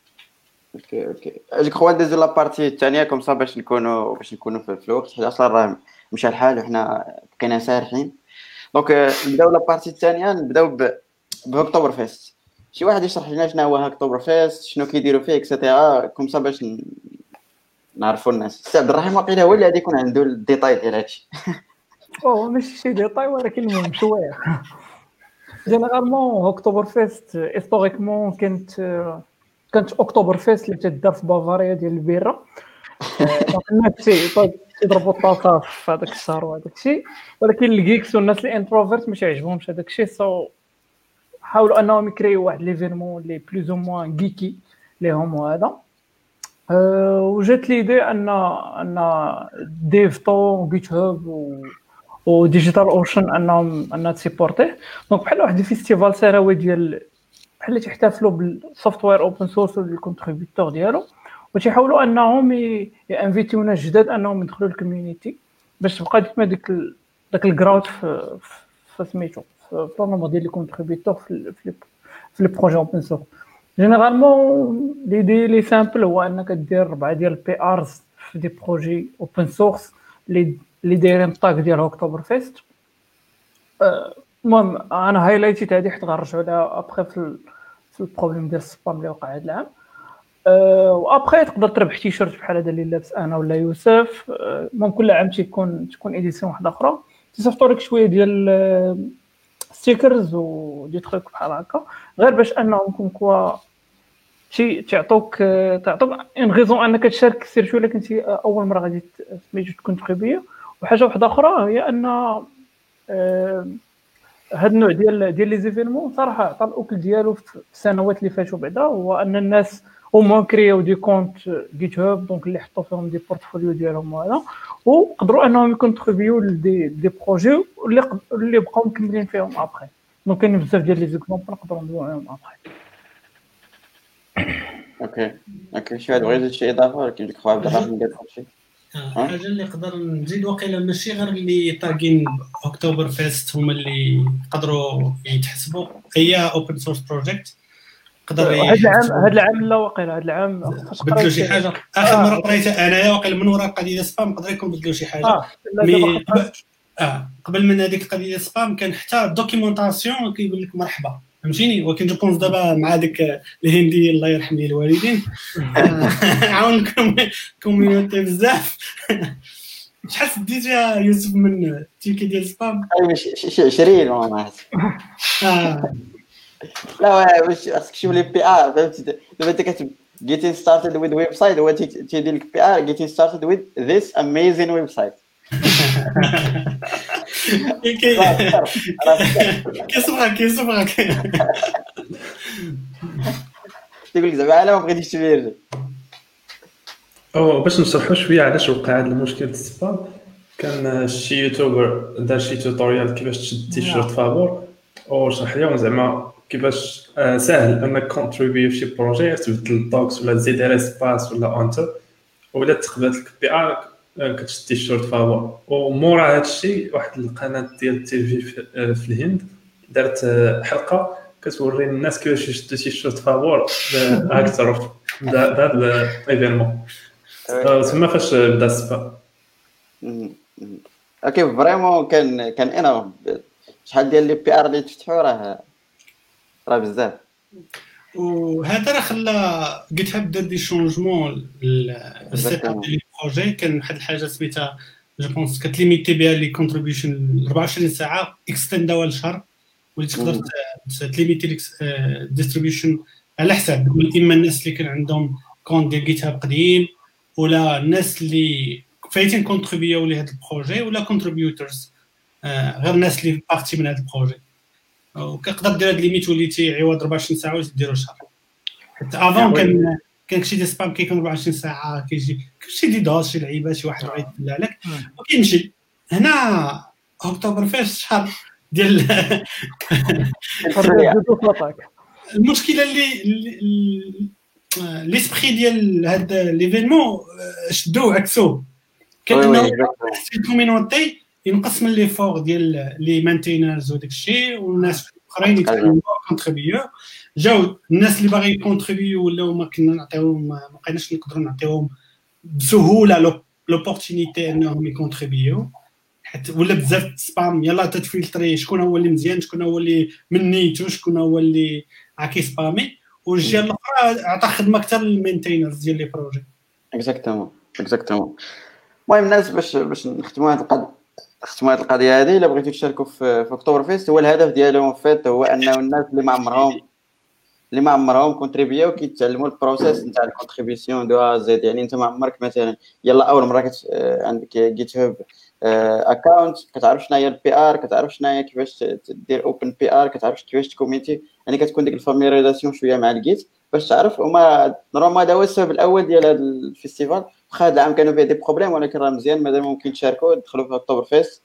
جو كخوا ندوزو لا بارتي الثانيه كوم صا باش نكونوا في الوقت، حيت اصلا راه مشى الحال وحنا بقينا سارحين. دونك نبداو لا بارتي الثانيه، نبداو باكتوبر فيست. شي واحد يشرح لنا شنو هو اكتوبر فيست، شنو كيديروا فيه اكسيتيرا كوم صا باش نعرفوا الناس. سي عبد الرحيم واقيلا هو اللي غادي يكون عنده الديتاي ديال هادشي. ماشي شي ديتاي ولكن المهم شويه. جينيرالمون اكتوبر فيست هيستوريكمون كانت اكتوبر فيست اللي تدار في بافاريا ديال البيره. دونك الناس يضربوا الطاقه في هذاك الشهر وهذاك الشيء، ولكن الجيكس والناس اللي انتروفيرت ماشي عجبهمش هذاك الشيء، سو حاولوا انهم يكريو واحد ليفينمون اللي بلوز او موان جيكي ليهم. وهذا وجات ليدي ان ديفطو جيت هاب وديجيتال اوشن انها تسيبورتيه. دونك بحال واحد الفيستيفال سنوي ديال بحال اللي تحتفلوا بالسوفتوير اوبن سورس والكونتريبيوتور ديالو، وتيحاولوا انهم يانفيتيو ناس جداد انهم يدخلوا الكوميونيتي باش تبقى ديما داك الجراوت في سميتو في النومبر ديال الكونتريبيوتور في لي بروجي اوبن سورس. جينيرالمون لي سامبل هو انك دير 4 ديال البي ارز في دي بروجي اوبن سورس اللي دايرين طاك ديال اكتوبر فيست. المهم انا هايلايتيت هذه حيت غنرجعوا لها ابخي في البروبليم ديال السبام اللي وقع هذا العام. وابخي تقدر تربح تيشيرت بحال هذا اللي لابس انا ولا يوسف. من كل عام تكون ايديسيون واحده اخرى تصيفطوا لك شويه ديال ستيكرز ودي تروك بحال هكا، غير باش انهم كونكوا تعطوك ان غيزون انك تشارك سيرتو الا كنتي اول مره غادي سميتو تكون تخيبيه. وحاجه واحده اخرى هي ان هاد النوع ديال لي زيفينمون صراحه عطى الاكل ديالو في السنوات اللي فاتوا بعدا، هو ان الناس هما كرياو دي كونت جيت هاب دونك اللي حطوا فيهم دي بورتفوليو ديالهم وهذا، وقدروا انهم يكونتريبيو دي بروجي اللي بقاو مكملين فيهم ابخي. دونك كاين بزاف ديال لي زيكزامبل نقدروا ندويو عليهم ابخي. اوكي شي واحد بغى شي اضافه ولكن ديك خويا عبد الرحمن قال شي حاجه اللي نقدر نزيد واقيلا ماشي غير اللي طاقين اكتوبر فيست هما اللي يقدروا يتحسبوا هي اوبن سورس بروجيكت. قدر هذا العام لا واقيلا هذا العام بدلوا شي حاجه. اخر مره قريتها انايا واقيلا من وراء قضيه سبام قدر يكون بدلوا شي حاجه. قبل من هذيك القضيه سبام كان حتى الدوكيومونطاسيون كيقول لك مرحبا فهمتيني. ولكن جو بونس دابا مع ديك الهندي الله يرحم لي الوالدين عاونكم كوميونيتي بزاف. شحال ديت يا يوسف من تيكي ديال سبام؟ شي 20 ما عرفت. لا واش خاصك تشوف لي بي ار فهمتي. دابا انت getting started with website هو تيدير لك بي ار getting started with this amazing website. كيصبغك تقول لك زعما على ما بغيتيش تفيرجي. او باش نشرحوا شويه علاش وقع هذا المشكل ديال السبام. كان شي يوتيوبر دار شي توتوريال كيفاش تشد تيشيرت فابور وشرح لهم زعما كيفاش ساهل انك كونتريبيو في شي بروجي، تبدل الدوكس ولا تزيد على سباس ولا انتر ولا تقبل لك بي ار كتشد تيشيرت فابور. ومورا هذا الشيء واحد القناه ديال التيفي في الهند دارت حلقه كتوري الناس كيفاش يشدوا تيشيرت فابور اكثر بهذا الايفينمون تما فاش بدا السبام. اوكي فريمون كان انورم. شحال ديال لي بي ار اللي تفتحوا راه بزاف. وهذا راه خلى جيت هاب دار دي شونجمون السيت اب ديال البروجي. كان واحد الحاجه سميتها جو بونس كتليميتي بها لي كونتريبيوشن 24 ساعه اكستنداوها لشهر، واللي تقدر تليميتي ديستريبيوشن على حساب اما الناس اللي كان عندهم كونت ديال جيت هاب قديم ولا الناس اللي فايتين كونتريبيو لهذا البروجي ولا كونتريبيوترز غير الناس اللي بارتي من هذا البروجي. وكتقدر دير هاد ليميت وليتي عوض 24 ساعه وديرو شهر. حتى افون كان شي دي سبام كيكون 24 ساعه كيجي شي دي دوز شي لعيبه شي واحد بغى يدلع لك وكيمشي. هنا اكتوبر فاش شهر ديال المشكله اللي ليسبري ديال هذا ليفينمون شدوه عكسوه. كان الكوميونيتي ينقص من لي فور ديال لي مانتينرز وداك الشيء، والناس الاخرين يتكلموا كونتريبيو. جاو الناس اللي باغي يكونتريبيو ولاو ما كنا نعطيوهم، ما بقيناش نقدروا نعطيوهم بسهوله لوبورتونيتي انهم يكونتريبيو، حتى ولا بزاف سبام. يلا تتفلتري شكون هو اللي مزيان، شكون هو اللي من نيتو، شكون هو اللي عاكي سبامي. والجهه الاخرى عطى خدمه اكثر للمينتينرز ديال لي بروجي. اكزاكتومون. المهم الناس باش نختموا هذه القضيه هذه، الا بغيتوا تشاركوا في اكتوبر فيست، هو الهدف ديالهم فات هو انه الناس اللي ما عمرهم كونتريبيو كيتعلموا البروسيس نتاع الكونتريبيسيون دو زيد. يعني انت ما عمرك مثلا يلا اول مره عندك جيت هاب اكونت كتعرف شنو هي البي ار، كتعرف شنو هي كيفاش دير اوبن بي ار، كتعرف كيفاش تكوميتي، يعني كتكون ديك الفاميليزاسيون شويه مع الجيت باش تعرف. وما نورمال هذا هو السبب الاول ديال هذا الفيستيفال. واخا هذا العام كانوا فيه دي بروبليم، ولكن راه مزيان مادام ممكن تشاركوا. دخلوا في اكتوبر فيست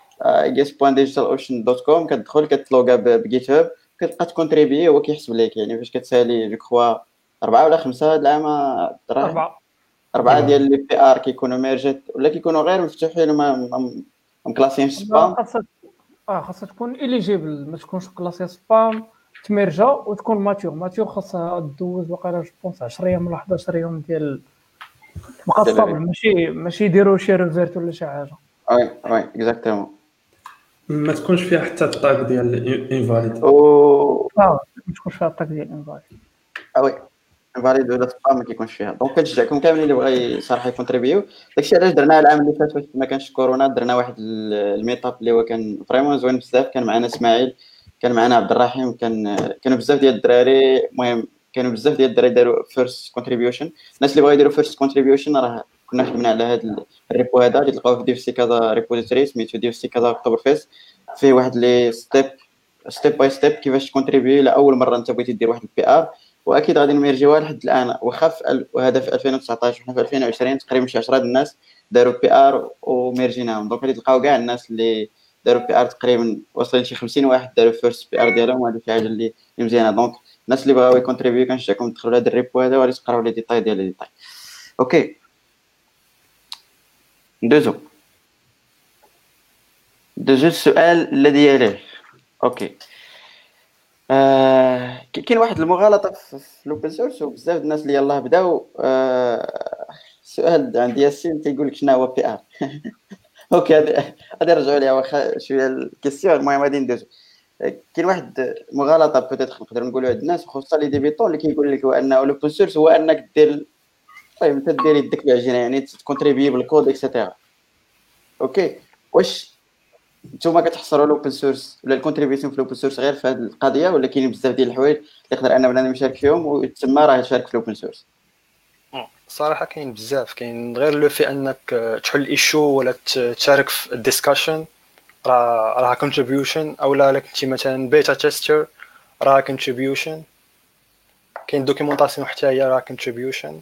guest.digitalocean.com، كتدخل كتلوغا بجيت هاب كتبقى تكونتريبي هو كيحسب لك. يعني فاش كتسالي جو كخوا 4 ولا 5 هذا العام، 4 ديال لي بي ار كيكونوا ميرجيت ولا كيكونوا غير مفتوحين وما مكلاسين سبام. خاصها تكون اليجيبل، ما تكونش كلاسي سبام تمرجا وتكون ماتيور. خاصها دوز وقيلا جو بونس 10 ايام ولا 11 يوم ديال مقصب، ماشي يديروا شي ريفيرت ولا شي حاجه. وي اكزاكتومون. ما تكونش فيها حتى الطاق ديال انفاليد. ما تكونش فيها الطاق ديال انفاليد. وي انفاليد ولا سبام ما كيكونش فيها. دونك كنشجعكم كاملين اللي بغى صراحه يكونتريبيو. داكشي علاش درنا العام اللي فات ما كانش كورونا، درنا واحد الميطاب اللي هو كان فريمون زوين بزاف. كان معنا اسماعيل، كان معنا عبد الرحيم، كانوا بزاف ديال الدراري. المهم كانوا بزاف ديال الدراري داروا فيرست كونتريبيوشن. الناس اللي بغاو يديروا فيرست كونتريبيوشن راه كنا خدمنا على هذا الريبو هذا اللي تلقاوه في ديف سي كذا ريبوزيتوري سميتو ديف سي كذا اكتوبر فيست. فيه واحد لي ستيب باي ستيب كيفاش تكونتريبيو لاول مره انت بغيتي دير واحد البي ار. واكيد غادي نميرجيوها لحد الان. وخاف وهذا في 2019 وحنا في 2020 تقريبا شي 10 الناس داروا بي ار وميرجيناهم. دونك غادي تلقاو كاع الناس اللي داروا بي ار تقريبا واصلين شي 50 واحد داروا فيرست بي ار ديالهم. وهذه شي حاجه اللي مزيانه. دونك الناس اللي بغاو يكونتريبيو كنشجعكم تدخلوا لهذا الريبو هذا وغادي تقراو لي ديتاي ديال لي ديتاي. اوكي ندوزو السؤال الذي يليه. اوكي كاين واحد المغالطه في الاوبن سورس وبزاف الناس اللي يلاه بداو. السؤال عند ياسين تيقول لك شنو هو بي ار. اوكي غادي نرجعوا ليها واخا شويه الكيسيون. المهم غادي ندوزو. كاين واحد مغالطه بوتيتر نقدروا نقولوا عند الناس خصوصا لي ديبيطون اللي كيقول لك هو انه الاوبن سورس هو انك دير انت دير يدك بعجينه، يعني تكونتريبي بالكود اكسيتيرا. اوكي واش نتوما كتحصروا الاوبن سورس ولا الكونتريبيوشن في الاوبن سورس غير في هذه القضيه، ولا كاينين بزاف ديال الحوايج اللي يقدر ان بنادم يشارك فيهم وتما راه يشارك في الاوبن سورس؟ صراحه كاين بزاف، كاين غير لو في انك تحل ايشو ولا تشارك في الديسكشن راه كونتريبيوشن، او لا كنتي مثلا بيتا تيستر راه كونتريبيوشن، كاين دوكيومونطاسيون حتى هي راه كونتريبيوشن.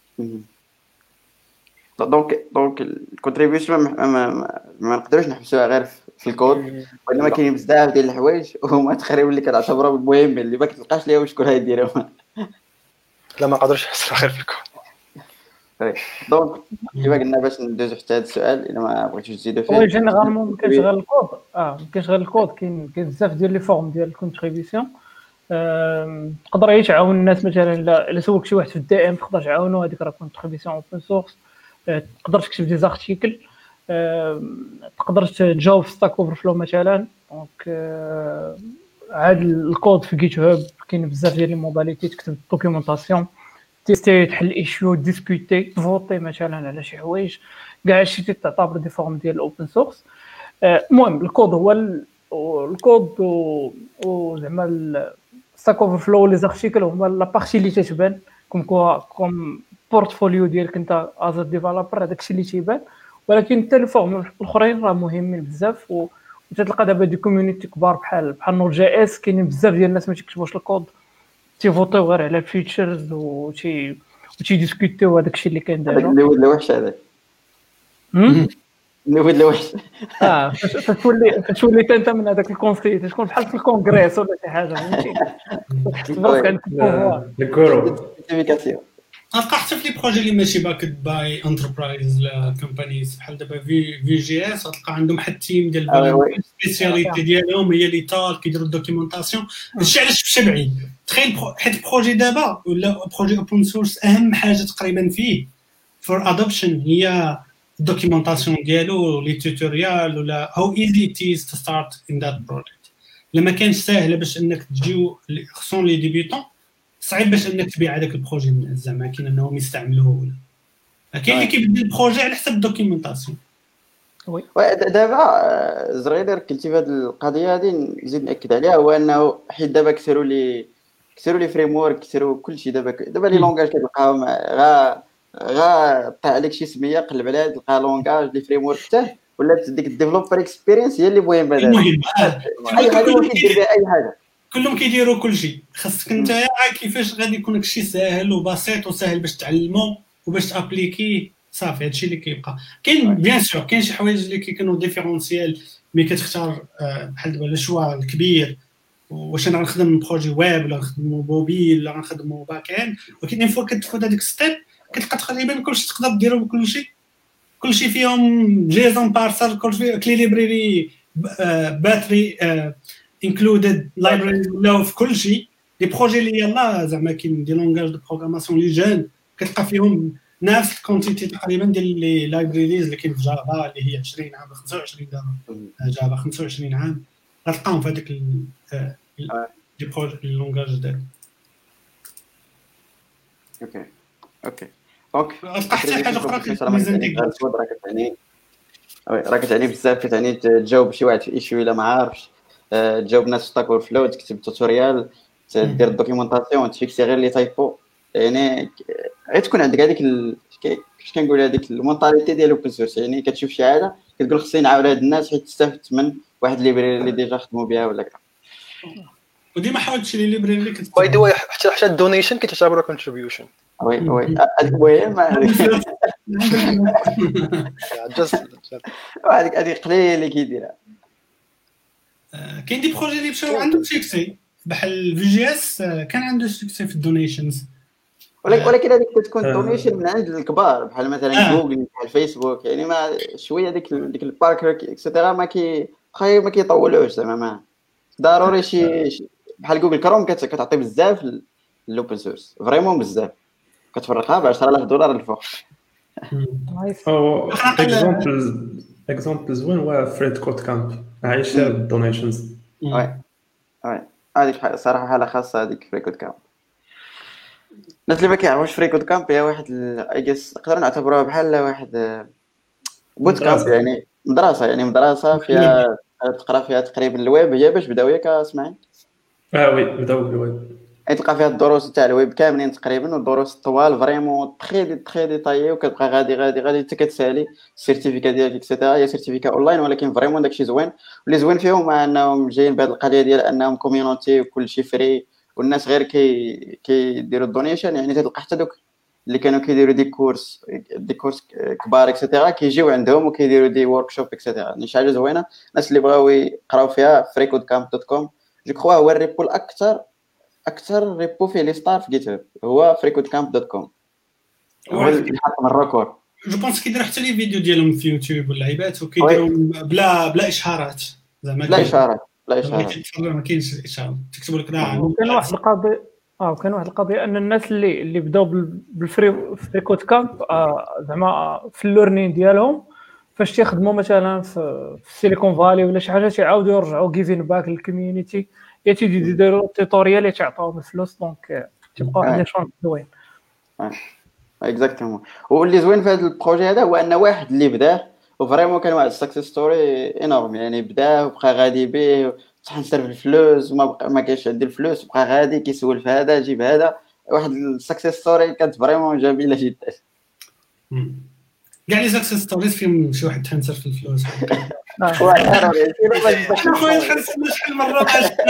دونك الكونتريبيوشن ما نقدروش نحبسوها غير في الكود، وانما كاين بزاف ديال الحوايج هما تقريبا اللي كنعتبرهم المهمين اللي ما كتلقاش ليهم شكون غيديرهم. لا ما قدرش نحس غير في الكود. دونك كيما قلنا باش ندوزو حتى هذا السؤال الا ما بغيتوش تزيدوا فيه. وي جينيرالمون ما كاينش غير الكود، ما كاينش غير الكود، كاين بزاف ديال لي فورم ديال الكونتريبيسيون. تقدر هي تعاون الناس، مثلا الا سولك شي واحد في الدي ام تقدر تعاونو، هذيك راه كونتريبيسيون اوبن سورس. تقدر تكتب دي زارتيكل، تقدر تجاوب في ستاك اوفر فلو مثلا. دونك عاد الكود في جيت هاب كاين بزاف ديال لي موداليتي، تكتب دوكيومونطاسيون، تيستي، تحل ايشيو، ديسكوتي، تفوتي مثلا على شي حوايج، كاع هادشي تعتبر دي فورم ديال الاوبن سورس. المهم الكود هو الكود وزعما ستاك اوفر فلو لي زارتيكل هما لا بارتي اللي تتبان كوم بورتفوليو ديالك انت از ديفلوبر، هذاك الشيء اللي تيبان. ولكن حتى الفورم الاخرين راه مهمين بزاف، وتتلقى دابا دي كوميونيتي كبار بحال نوت جي اس، كاينين بزاف ديال الناس ما تيكتبوش الكود، تيفوتيو غير على الفيتشرز وتي ديسكوتيو هذاك الشيء اللي كاين دابا. اللي ولد وحش هذاك، اللي ولد وحش. تولي انت من هذاك الكونسي، تكون بحال في الكونغريس ولا شي حاجه، فهمتي؟ تحس براسك عندك البوفوار. الكورو سيرتيفيكاسيون غتلقى حتى في لي بروجي اللي ماشي باكد باي انتربرايز لا كومبانيز بحال دابا في جي اس، غتلقى عندهم واحد التيم ديال السبيسياليتي ديالهم هي لي تال كيديروا الدوكيومونطاسيون. هادشي علاش مشى بعيد. تخيل حيت بروجي دابا ولا بروجي اوبن سورس اهم حاجه تقريبا فيه فور ادوبشن هي الدوكيومونطاسيون ديالو، لي توتوريال ولا هاو ايزي ات از تو ستارت ان ذات بروجيكت. لما كانش ساهله باش انك تجيو خصون لي ديبيوتون، صعيب باش انك تبيع هذاك البروجي زعما كاين انهم يستعملوه، ولا كاين اللي كيبدل البروجي على حسب الدوكيومونطاسيون. وي دابا زريدر كنتي في هذه القضيه هذه نزيد ناكد عليها، هو انه حيت دابا كثروا لي فريم ورك، كثروا كلشي. دابا لي لونغاج كتلقاهم غا طلع عليك شي سميه قلب عليها تلقى لونغاج لي فريم ورك حتى ولات ديك الديفلوبر اكسبيرينس هي اللي مهمه دابا. اي حاجه ممكن دير بها اي حاجه، كلهم كيديروا كلشي. خاصك انت كيفاش غادي يكون داكشي ساهل وبسيط وسهل باش تعلمو وباش تابليكي، صافي هادشي اللي كيبقى. كاين بيان سور كاين شي حوايج اللي كيكونوا ديفيرونسيال، مي كتختار بحال دابا الشوا الكبير، واش انا غنخدم بروجي ويب ولا غنخدم موبيل ولا غنخدم باك اند. ولكن اون فوا كتفوت هذيك ستيب كتلقى تقريبا كلشي تقدر ديرو كلشي فيهم جيزون بارسر، كلشي كلي ليبراري باتري included library ولا في كل شيء. لي بروجي اللي يلاه زعما كاين دي لونغاج دو بروغراماسيون لي جون كتلقى فيهم نفس الكونتيتي تقريبا ديال لي لايبراريز اللي كاين في جافا اللي هي 20 عام 25 جافا 25 عام غتلقاهم في هذيك لي بروجي لونغاج ديال. اوكي دونك غتلقى حتى حاجه اخرى كتعني بزاف، كتعني تجاوب شي واحد في ايشيو الا ما عارفش، تجاوب ناس ستاك اوفر فلو، تكتب توتوريال، دير الدوكيومونطاسيون، تفيكسي غير لي تايبو. يعني غتكون عندك هذيك كيفاش كنقول هذيك المونطاليتي ديال الاوبن سورس. يعني كتشوف شي حاجه كتقول خصني نعاون هاد الناس حيت تستافد من واحد ليبراري اللي ديجا خدموا بها ولا كذا. وديما حاول تشري ليبراري اللي كتكتب باي ذا واي حتى الدونيشن كتعتبر كونتريبيوشن. وي المهم هذيك قليل اللي كيديرها. كاين دي بروجي اللي مشاو عندهم سكسي بحال في جي اس كان عنده سكسي في الدونيشنز، ولكن هذيك كتكون دونيشن من عند الكبار بحال مثلا جوجل بحال فيسبوك. يعني ما شويه ديك الباركر اكسترا ما كيطولوش زعما. ما ضروري شي بحال جوجل كروم كتعطي بزاف للاوبن سورس، فريمون بزاف، كتفرقها ب $10,000 الفوق. اكزامبل زوين هو فريد كود كامب عايش الدونيشنز. وي هذيك صراحه حاله خاصه هذيك فريد كود كامب. الناس اللي ما كيعرفوش فريد كود كامب هي واحد ايجس نقدر نعتبروها بحال واحد بوت كامب، يعني مدرسه فيها تقرا فيها تقريبا الويب. هي باش بداو ياك اسمعي وي بداو بالويب. تلقى فيها الدروس تاع الويب كاملين تقريبا، والدروس طوال فريمون تري ديتايي، وكتبقى غادي حتى كتسالي السيرتيفيكا ديالك اكسيتيرا. هي سيرتيفيكا اونلاين ولكن فريمون داكشي زوين. واللي زوين فيهم انهم جايين بهذه القضيه ديال انهم كوميونيتي وكل شيء فري، والناس غير كيديروا الدونيشن. يعني تلقى حتى دوك اللي كانوا كيديروا دي كورس كبار اكسيتيرا كيجيو عندهم وكيديروا دي وركشوب اكسيتيرا. يعني شي حاجه زوينه. الناس اللي بغاو يقراو فيها freecodecamp.com جو كخوا هو الريبو اكثر ريبو فيه لي ستار في جيت هاب هو freecodecamp.com. هو اللي حط من الريكورد. جو بونس كيديروا حتى لي فيديو ديالهم في يوتيوب واللعيبات، وكيديروا بلا اشهارات زعما لا اشارات ما كاينش الاشهار، تكتبوا لك كان واحد القضيه كان واحد القضيه ان الناس اللي بداو بالفريكود كامب زعما في اللورنين ديالهم فاش تيخدموا مثلا في السيليكون فالي ولا شي حاجه تيعاودوا يرجعوا جيفين باك للكوميونيتي، يديروا توتوريال يتعطاوهم الفلوس. دونك تيبقى واحد لي شونس زوين. اكزاكتومون. واللي زوين في هذا البروجي هذا هو ان واحد اللي بداه وفريمون كان واحد السكسيس ستوري انورم. يعني بداه وبقى غادي به صح نصرف الفلوس وما كاينش عندي الفلوس، بقى غادي كيسول في هذا جيب هذا. واحد السكسيس ستوري كانت فريمون جميله جدا. كاع لي سكسيس ستوريز فيهم شي واحد تنسر في الفلوس. واحد انا خويا خلصنا شحال مره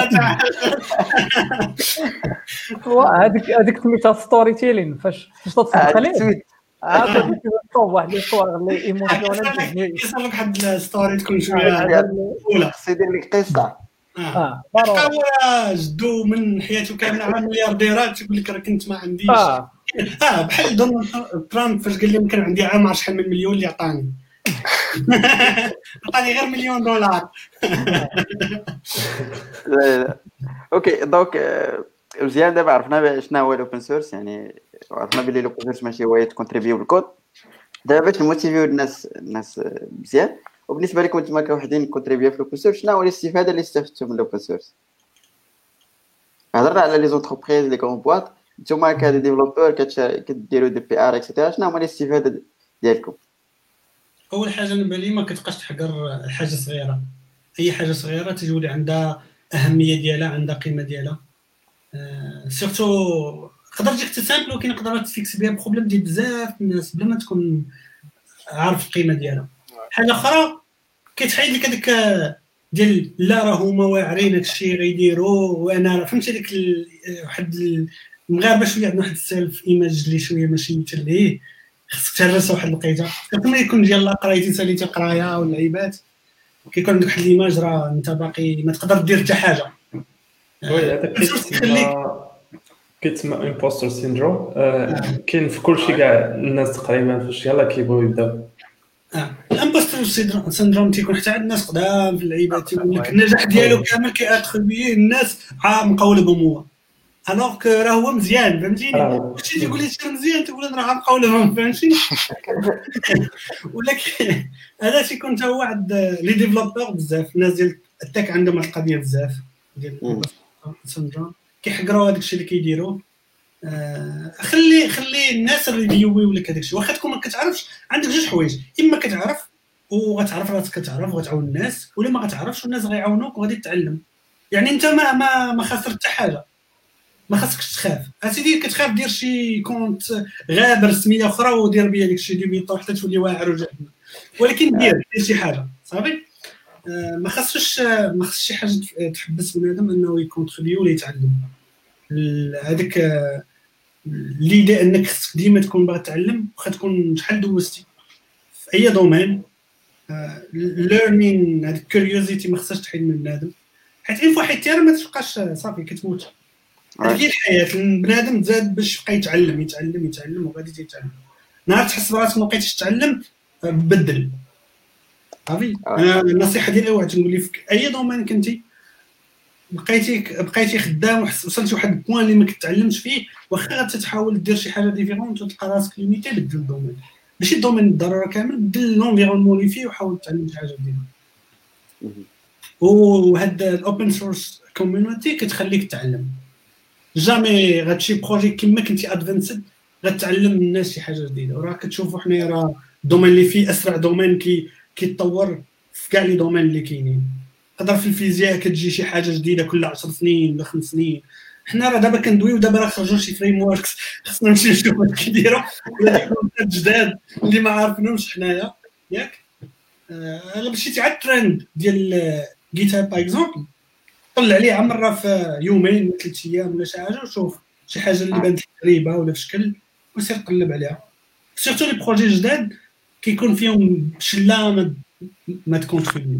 هذيك سميتها ستوري تيلين. فاش تصدق عليه عاد كيصوب واحد الصور اللي ايموشنال كيصير لك واحد الستوري تكون شويه اولى خص يدير لك قصه. هو جدو من حياته كامله على مليارديرات يقول لك راه كنت ما عنديش بحال دونالد ترامب فاش قال لهم كان عندي عام شحال من مليون اللي عطاني غير $1,000,000. لا اوكي دونك مزيان. دابا عرفنا شنو هو الاوبن سورس، يعني عرفنا بلي الاوبن سورس ماشي هو يتكونتريبيو بالكود. دابا باش نموتيفيو الناس مزيان، وبالنسبه لكم نتوما كوحدين كونتريبيو في الاوبن سورس، شنو هو الاستفاده اللي استفدتوا من الاوبن سورس؟ هضرنا على لي زونتربريز لي كون بواط، نتوما كدي ديفلوبور كديروا دي بي ار اكسيتيرا، شنو هما الاستفاده ديالكم؟ اول حاجه بالي ما كتبقاش تحقر حاجه صغيره. اي حاجه صغيره تجولي عندها اهميه ديالها، عندها قيمه ديالها. سورتو تقدر تجيك تسامبل ولكن تقدر تفيكس بها بروبليم ديال بزاف الناس بلا ما تكون عارف القيمه ديالها. حاجه اخرى كيتحيد لك هذاك ديال لا راه هما واعرين هادشي غيديروا وانا فهمتي ديك واحد المغاربه شويه عندنا واحد السيلف ايماج اللي شويه ماشي مثل ليه خصك تهرس واحد الوقيته كما يكون ديال لا قرايتي ساليتي قرايه واللعيبات كيكون عندك واحد الايماج راه انت باقي ما تقدر دير حتى حاجه. وي هذاك كيتسمى امبوستر سيندروم. كاين في كلشي كاع الناس تقريبا فاش يلاه كيبغيو يبداو. الامبوستر سيندروم تيكون حتى عند الناس قدام في اللعيبات تيقول لك النجاح ديالو كامل كياتريبييه الناس مقولبهم هو الوغ كو راه هو مزيان فهمتيني. كلشي تيقول لي سير مزيان تقول انا راه مقولبهم فهمتي. ولكن هذا تيكون حتى هو واحد لي ديفلوبور بزاف الناس ديال التك عندهم هاد القضيه بزاف ديال السيندروم كيحقروا هذاك الشيء اللي كيديروا. خلي الناس ريفيويو لك هذاك الشيء واخا تكون ما كتعرفش. عندك جوج حوايج، اما كتعرف وغتعرف راسك كتعرف وغتعاون الناس، ولا ما غتعرفش والناس غيعاونوك وغادي تتعلم. يعني انت ما خسرت حتى حاجه، ما خاصكش تخاف. اسيدي كتخاف دير شي كونت غابر سميه اخرى ودير بها داك الشيء ديال حتى تولي واعر وجهنم، ولكن دير شي حاجه صافي. ما خاصش شي حاجه تحبس بنادم انه يكونتريبيو ولا يتعلم. هذاك ليدي انك خصك ديما تكون باغي تتعلم واخا تكون شحال دوزتي في اي دومين. ليرنين هذيك كيوريوزيتي ما خصهاش تحيد من بنادم، حيت ان فوا حيدتيها ما تبقاش صافي كتموت. هذه الحياه البنادم تزاد باش يبقى يتعلم وغادي تيتعلم. نهار تحس براسك ما بقيتيش تتعلم بدل صافي. انا النصيحه ديالي واحد نقول لي في اي دومين كنتي بقيتي خدام وصلتي واحد البوين اللي ما كتعلمش فيه، واخا غتحاول دير شي حاجه ديفيرونت وتلقى راسك ليميتي بدل الدومين، ماشي الدومين بالضروره كامل، بدل لونفيرونمون اللي فيه وحاول تعلم شي حاجه جديده. وهاد الاوبن سورس كوميونيتي كتخليك تعلم. جامي غتشي بروجي كما كنتي ادفانسد غتعلم الناس شي حاجه جديده. وراه كتشوفوا حنايا راه الدومين اللي فيه اسرع دومين كيتطور في كاع لي دومين اللي كاينين. تقدر في الفيزياء كتجي شي حاجه جديده كل 10 سنين ولا 5 سنين، حنا راه دابا كندويو دابا راه خرجوا شي فريم وركس خصنا نمشيو نشوفوا واش كيديروا ولا كونسيبت جداد اللي ما عارفينهمش حنايا ياك. الا مشيتي على الترند ديال جيت هاب باغ اكزومبل طلع عليه مره في يومين ولا 3 ايام ولا شي حاجه وشوف شي حاجه اللي بانت غريبه ولا في شكل وسير قلب عليها. سيرتو لي بروجي جداد كيكون فيهم شله ما تكونتريبيو.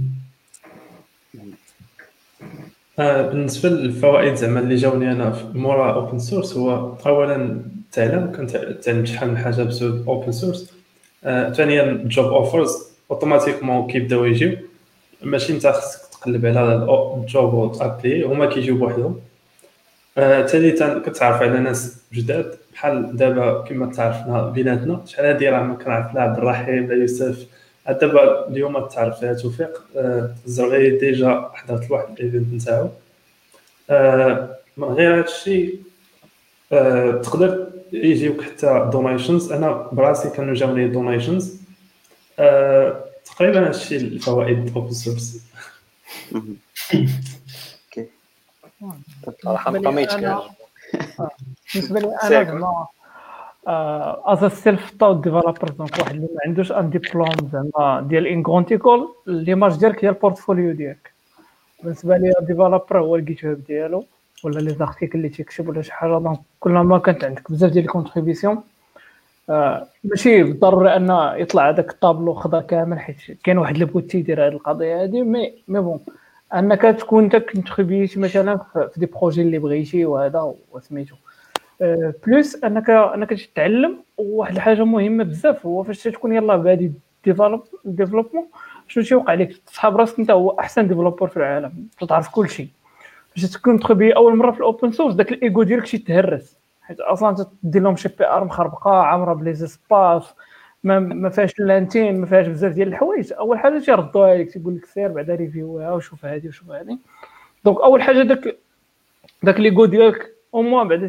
بالنسبه للفوائد زعما اللي جاوني انا مورا اوبن سورس، هو اولا تعلمت شحال من حاجه بسبب اوبن سورس. ثانيا جوب اوفرز اوتوماتيكمون كيبداو يجيو، ماشي انت خصك تقلب على الجوب وتابلي، هما كيجيو بوحدهم. ثالثا كتعرف على ناس جداد، بحال دابا كما تعرفنا بيناتنا شحال هادي راه ما كنعرف لا عبد الرحيم لا يوسف. دابا اليوم تعرف فيها توفيق الزرغي ديجا حضرت لواحد الايفنت نتاعو. من غير هادشي تقدر يجيوك حتى دونيشنز. انا براسي كانوا جاوني دونيشنز. تقريبا هادشي الفوائد اوبن سورس. اوكي صراحه ما قاميتش كاع. بالنسبه لي انا زعما از سيلف تاود ديفلوبر، دونك واحد اللي ما عندوش ان ديبلوم زعما ديال ان كونت ايكول، ليماج ديالك هي البورتفوليو ديالك. بالنسبه لي الديفلوبر هو الجيت هاب ديالو ولا لي زارتيكل اللي تيكتب ولا شي حاجه. دونك كلما كانت عندك بزاف ديال الكونتريبيسيون ماشي بالضروري ان يطلع هذاك الطابلو خضر كامل، حيت كاين واحد اللي بغيت يدير هذه القضيه هذه. مي بون انك تكون انت كونتريبيتي مثلا في دي بروجي اللي بغيتي وهذا وسميتو بلوس انك تتعلم. وواحد الحاجه مهمه بزاف هو فاش تكون يلاه بادي ديفلوبمون شنو تيوقع لك، تصحاب راسك انت هو احسن ديفلوبر في العالم، تعرف كل شيء. باش تكون تخبي اول مره في الاوبن سورس داك الايجو ديالك شي تهرس، حيت اصلا تدير لهم شي بي ار مخربقه عامره بلي سباس ما فيهاش لانتين، ما فيهاش بزاف ديال الحوايج. اول حاجه تيردوها لك تيقول لك سير بعدا ريفيوها وشوف هذه وشوف هذه. دونك اول حاجه داك ليغو ديالك او موان بعدا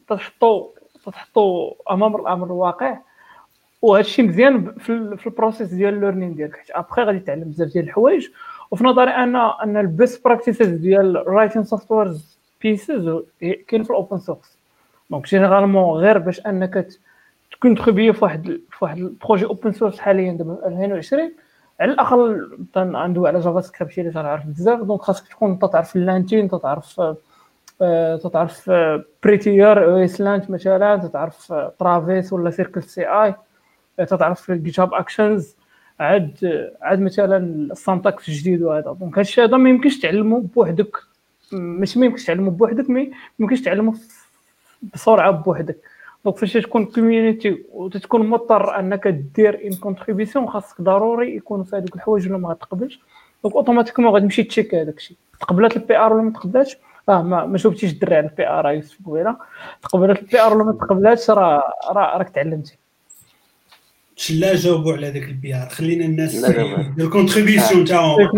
تحطو امام الامر الواقع. وهذا الشيء مزيان في البروسيس ديال الليرنين ديالك، حيت ابخي غادي تعلم بزاف ديال الحوايج. وفي نظري ان البيست براكتيسز ديال رايتين سوفتويرز بيسز كاين في الاوبن سورس. دونك جينيرالمون غير باش انك تكون تخبيه في واحد البروجي اوبن سورس حاليا دابا 2020 على الاقل ندوي على جافا سكريبت اللي تعرف بزاف. دونك خاصك تكون تعرف اللانتين، تعرف بريتير ايسلاند مثلا، تعرف ترافيس ولا سيركل سي اي، تعرف جيت هاب اكشنز، عاد مثلا السانتاكس الجديد وهذا. دونك هادشي هذا ما يمكنش تعلمه بوحدك، ماشي ما يمكنش تعلمه بوحدك، مي يمكنش تعلمه بسرعه بوحدك. دونك فاش تكون كوميونيتي وتكون مضطر انك دير ان كونتريبيسيون، خاصك ضروري يكونوا في هذوك الحوايج ولا ما غتقبلش. دونك اوتوماتيكمون غادي تمشي تشيك هذاك الشيء، تقبلات البي ار ولا ما تقبلاتش. ما شوفتيش الدري على البي ار يوسف قبيله، تقبلات البي ار ولا ما تقبلاتش، راك تعلمتي. لا جاوبوا على ذاك البي ار، خلينا الناس الكونتريبيسيون تاعهم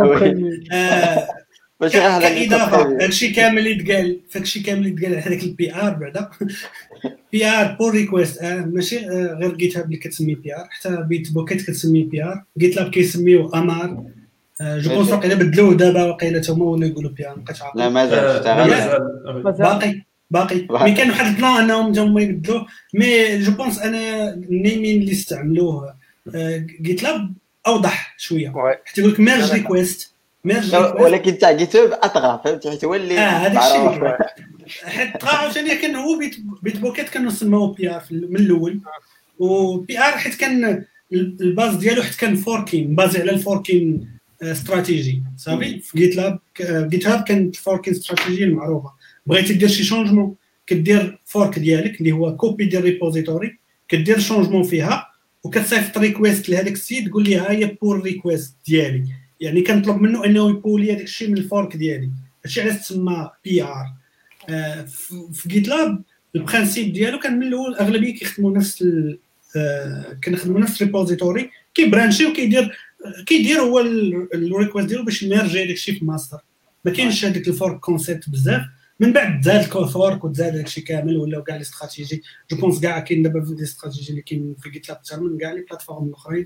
ماشي غير كإضافة. داكشي كامل اللي تقال على هذاك البي ار بعدا بي ار بول ريكويست، ماشي غير جيت هاب اللي كتسمي بي ار، حتى بيت بوكيت كتسمي بي ار، جيت لاب كيسميو امار. جو بونس واقيلا بدلوه دابا، واقيلا هما ولا يقولوا بي ار، مابقيتش عارف. لا مازال باقي مي كان واحد البلان انهم هما يبدلوه. مي جو بونس انا النيمين اللي استعملوه جيت لاب اوضح شويه، حتى يقول لك ميرج ريكويست ولكن تاع جيت هاب اطغى، فهمتي؟ حيت هو اللي هذاك الشيء حيت طغى ثاني. كان هو بيت بوكيت كانوا سموه بي ار من الاول، وبي ار حيت كان الباز ديالو حيت كان فوركين بازي على الفوركين استراتيجي صافي. في جيت هاب كانت فوركين استراتيجي معروفه. بغيتي دير شي شونجمون كدير فورك ديالك اللي هو كوبي ديال ريبوزيتوري، كدير شونجمون فيها وكتصيفط ريكويست لهذاك السيد، تقول لي ها هي بول ريكويست ديالي، يعني كنطلب منه انه يبولي هذاك الشيء من الفورك ديالي. هادشي علاش تسمى بي ار. في جيت لاب البرانسيب ديالو كان من الاول اغلبيه كيخدموا نفس كنخدموا نفس ريبوزيتوري، كيبرانشي وكيدير هو الريكويست ديالو باش يمرجي هذاك الشيء في ماستر. ما كاينش هذاك الفورك كونسيبت بزاف. من بعد زاد الفورك وزاد داكشي كامل، ولاو كاع لي استراتيجي. جو بونس كاع كاين دابا لي استراتيجي اللي كاين في جيت لاب اكثر من كاع لي بلاتفورم الاخرين.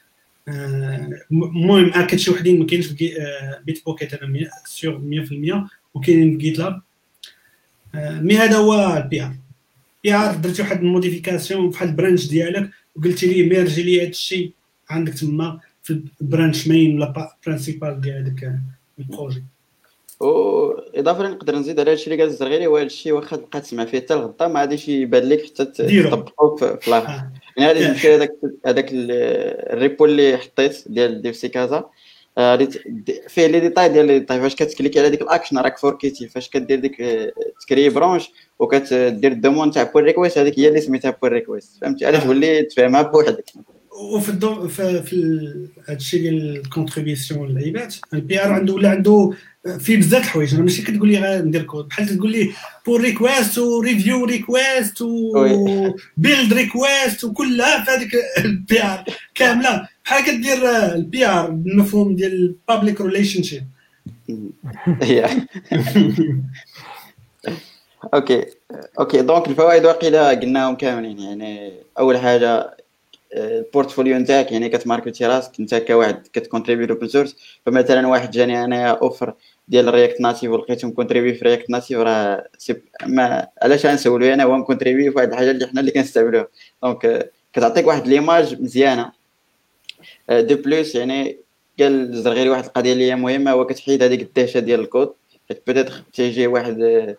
المهم اكيد شي وحدين ما كاينش في بيت بوكيت انا سيغ 100%، وكاينين في جيت لاب. مي هذا هو البي ار درتي واحد الموديفيكاسيون بحال البرانش ديالك وقلتي لي ميرجي لي هذا الشيء عندك تما في البرانش مين ولا برينسيبال ديال هذاك البروجي. واضافه نقدر نزيد على هادشي اللي قال الزرغيري، هو هادشي واخا تبقى تسمع فيه حتى الغدا ما غاديش يبان لك حتى تطبقو في الاخر. يعني غادي تمشي هذاك الريبو اللي حطيت ديال ديفسي كازا فيه لي ديتاي ديال لي ديتاي فاش كتكليكي على ديك الاكشن راك فوركيتي فاش كدير ديك تكري برونش وكتدير الدومون تاع بول ريكويست، هذيك هي اللي سميتها بول ريكويست، فهمتي؟ علاش تولي تفهمها بوحدك. وفي في هادشي ديال الكونتريبيسيون للعباد البي ار عنده في بزاف الحوايج. انا ماشي كتقول لي غندير كود بحال تقول لي بول ريكويست وريفيو ريكويست وبيلد ريكويست وكلها في هذيك البي ار كامله بحال كدير البي ار بالمفهوم ديال بابليك ريليشن شيب. اوكي دونك الفوائد واقيلا قلناهم كاملين. يعني اول حاجه البورتفوليو نتاعك، يعني كتماركتي راسك انت كواحد كتكونتريبي اوبن سورس. فمثلا واحد جاني انايا اوفر ديال رياكت ناتيف ولقيتهم كونتريبي في رياكت ناتيف، راه ما علاش غنسولو انا هو كونتريبي في واحد الحاجه اللي حنا اللي كنستعملوها. دونك كتعطيك واحد ليماج مزيانه. دو بلوس يعني قال الزرغيري واحد القضيه اللي هي مهمه، هو كتحيد هذيك الدهشه ديال الكود. بيتيتر تيجي واحد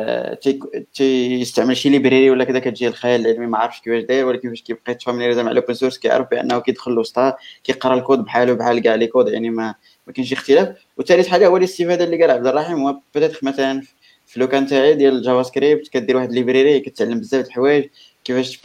تيستعمل شي ليبراري ولا كذا كتجي الخيال العلمي ما عارفش كيفاش داير، ولكن فاش كيبقى يتفاميليزا مع الاوبن سورس كيعرف بانه كيدخل لوسطها كيقرا الكود بحاله بحال كاع لي كود، يعني ما كاينش اختلاف. وثالث حاجه هو الاستفاده اللي قال عبد الرحيم، هو بيتيتر مثلا في لو كان تاعي ديال الجافا سكريبت كدير واحد ليبراري كتعلم بزاف د الحوايج كيفاش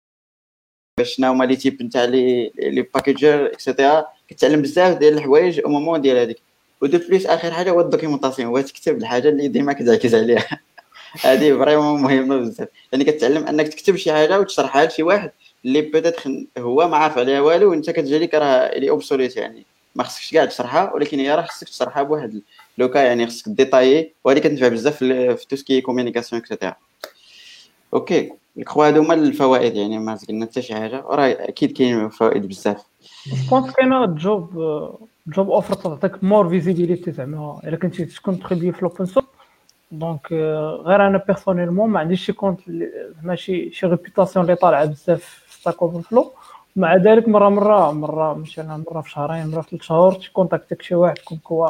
شنو هما لي تيب نتاع لي باكيجر اكسيتيرا، كتعلم بزاف ديال الحوايج او مومون ديال هذيك. ودو بليس اخر حاجه هو الدوكيومونطاسيون، هو تكتب الحاجه اللي ديما كتركز عليها. هذه فريمون مهمه بزاف، يعني كتعلم انك تكتب شي حاجه وتشرحها لشي واحد اللي بيتيتر هو ما عارف عليها والو وانت كتجي لك راه لي اوبسوليت، يعني ما خصكش كاع تشرحها، ولكن هي راه خصك تشرحها بواحد لوكا، يعني خصك ديتايي، وهذه كتنفع بزاف في توسكي كومونيكاسيون اكسيتيرا. اوكي الكخوا هادو هما الفوائد، يعني ما قلنا حتى شي حاجه، راه اكيد كاين فوائد بزاف. بونس كاينه جوب اوفر تعطيك مور فيزيبيليتي، زعما الا كنتي تكونتريبي في الاوبن سورس. دونك غير انا بيرسونيلمون ما عنديش شي كونت زعما شي ريبيوتاسيون اللي طالعه بزاف في ستاك اوفر فلو. مع ذلك مره مثلا مره في شهرين مره في 3 شهور تكونتاكتك شي واحد كونكوا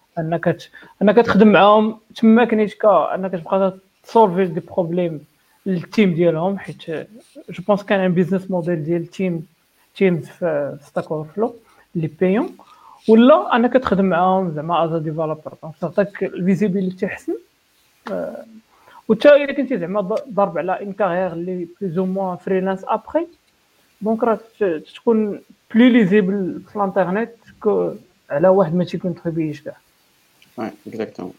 انك تخدم معاهم تما كنيتكا انك تبقى تسولفي دي بروبليم للتيم ديالهم، حيت جو بونس كان ان بيزنس موديل ديال تيمز في ستاك اوفر فلو اللي بايون، ولا انك تخدم معاهم زعما از ديفلوبر. دونك تعطيك الفيزيبيليتي حسن. وتا الا كنتي زعما ضارب على ان كارير اللي بلوز او موان فريلانس ابري، دونك راه تكون بلي ليزيبل في الانترنت كو على واحد ما تيكونتريبيش كاع. وي اكزاكتومون.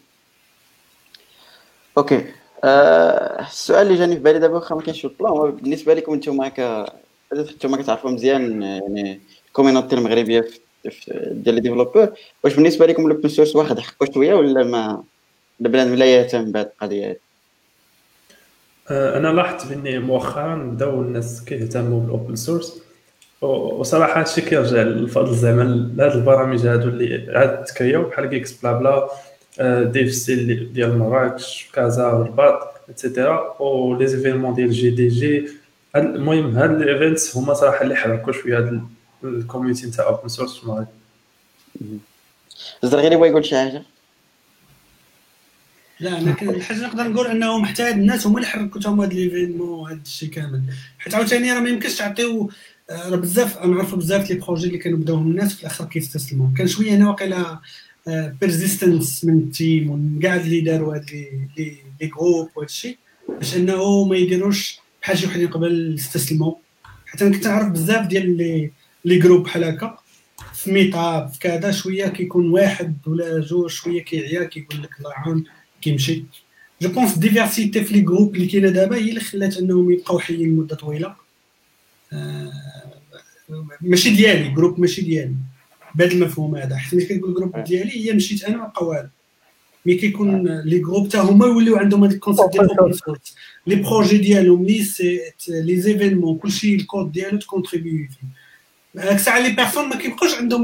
اوكي السؤال اللي جاني في بالي دابا واخا ما كاينش في البلان، هو بالنسبه لكم نتوما نتوما كتعرفوا مزيان يعني الكوميونيتي المغربيه ديال لي ديفلوبور، واش بالنسبه لكم الاوبن سورس واخد حقه شويه ولا ما بنادم لا يهتم بهذه القضيه؟ انا لاحظت باني مؤخرا بداو الناس كيهتموا بالاوبن سورس، وصراحه هادشي كيرجع للفضل زعما لهاد البرامج هادو اللي عاد تكرياو بحال كيكس بلا بلا ديف سي ديال مراكش كازا والرباط ايتترا و لي زيفينمون ديال جي دي جي. المهم هاد الايفنتس هما صراحه اللي حركوا شويه هاد الكوميونيتي نتاع اوبن سورس في المغرب. الزرغيري بغا يقول شي حاجه؟ لا انا الحاجه نقدر نقول انه محتاج الناس هما اللي حركوا تما هاد ليفينمون وهاد الشيء كامل، حيت عاوتاني راه ما يمكنش تعطيو راه بزاف. انا نعرفوا بزاف لي بروجي اللي كانوا بداوهم الناس في الاخر كيستسلموا. كان شويه هنا واقيلا بيرزيستنس من التيم ومن كاع اللي داروا هاد لي جروب وهاد الشيء باش انه ما يديروش بحال شي وحدين قبل يستسلموا. حتى انا كنت نعرف بزاف ديال لي جروب بحال هكا في ميطاب في كذا، شويه كيكون واحد ولا جوج شويه كيعيا كيقول لك الله يعاون كيمشي. جو بونس ديفيرسيتي في لي جروب اللي كاينه دابا هي اللي خلات انهم يبقاو حيين مده طويله. ماشي ديالي جروب، ماشي ديالي بهذا المفهوم هذا، حيت ملي كنقول جروب ديالي هي مشيت انا ما بقى والو. مي كيكون لي جروب حتى هما يوليو عندهم هذاك الكونسيبت ديال اوبن سورس، لي بروجي ديالهم لي زيفينمون كلشي الكود ديالو تكونتريبيو فيه. هاك الساعه لي بيرسون ما كيبقاوش عندهم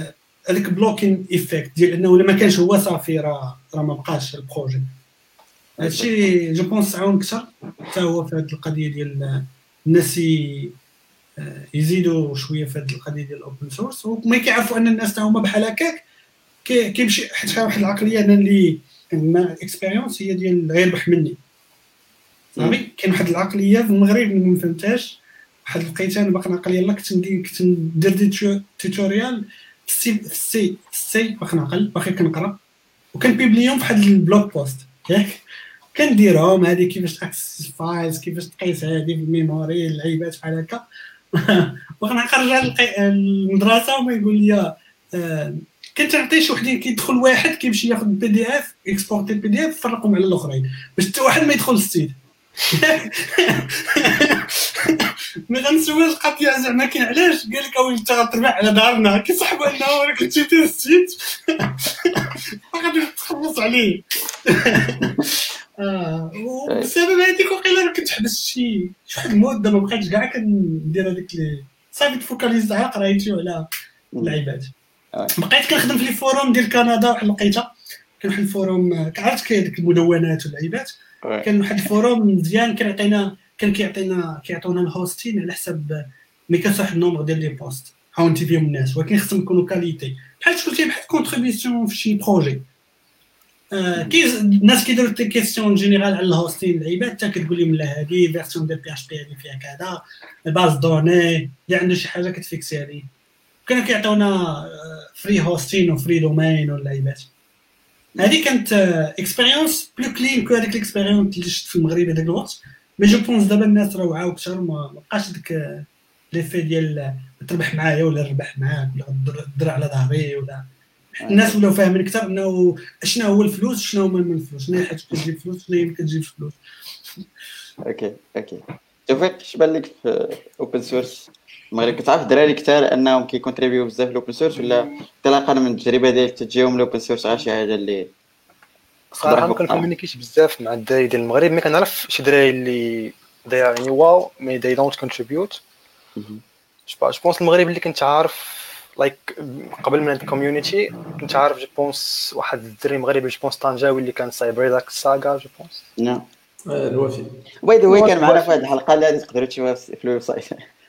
هذاك بلوكين ايفيكت ديال انه الا ما كانش هو صافي راه ما بقاش البروجي. هادشي جو بونس عاون اكثر حتى هو في هذه القضيه ديال الناس يزيدوا شويه في هذه القضيه ديال الاوبن سورس، وما كيعرفوا ان الناس هما بحال هكاك كيمشي حتى واحد العقليه انا اللي عندنا الاكسبيريونس هي ديال غير ربح مني صافي. كاين واحد العقليه في المغرب ما فهمتهاش، واحد لقيتها انا باقي ناقل يلاه كنت ندير دي توتوريال في السي باقي ناقل باقي كنقرا وكنبيبليهم في واحد البلوك بوست ياك، كنديرهم هذه كيفاش تاكسس فايلز كيفاش تقيس هذه في الميموري اللعيبات بحال هكا. باقي نرجع للمدرسه وما يقول لي كنتعطي شي وحدين كيدخل واحد كيمشي ياخذ بي دي اف اكسبورتي البي دي اف يفرقهم على الاخرين باش حتى واحد ما يدخل للسيت. ملي غنسول القضيه زعما كاين علاش قال لك اويلي انت غتربح على دارنا كيصاحبوا انه راه كنتي في السيت غادي تخلص عليه. وبسبب هذيك وقيلا راه كنت حبست شي واحد المده ما بقيتش كاع كندير هذيك اللي صافي تفوكاليز على قرايتي وعلى اللعيبات. بقيت كنخدم في لي فوروم ديال كندا واحد الوقيته كان واحد الفوروم كعرفت كاين المدونات واللعيبات كان واحد الفوروم مزيان كيعطيونا الهوستين على حسب ملي كتوصل واحد النومبر ديال لي بوست هاونتي فيهم الناس ولكن خصهم يكونوا كاليتي بحال قلتي بحال كونتريبيسيون في شي بروجي. الناس كيديروا دي كيسيون جينيرال على الهوستين اللعيبات حتى كتقول لهم لا هذه فيرسيون ديال بي اش بي هذه فيها كذا الباز دوني اللي عنده شي حاجه كتفيكسي عليه. كانوا كيعطيونا فري هوستين وفري دومين واللعيبات. هذه كانت اكسبيريونس بلو كلين كو هذيك الاكسبيريونس اللي شفت في المغرب هذاك الوقت. مي جو بونس دابا الناس راه وعاو اكثر ما بقاش داك ليفي ديال تربح معايا ولا نربح معاك ولا تدر على ظهري ولا الناس ولاو فاهمين اكثر انه شنو هو الفلوس شنو هما من الفلوس شنو هي حاجه كتجيب فلوس شنو هي ما كتجيبش فلوس. اوكي توفيق اش بان لك في اوبن سورس المغرب؟ كتعرف الدراري كثار انهم كيكونتريبيو بزاف الاوبن سورس ولا انطلاقا من التجربه ديالك تجيهم الاوبن سورس غير شي حاجه اللي صراحه ما كنكومونيكيش بزاف مع الدراري ديال المغرب مي كنعرف شي دراري اللي يعني واو مي they don't contribute. جو بونس المغرب اللي كنت عارف لايك قبل من الكوميونيتي كنت عارف جو بونس واحد الدري مغربي جو بونس طنجاوي اللي كان صايب داك الساغا جو بونس نعم الوفي باي ذا واي كان معنا في هذه الحلقه اللي غادي تقدروا تشوفوها في الويب سايت.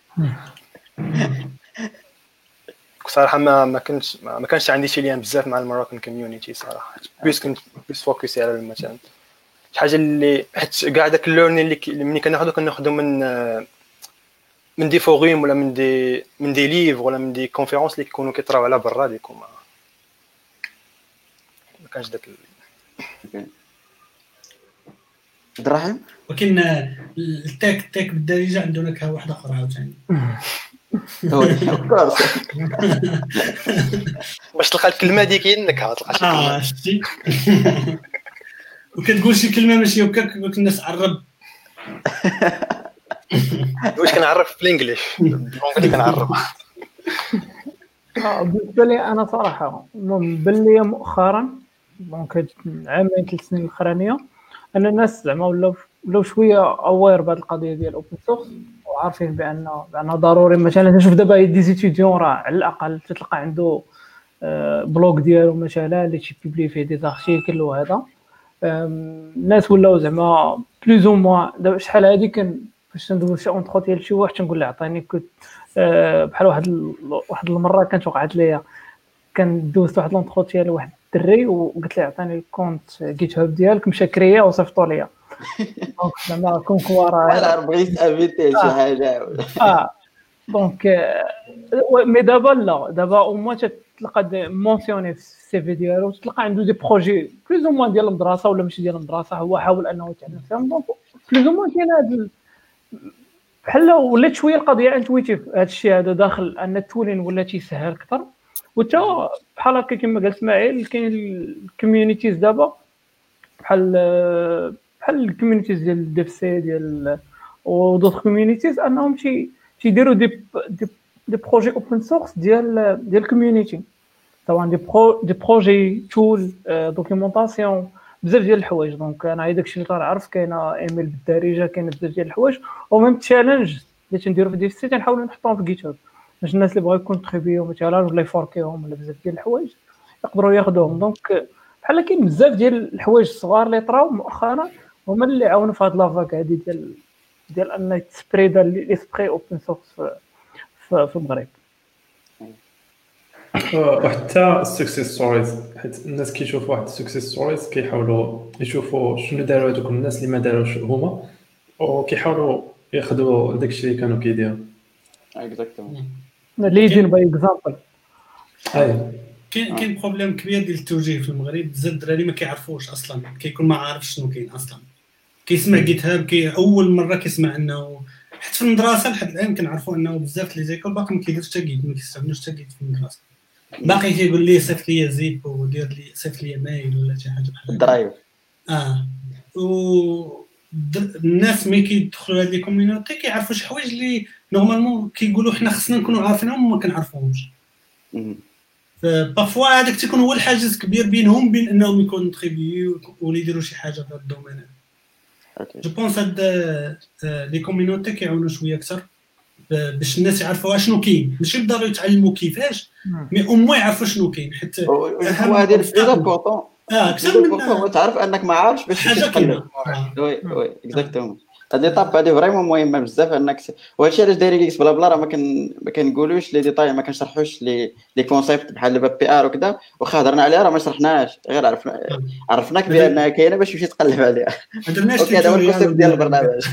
صراحه ما كانش عندي شي ليان بزاف مع المراكن كوميونيتي صراحه بس كنت بس فوكسي على مثلا شي حاجه اللي حيت كاع داك الليرنين اللي ملي كناخذو من دي فوروم ولا من دي ليف ولا من دي كونفيرونس اللي كيكونوا كيطراو على برا ديكم ما كانش داك الرحم. ولكن التاك بالدارجه عندنا نكهه واحده اخرى عاوتاني باش تلقى الكلمه ديك هي النكهه تلقى شي كلمه وكتقول شي كلمه ماشي هكاك الناس عرب واش كنعرف بالانجليش اللي كنعرف. بالنسبه لي انا صراحه بان لي مؤخرا دونك عامين 3 سنين الاخرانيه ان الناس زعما ولاو شويه اوير بهذه القضيه ديال الاوبن سورس وعارفين بان ضروري. مثلا تشوف دابا دي زيتيديون راه على الاقل تلقى عنده بلوغ ديالو مثلا اللي تيبلي فيه دي زارتيكل وهذا. الناس ولاو زعما بلوز او موان. دابا شحال هادي كان فاش ندوز شي اونتروتيا لشي واحد تنقول له عطيني كنت بحال واحد المره كانت وقعت ليا كان دوزت واحد لونتروتيا لواحد الدري وقلت له عطيني الكونت جيت هاب ديالك مشى كريا وصيفطوا ليا دونك زعما كونكوار انا بغيت افيتي شي حاجه دونك مي دابا لا دابا او موان تلقى مونسيوني في السي في ديالو تلقى عنده دي بروجي بلوز او موان ديال المدرسه ولا ماشي ديال المدرسه هو حاول انه يتعلم فيهم دونك بلوز او موان كاين هذا بحال ولات شويه القضيه انتويتيف هذا الشيء هذا داخل ان التولين ولا تيسهل اكثر. وتا بحال هكا كما قال اسماعيل كاين الكوميونيتيز دابا بحال الكوميونيتيز ديال الديف سي ديال ودوط كوميونيتيز انهم تيديروا دي بروجي اوبن سورس ديال الكوميونيتي سواء دي بروجي تول دوكيومونطاسيون بزاف ديال الحوايج. دونك انا داكشي اللي كنعرف كاينه ايميل بالدارجه كاينه بزاف ديال الحوايج وميم تشالنج اللي تنديروا في ديف سي تنحاولوا نحطوهم في جيت هاب باش الناس اللي بغاو يكونتريبيو مثلا ولا يفوركيهم ولا بزاف ديال الحوايج يقدروا ياخذوهم. دونك بحال كاين بزاف ديال الحوايج الصغار اللي طراو مؤخرا هما اللي عاونوا في هاد لافاك هادي ديال ان تسبريدا لي سبري اوبن سورس في المغرب. وحتى السكسيس ستوريز، حيت الناس كيشوفوا واحد السكسيس ستوريز كيحاولوا يشوفوا شنو داروا هذوك الناس اللي ما داروش هما، وكيحاولوا ياخذوا داكشي اللي كانوا كيديروا. اكزاكتومون ليدين باي اكزامبل. اي كاين بروبليم كبير ديال التوجيه في المغرب. بزاف الدراري ما كيعرفوش اصلا، كيكون ما عارفش شنو كاين اصلا. كيسمع جيت هاب اول مره كيسمع انه حتى في المدرسه لحد الان كنعرفوا انه بزاف لي زيكول باقي ما كيديرش حتى جيت، ما كيستعملوش حتى جيت في المدرسه. باقي كيقول لي صيفط لي زيب ودير لي صيفط لي مايل ولا شي حاجه بحال درايف. و الناس ملي كيدخلوا هاد لي كوميونيتي كيعرفوا شي حوايج اللي نورمالمون كيقولوا حنا خصنا نكونوا عارفينهم وما كنعرفوهمش. بارفوا هذاك تيكون هو الحاجز كبير بينهم بين انهم يكونوا تريبيو ولا يديروا شي حاجه في هذا الدومين. جو بونس هاد لي كوميونيتي كيعاونوا شويه اكثر باش الناس يعرفوا شنو كاين، ماشي بالضروري يتعلموا كيفاش مي او مو يعرفوا شنو كاين. حيت هذه البورطون اكثر من تعرف انك ما عارفش باش تقلب. وي اكزاكتومون. هاد ليطاب هادي فريمون مهمه بزاف انك وهادشي علاش دايرين اكس بلا بلا راه ما كنقولوش لي ديتاي، ما كنشرحوش لي كونسيبت بحال دابا بي ار وكذا، واخا هضرنا عليها راه ما شرحناش، غير عرفناك بانها كاينه باش تمشي تقلب عليها. اوكي هذا هو الكونسيبت ديال البرنامج.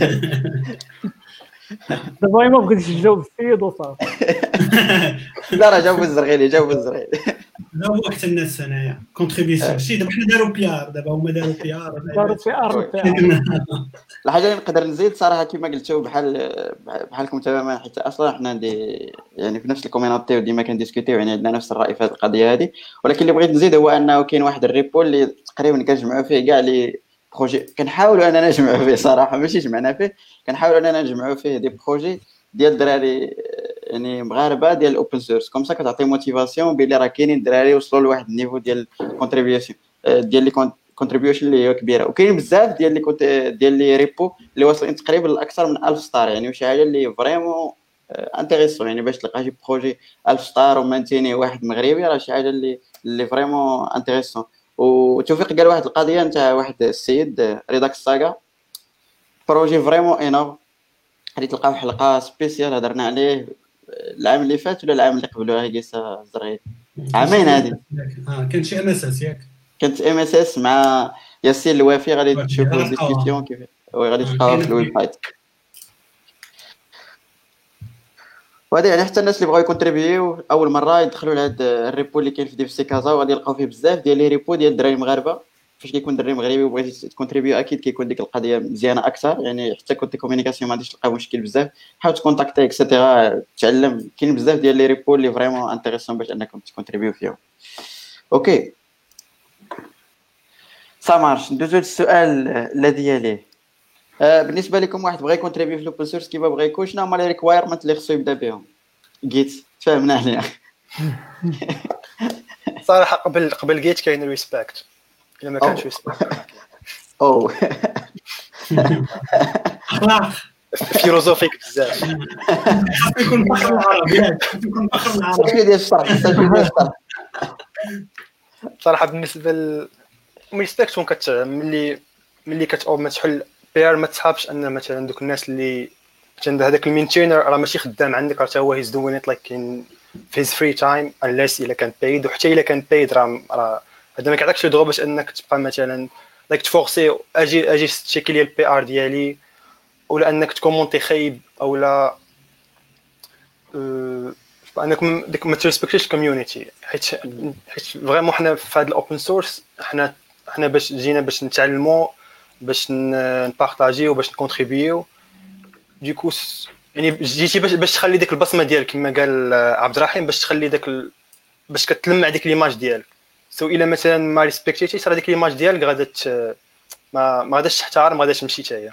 دابا ما بغيتش نجاوب السيد وصافي. لا راه جاوب الزرغيلي لا هو حتى الناس هنايا كونتريبيسيون شي دابا حنا داروا بيار، دابا هما داروا بيار. الحاجه اللي نقدر نزيد صراحه كما قلتوا بحالكم تماما، حيت اصلا حنا يعني في نفس الكوميونيتي وديما كنديسكوتيو، يعني عندنا نفس الراي في هذه القضيه هذه. ولكن اللي بغيت نزيد هو انه كاين واحد الريبو اللي تقريبا كنجمعوا فيه كاع لي بروجي، كنحاولوا اننا نجمعوا فيه صراحه، ماشي جمعنا فيه، كنحاولوا اننا نجمعوا فيه دي بروجي ديال دراري يعني مغاربه ديال الاوبن سورس، كوم سا كتعطي موتيفاسيون بلي راه كاينين دراري وصلوا لواحد النيفو ديال كونتريبيوشن ديال لي كونتريبيوشن اللي هي كبيره. وكاين بزاف ديال لي ريبو اللي واصلين تقريبا لاكثر من 1000 ستار، يعني شي حاجه اللي فريمون انتريسون. يعني باش تلقى شي بروجي 1000 ستار ومانتيني واحد مغربي راه شي حاجه اللي فريمون انتريسون. وتوفيق قال واحد القضيه نتاع واحد السيد ريداكس ساغا، بروجي فريمون انور، غادي تلقاو حلقه سبيسيال هضرنا عليه العام اللي فات ولا العام اللي قبله هكيسه الزرغيل، عامين هادي. كان شي ام اس اس ياك، كانت ام اس اس مع ياسين الوافي، غادي تشوفوا الديسكسيون كيف غادي تلقاوها في الويب سايت. وهذا يعني حتى الناس اللي بغاو يكونتريبيو اول مره يدخلوا لهذا الريبو اللي كاين في ديف سي كازا، وغادي يلقاو فيه بزاف ديال لي ريبو ديال الدراري المغاربه. فاش كيكون دري مغربي وبغيتي تكونتريبيو اكيد كيكون ديك القضيه مزيانه اكثر، يعني حتى كنت كومونيكاسيون ما غاديش تلقى مشكل بزاف، حاول تكونتاكتي اكسيتيرا تعلم. كاين بزاف ديال لي ريبو اللي فريمون انتريسون باش انكم تكونتريبيو فيهم. اوكي سامارش، ندوزو للسؤال الذي يليه. بالنسبه لكم واحد بغى يكونتريبيو في الاوبن سورس كيما بغى يكون، شنو هما لي ريكوايرمنت اللي خصو يبدا بهم؟ جيت تفهمنا عليها. صراحه قبل جيت كاين ريسبكت، الا ما كانش ريسبكت او فيلوزوفيك بزاف. يكون فخر العرب يكون فخر العرب ديال الشرح. صراحه بالنسبه ريسبكت ملي كتأوب تحل بير، ما تحابش ان مثلا دوك الناس اللي عند هذاك المينتينر راه ماشي خدام عندك، راه هو هيز دوين ات لايك ان في هيز فري تايم unless الا كان بايد. وحتى الا كان بايد راه هذا ما كيعطيكش الدغو باش انك تبقى مثلا لايك تفورسي اجي تشيكي لي البي ار ديالي، ولا انك تكومونتي خايب، او لا انك ديك ما تريسبكتيش الكوميونيتي. حيت فريمون حنا في هذا الاوبن سورس حنا باش جينا باش نتعلموا، باش نبارطاجيو، باش نكونتريبيو. ديكو يعني جيتي باش تخلي ديك البصمه ديالك كما قال عبد الرحيم، باش تخلي داك باش كتلمع ديك ليماج ديالك. سو الا مثلا ما ريسبكتيتيش راه ديك ليماج ديالك غادا ما غاداش تحترم، ما غاداش تمشي حتى هي.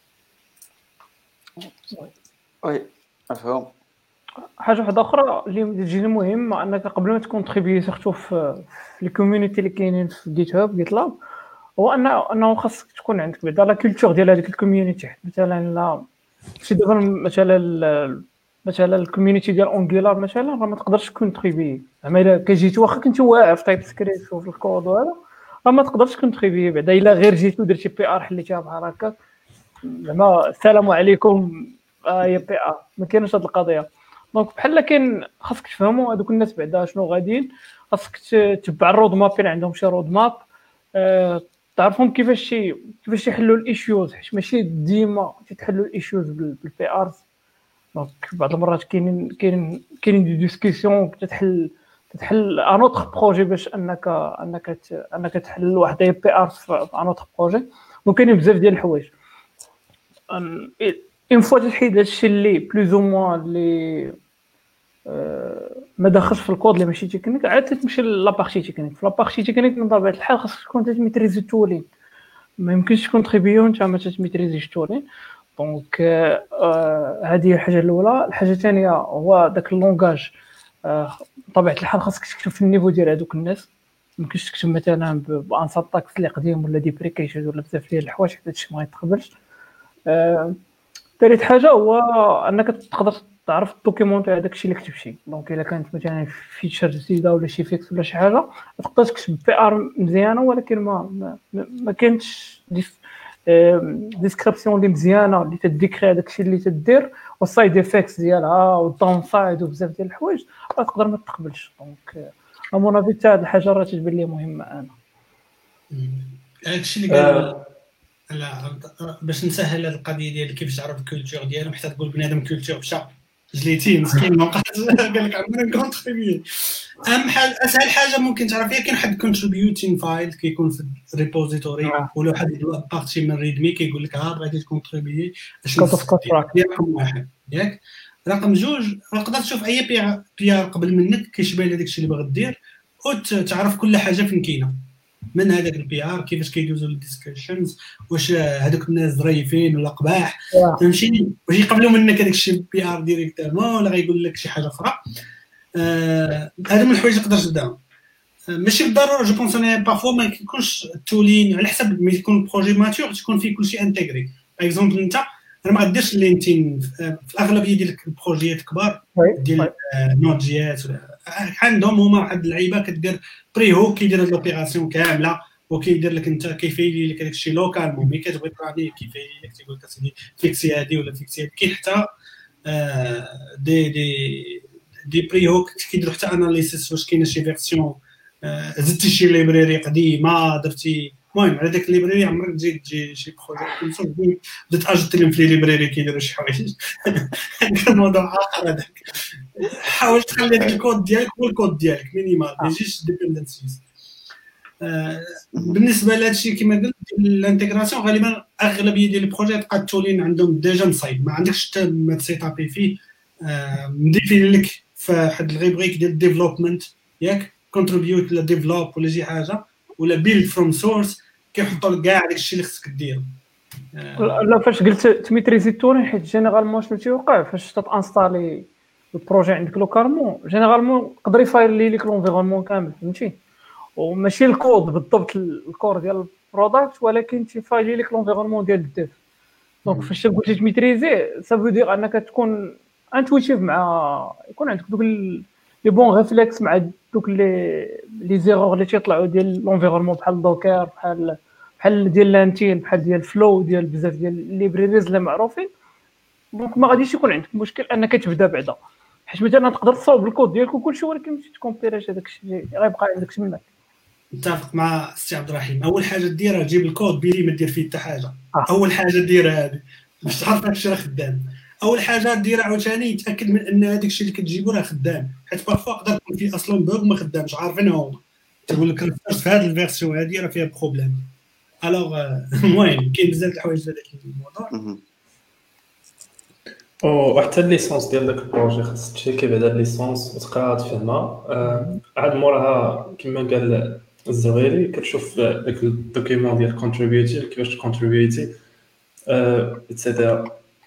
وي مفهوم. حاجه واحده اخرى اللي تجيني مهمه، انك قبل ما تكونتريبي سيرتو في الكوميونيتي اللي كاينين في جيت هاب جيت لاب، هو انه خاصك تكون عندك بعدا لا كولتور ديال هذيك الكوميونيتي. مثلا لا شي دابا مثلا الكوميونيتي ديال اونغولار مثلا راه ما تقدرش تكونتريبي، زعما الا كجيتي واخا كنتي واعر في تايب سكريبت وفي الكود وهذا، ما تقدرش كونتريبي بعدا الا غير جيتو درتي بي ار حليتيها بحال هكا زعما السلام عليكم هي بي ار ما كاينش هاد القضيه. دونك بحال كاين خاصك تفهموا هذوك الناس بعدا شنو غاديين، خاصك تتبع الرود ماب اللي عندهم شي رود ماب، تعرفهم كيفاش يحلوا الايشوز، حيت ماشي ديما تتحلوا الايشوز بالبي ارز. دونك بعض المرات كاينين دي ديسكسيون تتحل ان اوتر بروجي باش انك تحل واحد بي ار في ان اوتر بروجي. وكاينين بزاف ديال الحوايج اون فوا تحيد هادشي اللي بلوز او موان اللي ما داخلش في الكود اللي ماشي تكنيك، عاد تمشي لابارتي تكنيك. في لابارتي تكنيك من طبيعه الحال خاصك تكون تميتريزي التولين، ما يمكنش تكون تريبيون انت ما تميتريزيش التولين. دونك هذه هي الحاجه الاولى. الحاجه الثانيه هو داك اللونغاج، بطبيعه الحال خاصك تكتب في النيفو ديال هذوك الناس، ما يمكنش تكتب مثلا بانساتاكس اللي قديم ولا ديبريكيشن ولا بزاف ديال الحوايج حتى هادشي ما يتقبلش. ثالث حاجه هو انك تقدر تعرف الدوكيمونت هذاك الشيء اللي كتبتي. دونك الا كانت مثلا فيتشر جديده ولا شي فيكس ولا شي حاجه تقدر تكتب بي ار مزيانه، ولكن ما كانتش ديسكريبسيون اللي مزيانه اللي تديكري هذاك الشيء اللي تدير والسايد افكتس ديالها والداون سايد وبزاف ديال الحوايج تقدر ما تقبلش. دونك امون افي حتى هذه الحاجه راه تتبان لي مهمه. انا هادشي اللي قال لا باش نسهل هذه القضيه ديال كيفاش تعرف الكولتور ديالهم، حتى تقول بنادم كولتور مشى جليتي مسكين ما بقاش قال لك عمرنا كونتريبيوت. اهم حاجه اسهل حاجه ممكن تعرف هي كاين واحد كونتريبيوتين فايل كيكون في الريبوزيتوري ولا واحد بارتي من ريدمي كيقول لك بغيتي تكونتريبيي اش رقم واحد ياك. رقم جوج تقدر تشوف اي بي ار قبل منك كيشبه لهداك الشيء اللي باغي دير وتعرف كل حاجه فين كاينه من هذاك البي ار، كيفاش كيدوزوا الديسكشنز، واش هذوك الناس ظريفين ولا قباح، فهمتي، واش يقبلوا منك هذاك الشيء بي ار ديريكتومون ولا غيقول لك شي حاجه اخرى. هذا من الحوايج اللي تقدر تبداهم. ماشي بالضروره جو بونس انا بارفو ما كيكونش التولين على حسب ما يكون البروجي ماتور تكون فيه كلشي انتغري. باغ اكزومبل انت انا ما غاديرش لينتين في الاغلبيه ديال البروجيات كبار ديال نوت جي اس عندهم هما واحد اللعيبه كدير بري هوك كيدير لوبيراسيون كامله وكيدير لك انت كيفايلي لك داك الشيء لوكالمون مي كتبغي تراني كيفايلي لك تيقول لك اسيدي فيكسي هذه ولا فيكسي هذه. كاين حتى دي بري هوك كيديروا حتى اناليسيس واش كاينه شي فيرسيون زدتي شي ليبراري قديمه درتي المهم على داك الليبراري عمرك تجي شي بروجي بدات اجوتي لهم في ليبراري كيديروا شي حوايج الموضوع اخر هذاك. حاول تخلي داك الكود ديالك هو الكود ديالك مينيمال ما يجيش ديبندنسيز. بالنسبه لهذا الشيء كما قلت الانتغراسيون غالبا اغلبيه ديال البروجيات تلقى التولين عندهم ديجا مصايب ما عندكش حتى ما تسيطابي فيه. مديفين لك في واحد الغيبريك ديال الديفلوبمنت ياك كونتريبيوت لا ديفلوب ولا شي حاجه ولا بيلد فروم سورس كيحطوا لك كاع داك الشيء اللي خصك دير. لا فاش قلت تميتريزي التولين حيت جينيرالمون شنو تيوقع فاش تانستالي البروجي عندك لوكالمون جينيرالمون يقدر يفايل لك لونفيرونمون كامل فهمتي وماشي الكود بالضبط الكور ديال البرودكت ولكن تيفايل لك لونفيرونمون ديال الديف. دونك فاش قلتي تميتريزي سافو دير انك تكون انتويتيف مع يكون عندك دوك لي بون ريفلكس مع دوك لي زيرور اللي تيطلعوا ديال لونفيرونمون بحال دوكر بحال ديال لانتين بحال ديال فلو ديال بزاف ديال ليبريريز اللي معروفين. دونك ما غاديش يكون عندك مشكل انك تبدا بعدا حيت مثلا تقدر تصاوب الكود ديالك وكلشي ولكن ماشي تكومبيريش هذاك الشيء غيبقى عندك شي منك. متفق مع سي عبد الرحيم. اول حاجه ديرها جيب الكود بيلي ما دير فيه حتى حاجه. اول حاجه ديرها هذه باش تعرف داك الشيء راه خدام. اول حاجه ديرها عاوتاني تاكد من ان هذاك الشيء اللي كتجيبو راه خدام حيت بارفو يقدر يكون فيه اصلا بوغ ما خدامش عارفين هما تقول لك في هذه الفيرسيون هذه راه فيها بروبليم. الوغ المهم كاين بزاف د الحوايج في هذا الموضوع. وحتى الليسونس ديال داك البروجي خاص تشيكي بعدا الليسونس وتقراها تفهمها. عاد موراها كما قال الزغيري كتشوف داك الدوكيمون ديال كونتريبيوتي كيفاش تكونتريبيوتي اتسيتيرا.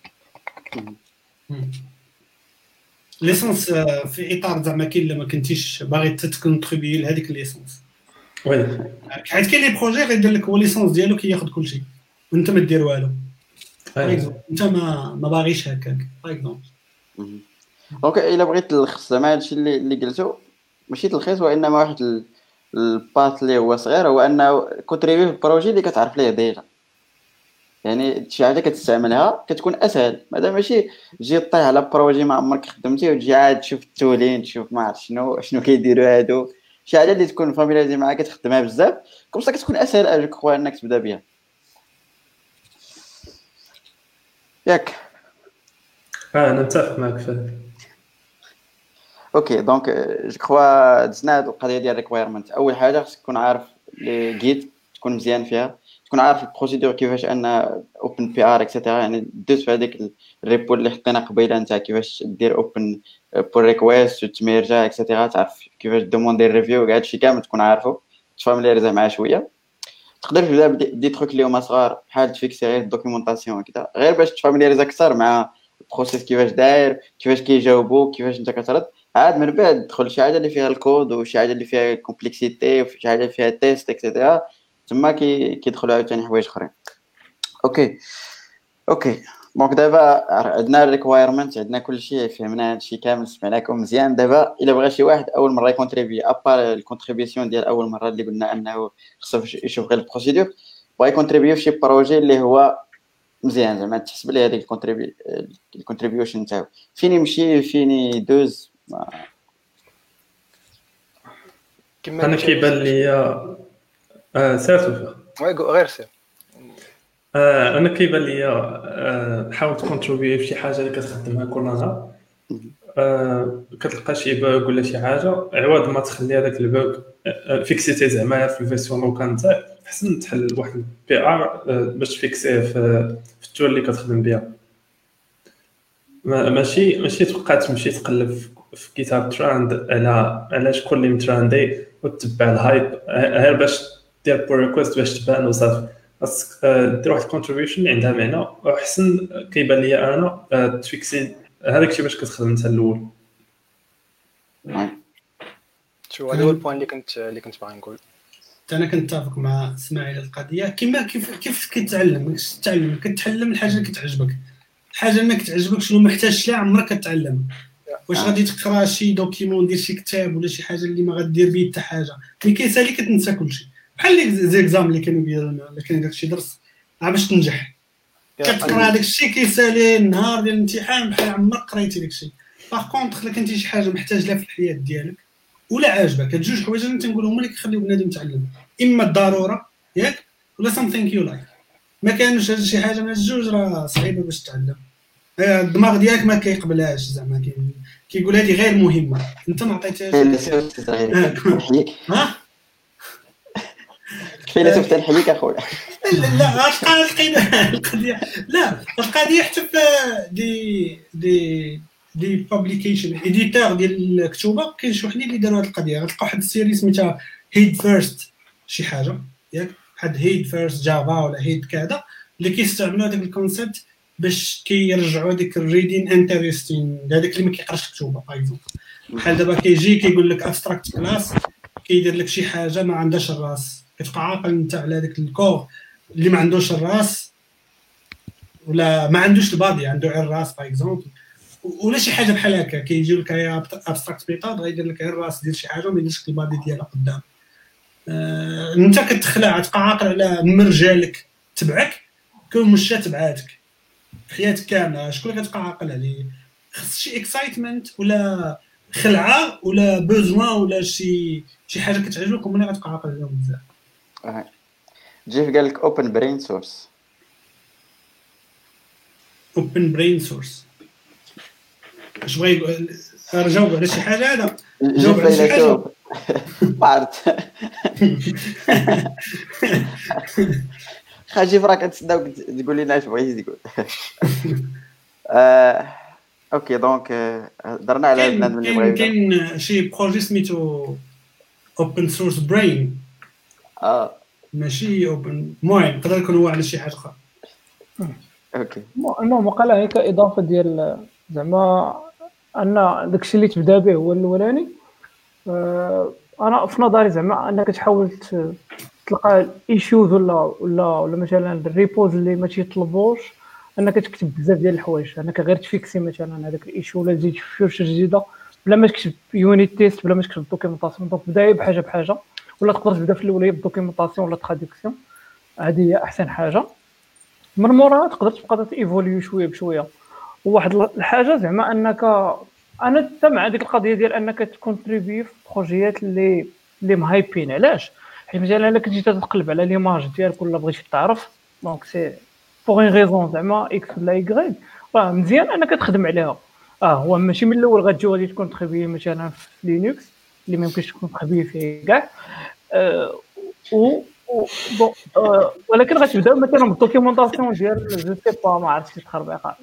ليسونس في اطار زعما كاين الا ما كنتيش باغي تكونتريبيي لهذيك الليسونس وي حيت كاين لي بروجي غيدير لك هو ليسونس ديالو كياخذ كلشي وانت ما دير والو. انت ما باغيش هكاك باغ اكزومبل. دونك الا بغيت تلخص زعما هادشي اللي قلتو ماشي تلخيص وانما واحد الباث اللي هو صغير هو انه كونتريبي في البروجي اللي كتعرف ليه ديجا، يعني شي حاجه كتستعملها كتكون اسهل، مادام ماشي تجي طيح على بروجي ما عمرك خدمتي وتجي عاد تشوف التولين تشوف ما عرفت شنو كيديروا هادو، شي حاجه اللي تكون فاميليزي معاك كتخدمها بزاف كومسا كتكون اسهل اجوك خويا انك تبدا بها ياك. انا متفق معك في هذا. اوكي دونك جو كخوا دزنا هاد القضيه ديال ريكوايرمنت. اول حاجه خصك تكون عارف لي جيت تكون مزيان فيها، تكون عارف البروسيدور كيفاش ان اوبن بي ار اكسيتيرا، يعني دوز في هذيك الريبو اللي حطينا قبيله نتاع كيفاش دير اوبن بول ريكويست وتميرجا اكسيتيرا، تعرف كيفاش دوموندي ريفيو كاع هادشي كامل تكون عارفه تفاميليزا معاه شويه. تقدر تبدا بدي تروك اللي هما صغار بحال تفيكسي غير الدوكيومونطاسيون وكذا غير باش تفاميليزا اكثر مع البروسيس كيفاش داير كيفاش كيجاوبوا كيفاش انت كترد. عاد من بعد دخل شي حاجه اللي فيها الكود وشي حاجه اللي فيها كومبلكسيتي وشي حاجه اللي فيها تيست اكسيتيرا، تما كيدخلوا عاوتاني حوايج اخرين. اوكي دونك دابا عندنا الريكوايرمنت عندنا كلشي فهمنا هادشي كامل سمعناكم مزيان. دابا الا بغى شي واحد اول مره يكونتريبي ابار الكونتريبيسيون ديال اول مره اللي قلنا انه خصو يشوف غير البروسيدور بغى يكونتريبي في شي بروجي اللي هو مزيان زعما تحسب ليه هذيك الكونتريبيوشن نتاعو فين يمشي فين يدوز. انا كيبان ليا سير غير سير. انا كيبان ليا حاول تكونتريبي في شي حاجه اللي كتخدمها كل نهار، كتلقى شي بوغ ولا شي حاجه عوض ما تخلي هذاك البوغ فيكسيتي زعما في الفيرسيون لوكال نتاعك، احسن تحل واحد البي ار باش تفيكسيه في التول اللي كتخدم بها. ماشي تبقى تمشي تقلب في كتاب تراند على شكون اللي متراندي وتتبع الهايب غير باش دير بول ريكويست باش تبان وصافي. خاصك دير واحد الكونتريبيوشن اللي عندها معنى وحسن كيبان ليا انا تفيكسي هذاك الشيء باش كتخدم انت الاول. شو هذا هو البوين اللي كنت باغي نقول. انا كنتفق مع اسماعيل القضيه كما كيف كتعلم كتعلم الحاجه اللي كتعجبك، الحاجه اللي ما كتعجبكش شنو محتاج لها عمرك كتعلم. واش غادي تقرا شي دوكيمون دير شي كتاب ولا شي حاجه اللي ما غدير بيه حتى حاجه ملي كيسالي كتنسى كلشي بحال لي زيكزام اللي كانوا ديالنا ولا كان داكشي درس باش تنجح كتقرا داكشي كيسالي النهار ديال الامتحان بحال عمرك قريتي داكشي. باغ كونطخ الا كنتي شي حاجه محتاج لها في الحياه ديالك ولا عاجبك هاد جوج حوايج اللي تنقولهم اللي كيخليو بنادم يتعلم، اما الضروره ياك ولا something you like. ما كانش هاد شي حاجه من الجوج راه صعيبه باش تتعلم، الدماغ ديالك ما كيقبلهاش زعما كيقول هذه غير مهمه انت ما عطيتهاش. ها فيلسوف تنحيك اخويا. لا القضيه لا القضيه حتى في دي بابليكيشن اديتور ديال الكتوبه كاين شي وحدين اللي داروا هذه القضيه. غتلقاو واحد السيري سميتها هيد فيرست شي حاجه ياك بحال هيد فيرست جافا ولا هيد كذا اللي كيستعملوا هذاك الكونسيبت باش كيرجعوا ديك الريدين انتريستين هذاك اللي ما كيقراش الكتوبه بايزون. بحال دابا كيجي كيقول لك ابستراكت كلاس كيدير لك شي حاجه ما عندهاش الراس كتبقى عاقل انت على داك الكور اللي ما عندوش الراس ولا ما عندوش البادي عنده غير الراس بايزون ولا شي حاجه بحال هكا كيجيو لك يا ابستراكت ميثود غيدير لك غير الراس ديال شي حاجه وما يديرش البادي ديالها قدام. انت كتخلع تبقى عاقل على المرجالك تبعك كون مشى تبعاتك في حياتك كامله شكون اللي كتبقى عاقل عليه. خص شي اكسايتمنت ولا خلعه ولا بوزوان ولا شي حاجه كتعجبك وملي غتبقى عاقل عليهم بزاف. جيف قال لك اوبن برين سورس. اوبن برين سورس اش بغا يقول؟ جاوب على شي حاجه هذا جاوب على شي حاجه بارت خاجي فراك تسناو تقول لنا اش بغيتي تقول. اوكي دونك درنا على البنادم اللي بغا كاين شي بروجي سميتو اوبن سورس برين ماشي اوبن المهم يقدر يكون هو على شي حاجه اخرى. اوكي المهم قال هيك اضافه ديال زعما ان داكشي اللي تبدا به هو الاولاني. انا في نظري زعما انك تحاول تلقى الايشوز ولا مثلا الريبوز اللي ما تيطلبوش انك تكتب بزاف ديال الحوايج، انك غير تفيكسي مثلا هذاك الايشو ولا تزيد فيوتشر جديده بلا ما تكتب يونيت تيست بلا ما تكتب دوكيومونطاسيون. دونك بدايه بحاجه ولا تقدر تبدا في الاوليه بالدوكيومونطاسيون ولا تراديكسيون. هذه هي احسن حاجه. من موراها تقدر تبقى تيفوليو شويه بشويه. وواحد الحاجه زعما انك انا حتى مع ديك القضيه ديال انك تكونتريبي في بروجيات اللي مهايبين. علاش؟ حيت مثلا الا كنتي تقلب على ليماج ديالك ولا بغيتي تعرف دونك سي بوغ ان ريزون زعما اكس ولا يغريك، راه مزيان انك تخدم عليها. هو ماشي من الاول غتجي غادي تكون تخبي مثلا في لينكس اللي ما يمكنش تكون تخبي فيه كاع. بون ولكن غتبداو مثلا بالدوكيومونطاسيون ديال جو سي با ما عرفتش تخربيقه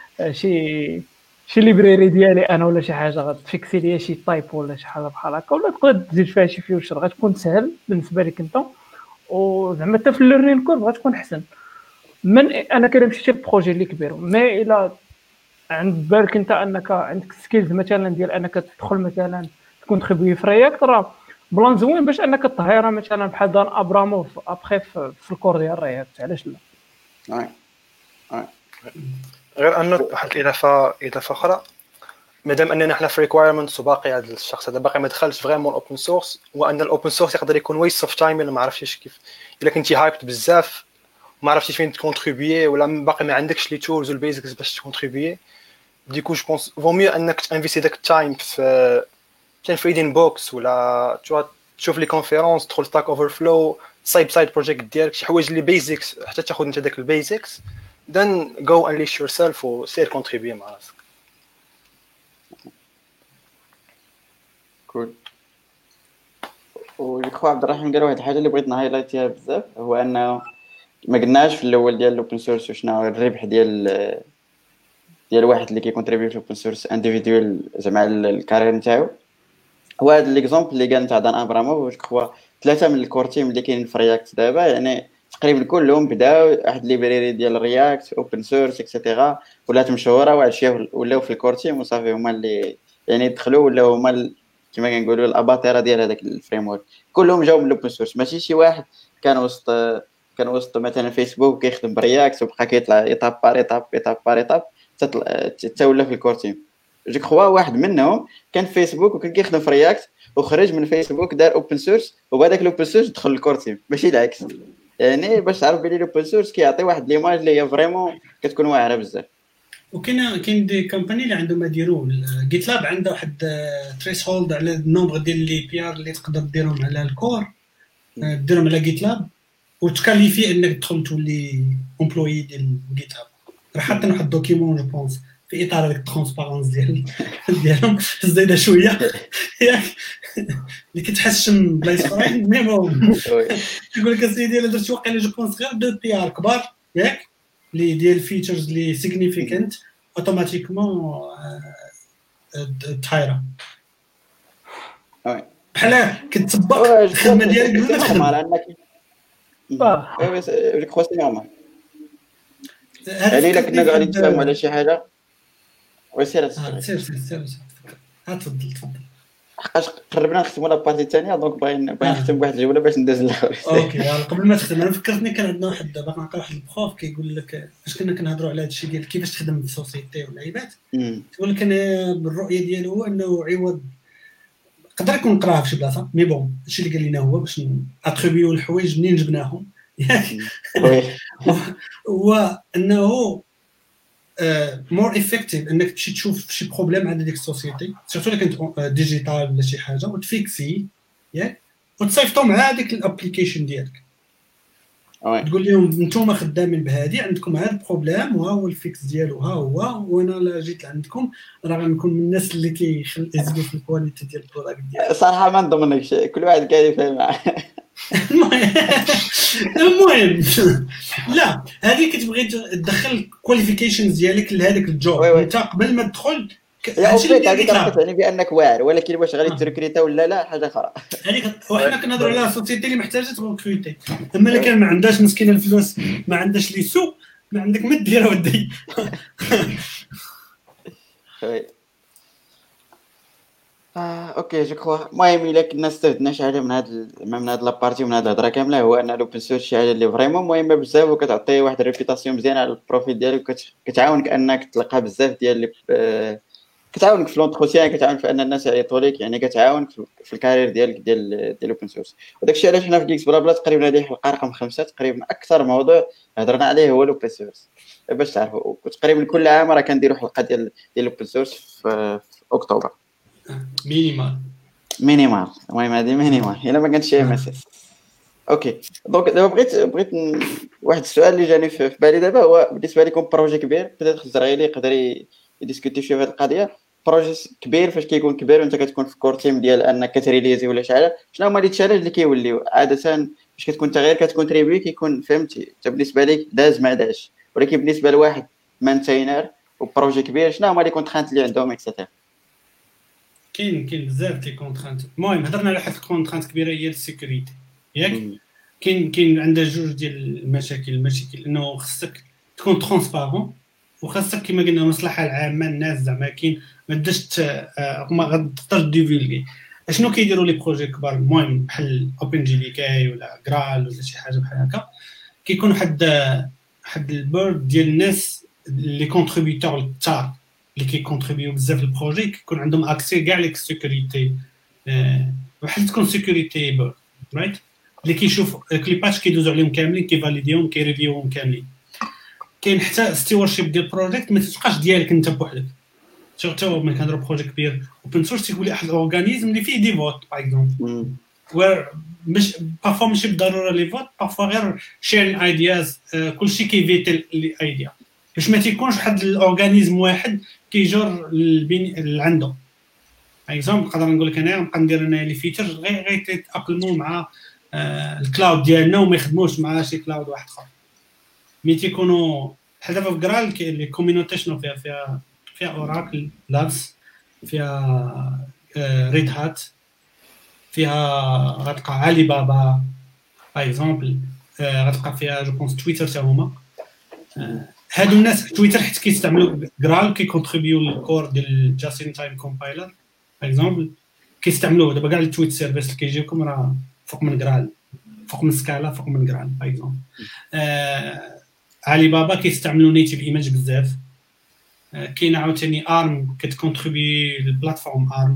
شي ليبراري ديالي انا ولا شي حاجه غتفيكسي ليا شي تايب ولا شي حاجه بحال هكا، ولا تقدر تزيد فيها شي فيوتشر غتكون سهل بالنسبه لك انت. وزعما حتى في الليرنين كورب غتكون احسن من انا كنمشي لبروجي اللي كبير. مي الا عند بالك انت انك عندك سكيلز مثلا ديال انك تدخل مثلا تكون تخبي في رياكت، راه بلان زوين باش انك تطهيرها مثلا بحال دان ابراموف ابخي في الكور ديال رياكت. علاش لا؟ غير انه واحد الاضافه اخرى، مادام اننا حنا في ريكوايرمنتس وباقي هذا الشخص هذا باقي ما دخلش فريمون الاوبن سورس، وان الاوبن سورس يقدر يكون ويست اوف تايم الا ما عرفتيش كيف، الا كنتي هايبت بزاف ما عرفتيش فين تكونتريبيي ولا باقي ما عندكش لي تولز والبيزكس باش تكونتريبيي. ديكو جو بونس فو ميو انك تانفيستي داك التايم في ريدين بوكس ولا تشوف لي كونفيرونس، تدخل ستاك اوفر فلو، سايد بروجيكت ديالك شي حوايج لي بيزكس حتى تاخذ انت داك البيزكس، then go unleash yourself وسير كونتريبيي مع راسك. كول. ويخو عبد الرحيم قال واحد الحاجه اللي بغيت نهايلايتيها بزاف، هو انه ما قلناش في الاول ديال الاوبن سورس وشنو الربح ديال واحد اللي كيكونتريبي في الاوبن سورس انديفيدوال زعما الكارير نتاعو. هو هذا ليكزومبل اللي قال نتاع دان ابراموف، هو 3 من الكور تيم اللي كاينين في رياكت دابا يعني تقريبا كلهم بداو واحد ليبراري ديال رياكت اوبن سورس اكسيتيرا، ولات مشهوره وعاد شي ولاو في الكور تيم وصافي هما اللي يعني دخلوا ولا هما كما كنقولوا الاباطره ديال هذاك الفريم ورك. كلهم جاوا من الاوبن سورس، ماشي شي واحد كان وسط مثلا فيسبوك كيخدم برياكت وبقى كيطلع ايطاب بار ايطاب حتى ولا في الكور تيم. جو كخوا واحد منهم كان في فيسبوك وكان كيخدم في رياكت وخرج من فيسبوك دار اوبن سورس وبهذاك الاوبن سورس دخل الكور تيم، ماشي العكس. يعني باش تعرف بلي الاوبن سورس كيعطي واحد ليماج اللي هي فريمون كتكون واعره بزاف. وكاين دي كومباني اللي عندهم يديروا جيت لاب عنده واحد تريس هولد على النومبر ديال لي بي ار اللي تقدر ديرهم على الكور، ديرهم على جيت لاب وتكاليفي انك تدخل تولي امبلوي ديال جيت لاب. راه حاطين واحد الدوكيمون جو بونس في اطار هذيك الترونسبارونس ديالهم زايده شويه ياك اللي كتحشم بلايص اخرين. مي بون يقول لك اسيدي الا درت واقيلا جو بونس غير دو بي ار كبار ياك لي ديال فيتشرز لي سيغنيفيكانت اوتوماتيكمون طايره بحال كتطبق الخدمه ديالك قبل ما تخدم. وي كروسي نورمال. يعني الا كنا قاعدين نتفاهموا على شي حاجه وسير تفضل حقاش قربنا نختموا لابارتي الثانيه دونك باغيين نختم بواحد الجوله باش ندوز للاخر. اوكي قبل ما تختم انا فكرتني كان عندنا واحد باقي نلقى واحد البروف كيقول لك فاش كنا كنهضروا على هذا الشيء ديال كيفاش تخدم في السوسيتي والعيبات، تقول لك انا بالرؤيه ديالو هو انه عوض يقدر يكون قراها في شي بلاصه مي بون الشيء اللي قال لنا هو باش اتريبيو الحوايج منين جبناهم ياك هو انه مور افكتيف انك تمشي تشوف شي بروبليم عند ديك السوسيتي سيرتو الا كانت ديجيتال ولا شي حاجه وتفيكسي ياك وتصيفطو مع هذيك الابليكيشن ديالك. تقول لهم نتوما خدامين بهادي عندكم هذا البروبليم وها هو الفيكس ديالو ها هو، وانا لا جيت عندكم راه غنكون من الناس اللي كيزيدوا في الكواليتي ديال البروداكت ديالك. صراحه ما نضمنكش كل واحد قاعد يفهم معاه. المهم لا هذه كتبغي تدخل كواليفيكيشنز ديالك لهذاك الجوب انت قبل ما تدخل. هادشي اللي كتعني بانك واعر، ولكن واش غادي تركريتا ولا لا حاجه اخرى. هذيك وحنا كنهضروا على السوسيتي اللي محتاجه تركريتي، اما اللي كان ما عندهاش مسكينه الفلوس ما عندهاش لي سو ما عندك ما دير ودي. اوكي جو كخوا المهم الا كنا استفدنا شي حاجه من هاد لابارتي ومن هاد الهضره كامله هو ان الاوبن سورس شي حاجه اللي فريمون مهمه بزاف وكتعطي واحد الريبيتاسيون مزيانه على البروفيل ديالك وكتعاونك انك تلقى بزاف ديال كتعاونك في لونتروتيان، كتعاون في ان الناس يعيطوا لك، يعني كتعاونك في الكارير ديالك ديال الاوبن سورس. وداك الشيء علاش حنا في جيكس بلا بلا تقريبا هذه الحلقه رقم 5 تقريبا اكثر موضوع هضرنا عليه هو الاوبن سورس، باش تعرفوا. تقريبا كل عام راه كنديروا حلقه ديال الاوبن سورس في اكتوبر. مينيمال المهم هذه مينيمال الا ما كانش شي مساس. اوكي دونك دابا بغيت واحد السؤال اللي جاني في بالي دابا هو بالنسبه لكم بروجي كبير بدات الزرعيلي يقدر يديسكوتي شويه في هذه القضيه. بروجي كبير فاش كيكون كبير وانت كتكون في كور تيم ديال انك كتريليزي ولا شي حاجه، شنو هما لي تشالنج اللي كيوليو عاده فاش كتكون انت غير كتكونتريبي كيكون فهمتي انت بالنسبه لك داز ما داش، ولكن بالنسبه لواحد مانتينر وبروجي كبير شنو هما لي كونترانت اللي عندهم اكسترا؟ كاين بزاف لي كونترانت. المهم هضرنا على واحد الكونترانت كبيره هي السيكوريتي ياك. كاين عندها جوج ديال المشاكل انه خصك تكون ترونسبارون، وخاصك كما قلنا المصلحه العامه الناس زعما كاين ما تدش ما غتقدرش ديفولغي. اشنو كيديروا لي بروجي كبار المهم بحال اوبن جي دي كاي ولا جرال ولا شي حاجه بحال هكا، كيكون واحد البورد ديال الناس لي كونتريبيوتور كثار اللي كيكونتريبيو بزاف البروجي، كيكون عندهم اكسي كاع لي سيكوريتي بحال تكون سيكوريتي بورد رايت اللي كيشوف كلي باتش كيدوزو عليهم كاملين كيفاليديهم كيريفيوهم كاملين. كاين حتى ستيورشيب ديال البروجيكت ما تبقاش ديالك انت بوحدك. شفتوا ملي كنهضروا بروجيكت كبير اوبن سورس تيقول لي واحد الاورغانيزم اللي فيه دي فوت باغ اكزومبل مش بارفو ماشي بالضروره لي فوت، بارفو غير شيرين ايدياز كلشي كيفيتي الايديا باش ما تيكونش واحد الاورغانيزم واحد كيجر اللي عنده. باغ اكزومبل نقدر نقول لك انا نبقى ندير انا لي فيتشر غير يتاقلموا مع الكلاود ديالنا وما يخدموش مع شي كلاود واحد اخر. مي تيكونوا بحال دابا في جرال لي كوميونيتي شنو فيها اوراكل لابس، فيها ريد هات، فيها غتلقى علي بابا باغ اكزومبل، غتلقى فيها جو بونس تويتر حتى هما. هادو الناس تويتر حيت كيستعملوا جرال كيكونتريبيو للكور ديال جاستين تايم كومبايلر باغ اكزومبل، كيستعملوه دابا كاع التويت سيرفيس اللي كيجيوكم راه فوق من جرال، فوق من سكالا، فوق من جرال باغ اكزومبل. علي بابا كيستعملوا نيتيف ايماج بزاف. كاين عاوتاني ارم كتكونتريبي للبلاتفورم ارم.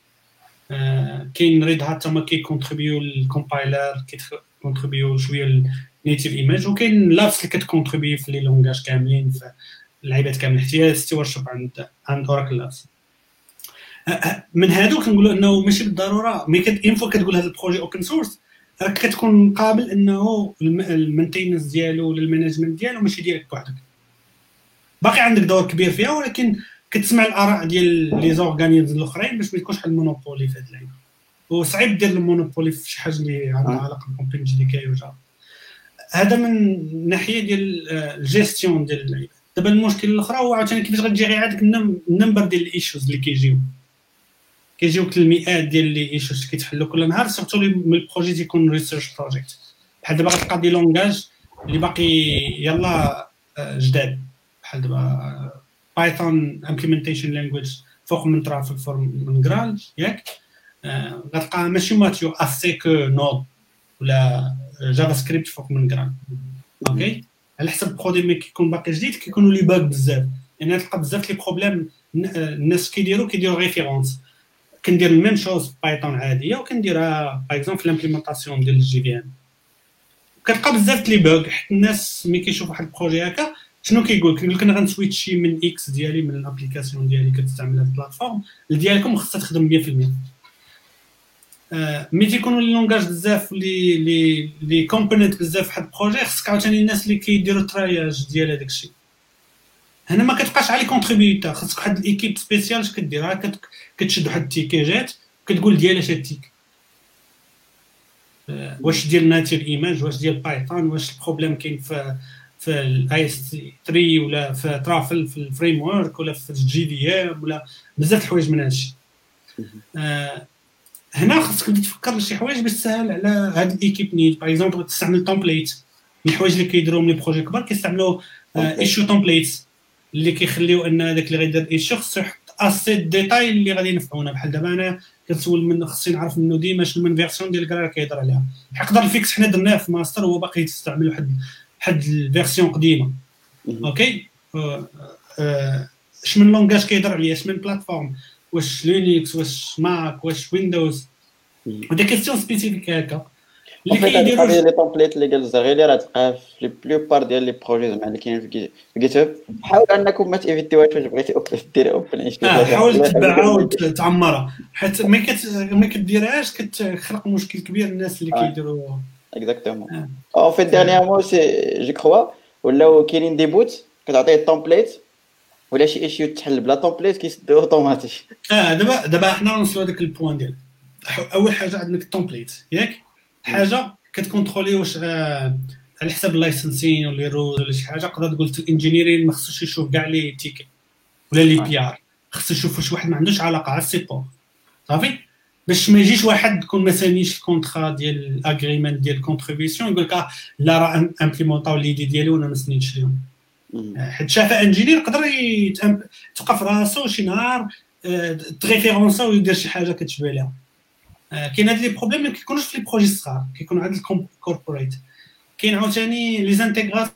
كاين ريد هات تما كيكونتريبيو للكومبايلر كيكونتريبيو شويه للنيتيف ايماج، وكاين لابس اللي كتكونتريبي في لي لونغاج كاملين في اللعيبات كاملين حتى هي ستيورشيب عند اوراكل لابس. من هادو كنقولوا انه ماشي بالضروره مي انفو كتقول هذا البروجي اوبن سورس راك كتكون قابل انه المينتيننس ديالو ولا المانجمنت ديالو ماشي ديالك بوحدك، باقي عندك دور كبير فيها، ولكن كتسمع الاراء ديال لي زورغانيزم الاخرين باش ما يكونش واحد المونوبولي في هاد اللعيبه. وصعيب دير المونوبولي في شي حاجه اللي عندها علاقه باوبن جي دي كاي وجافا. هذا من ناحيه ديال الجيستيون ديال اللعيبه. دابا المشكل الاخر هو عاوتاني كيفاش غتجيري عندك النمبر ديال الايشوز اللي كيجيوك المئات ديال لي ايشوز كيتحلوا كل نهار، سورتو من البروجي تيكون ريسيرش بروجيكت بحال دابا غتلقى دي لونغاج اللي باقي يلا جداد بحال دابا بايثون امبليمنتيشن لانجويج فوق من ترافيك فورم من جرال ياك، غتلقى ماشي ماتيو اسي كو نود ولا جافا سكريبت فوق من جرال. اوكي على حسب البرودوي ملي كيكون باقي جديد كيكونوا لي باغ بزاف، يعني تلقى بزاف لي بروبليم الناس كيديروا ريفيرونس. كندير الميم شوز بايثون عاديه وكنديرها باغ اكزومبل في لامبليمونطاسيون ديال الجي في ام، كتلقى بزاف لي باغ حيت الناس ملي كيشوف واحد البروجي هكا شنو كيقول لك انا غنسويتشي من اكس ديالي من الابليكاسيون ديالي كتستعمل هاد البلاتفورم ديالكم خصها تخدم 100%. ملي تيكونوا لي لونغاج بزاف لي كومبوننت بزاف في واحد البروجي خصك عاوتاني الناس اللي كيديروا التراياج ديال هذاك الشيء. هنا ما كتبقاش على كونتريبيوتور، خصك واحد الايكيب سبيسيال اش كديرها كتشد واحد التيكيجات كتقول ديال اش التيك واش ديال ناتيف ايماج واش ديال بايثون واش البروبليم كاين في الاي اس 3 ولا في ترافل في الفريم ورك ولا في الجي دي ام ولا بزاف الحوايج من هادشي. هنا خصك تبدا تفكر شي حوايج باش تسهل على هاد الايكيب نيد. باغ اكزومبل تستعمل تومبليت من الحوايج اللي كيديروهم لي بروجي كبار، كيستعملوا ايشو تومبليتس اللي كيخليو ان داك اللي غيدير ايشو خصو يحط اسي ديتاي اللي غادي ينفعونا. بحال دابا انا كنسول منه خصني نعرف منه ديما شنو من فيرسيون ديال الكرا كيهضر عليها. يقدر الفيكس حنا درناه في ماستر هو باقي يستعمل واحد الفيرسيون قديمه. اوكي اش من لونغاج كيهضر عليا، اش من بلاتفورم، واش لينكس واش ماك واش ويندوز، ودي كيستيون سبيسيفيك هكا اللي كيديروا كيديروا. لي تومبليت اللي قال الزغيري راه تلقاه في لي بلوبار ديال لي بروجي زعما اللي كاينين في جيت هاب. حاول انكم ما تيفيتيوهاش فاش بغيتي ديري اوبن حاول تتبعها وتعمرها، حيت ما كديرهاش كتخلق مشكل كبير للناس اللي كيديروا. اكزاكتومون. او في ديرنيامون سي جو كخوا ولاو كاينين دي بوت كتعطيه التومبليت ولا شي ايشيو تحل بلا تومبليت كيسدو اوتوماتيك. دابا حنا نوصلوا هذاك البوان ديال اول حاجه عندك التومبليت ياك، حاجه كتكونترولي واش على حساب اللايسنسين ولا روز ولا شي حاجه. قدر تقول الانجينيرين ما خصوش يشوف كاع لي تيكي ولا لي بي ار، خصو يشوف واش واحد ما عندوش علاقه على السيبور صافي، باش ما يجيش واحد يكون ما سانيش الكونطرا ديال الاغريمنت ديال الكونتريبيسيون يقول لك لا راه امبليمونطاو ليدي ديالي وانا ما سنيتش لهم. حيت شافه انجينير يقدر يتوقف راسو شي نهار تريفيرونسا ويدير شي حاجه كتشبه لها. كاين هاد لي بروبليم ما كيكونوش في لي بروجي صغار، كيكونوا عند الكوربوريت. كاين عاوتاني لي زانتيغراسيون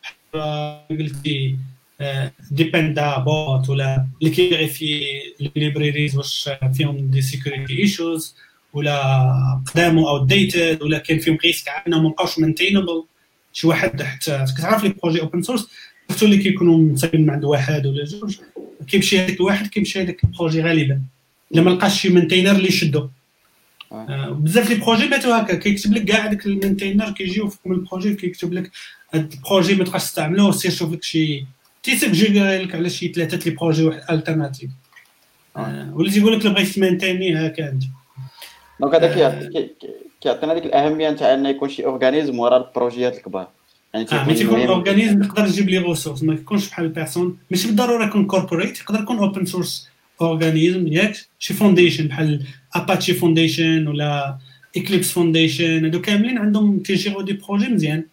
قلتي ديبندا بوت ولا اللي كيفيريفي ليبريريز واش فيهم دي سيكوريتي ايشوز ولا قدامو او ديتد ولا كاين فيهم ريسك عندنا ما بقاوش مينتينبل. شي واحد حتى كتعرف لي بروجي اوبن سورس حتى اللي كيكونوا متساويين مع عند واحد ولا جوج، كيمشي هذاك الواحد كيمشي هذاك البروجي غالبا الا ما لقاش شي مينتينر اللي يشدو. بزاف لي بروجي باتوا هكا كيكتب لك كاع داك المينتينر كيجيو فوق البروجي كيكتب لك هاد البروجي ما تبقاش تستعملوه، سير شوف لك شي تيسجل لك على شي 3 لي بروجي واحد التيرناتيف ولا تيقول لك بغيتي تمانتيني هكا انت. دونك هذا كيعطينا ديك الاهميه نتاع ان يكون شي اورغانيزم ورا البروجيات الكبار. يعني تيكون اورغانيزم يقدر يجيب لي ريسورس، ما يكونش بحال بيرسون، ماشي بالضروره يكون كوربوريت، يقدر يكون اوبن سورس اورغانيزم ياك شي فونديشن بحال اباتشي فونديشن ولا اكليبس فونديشن. هادو كاملين عندهم تيجيرو دي بروجي مزيان.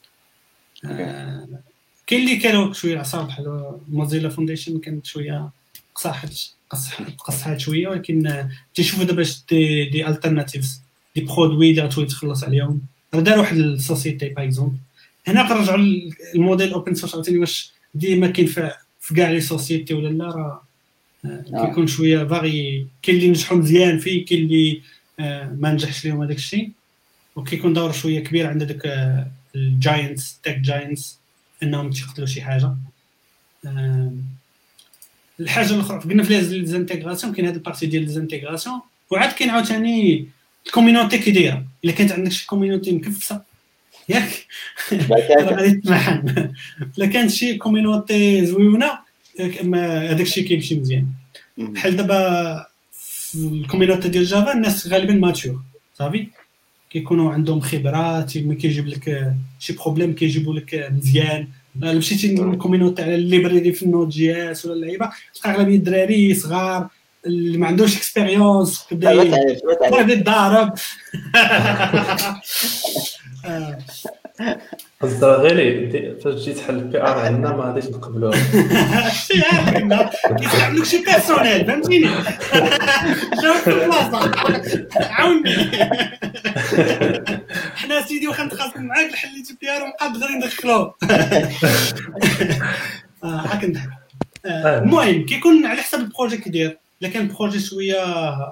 كاين اللي كانوا شويه عصاب بحال موزيلا فونديشن كانت شويه قصحات شويه، ولكن تيشوفوا دابا دي التيرناتيفز دي برودوي اللي غتولي تخلص عليهم. داروا واحد السوسيتي باغ اكزومبل هنا كنرجعوا الموديل اوبن سورس عاوتاني واش ديما كاين في كاع لي سوسيتي ولا لا، راه كيكون شويه فاغي. كاين اللي نجحوا مزيان فيه، كاين اللي ما نجحش لهم هذاك الشيء، وكيكون دور شويه كبير عند داك الجاينتس تك جاينتس انهم تيقتلوا شي حاجه. الحاجه الاخرى قلنا في لي زانتيغراسيون كاين هذا البارتي ديال لي زانتيغراسيون، وعاد كاين عاوتاني الكوميونيتي كيدايره. الا كانت عندك شي كوميونيتي مكفسه ياك غادي تمحن، الا كانت شي كوميونيتي زويونه هذاك الشيء كيمشي مزيان. بحال دابا في الكوميونيتي ديال جافا الناس غالبا ماتور صافي، كيكونوا عندهم خبرات، ما كيجيب لك شي بروبليم كيجيبوا لك مزيان. الا مشيتي للكوميونيتي على الليبراري في النود جي اس ولا اللعيبه تلقى اغلبيه الدراري صغار اللي ما عندوش اكسبيريونس كبدا يتضارب. الزغيري فاش جيت تحل البي ار عندنا ما غاديش نقبلوها. كيعملوك شي بيرسونيل فهمتيني. جاوب في البلاصه عاوني. حنا سيدي واخا نتخاصم معاك حليت البي ار وبقى غير ندخلوه هاك نضحك. المهم كيكون على حسب البروجي كيدير. الا كان بروجي شويه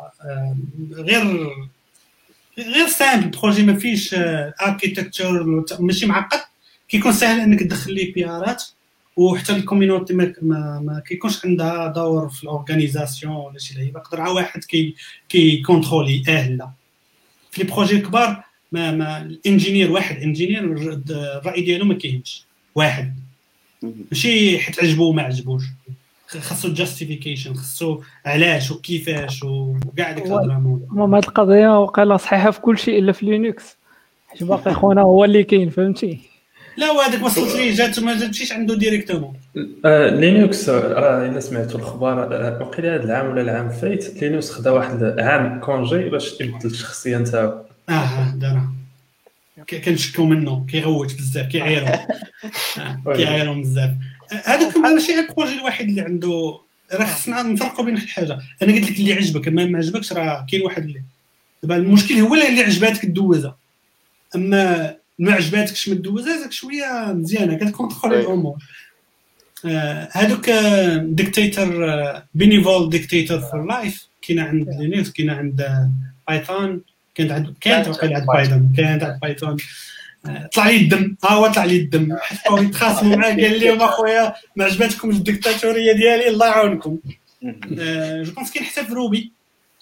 غير سامبل، بروجي ما فيش اركيتكتشر ماشي معقد، كيكون سهل انك تدخل لي بي ارات، وحتى الكوميونيتي ما كيكونش عندها دور في الاورغانيزاسيون ولا شي لعيبه. يقدر عا واحد كي كونترولي لا. في لي بروجي كبار ما الانجينير واحد انجينير الراي ديالو ما كاينش واحد، ماشي حيت عجبو ما عجبوش، خاصو جاستيفيكيشن، خاصو علاش وكيفاش وكاع ديك الهضره. المهم هاد القضيه وقيلا صحيحه في كل شيء الا في لينكس، حيت باقي خونا هو اللي كاين فهمتي. لا وهذاك وصلت ليه جات ما جاتش عنده ديريكتومون. لينكس راه الا سمعتوا الاخبار وقيلا هذا العام ولا العام فايت لينكس خدا واحد عام كونجي باش يبدل الشخصيه نتاعو. دارها كنشكو منه كيغوت بزاف كيعيرهم بزاف. هذاك ماشي البروجي الوحيد اللي عنده، راه خصنا نفرقوا بين الحاجه. انا قلت لك اللي عجبك ما عجبكش، راه كاين واحد اللي دابا المشكل هو اللي عجباتك دوزها، اما ما عجباتكش ما دوزها، هذاك شويه مزيانه كتكونترولي الامور. هذوك ديكتاتور بينيفول ديكتاتور فور لايف كاينه عند لينكس، كاينه عند بايثون، كانت واقيلا عند بايثون، كانت عند بايثون. طلع لي الدم، هو طلع لي الدم، حتى يتخاصموا معاه قال لهم اخويا ما عجبتكمش الديكتاتوريه ديالي الله يعاونكم. جو بونس كاين حتى في روبي.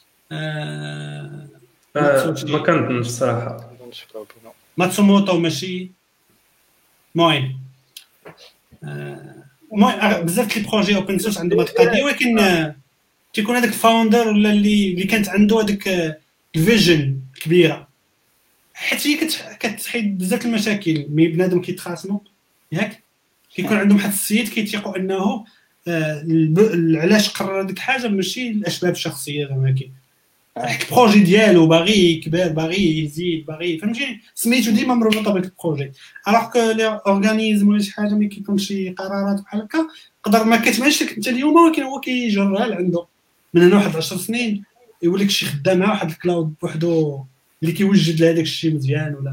ما كنظنش الصراحه ماتسوموتو ماشي. المهم بزاف لي بروجي اوبن سورس عندهم هاد القضيه، ولكن تيكون هذاك الفاوندر ولا اللي كانت عنده هذاك الفيجن كبيره، حيت هي كتحيد بزاف المشاكل ملي بنادم كيتخاصموا ياك، كيكون عندهم واحد السيد كيتيقوا انه علاش قرر هذيك الحاجه ماشي الاسباب الشخصيه زعما كي البروجي ديالو باغي يكبر، باغي يزيد، باغي فهمتي سميتو ديما مربوطه بهذاك البروجي. الوغ كو لي اورغانيزم ولا شي حاجه ملي كيكون شي قرارات بحال هكا تقدر ما كتبانش لك انت اليوم، ولكن هو كيجرها لعنده من هنا واحد 10 سنين يولي شي خدام مع واحد الكلاود بوحدو اللي كيوجد لهذاك الشيء مزيان. ولا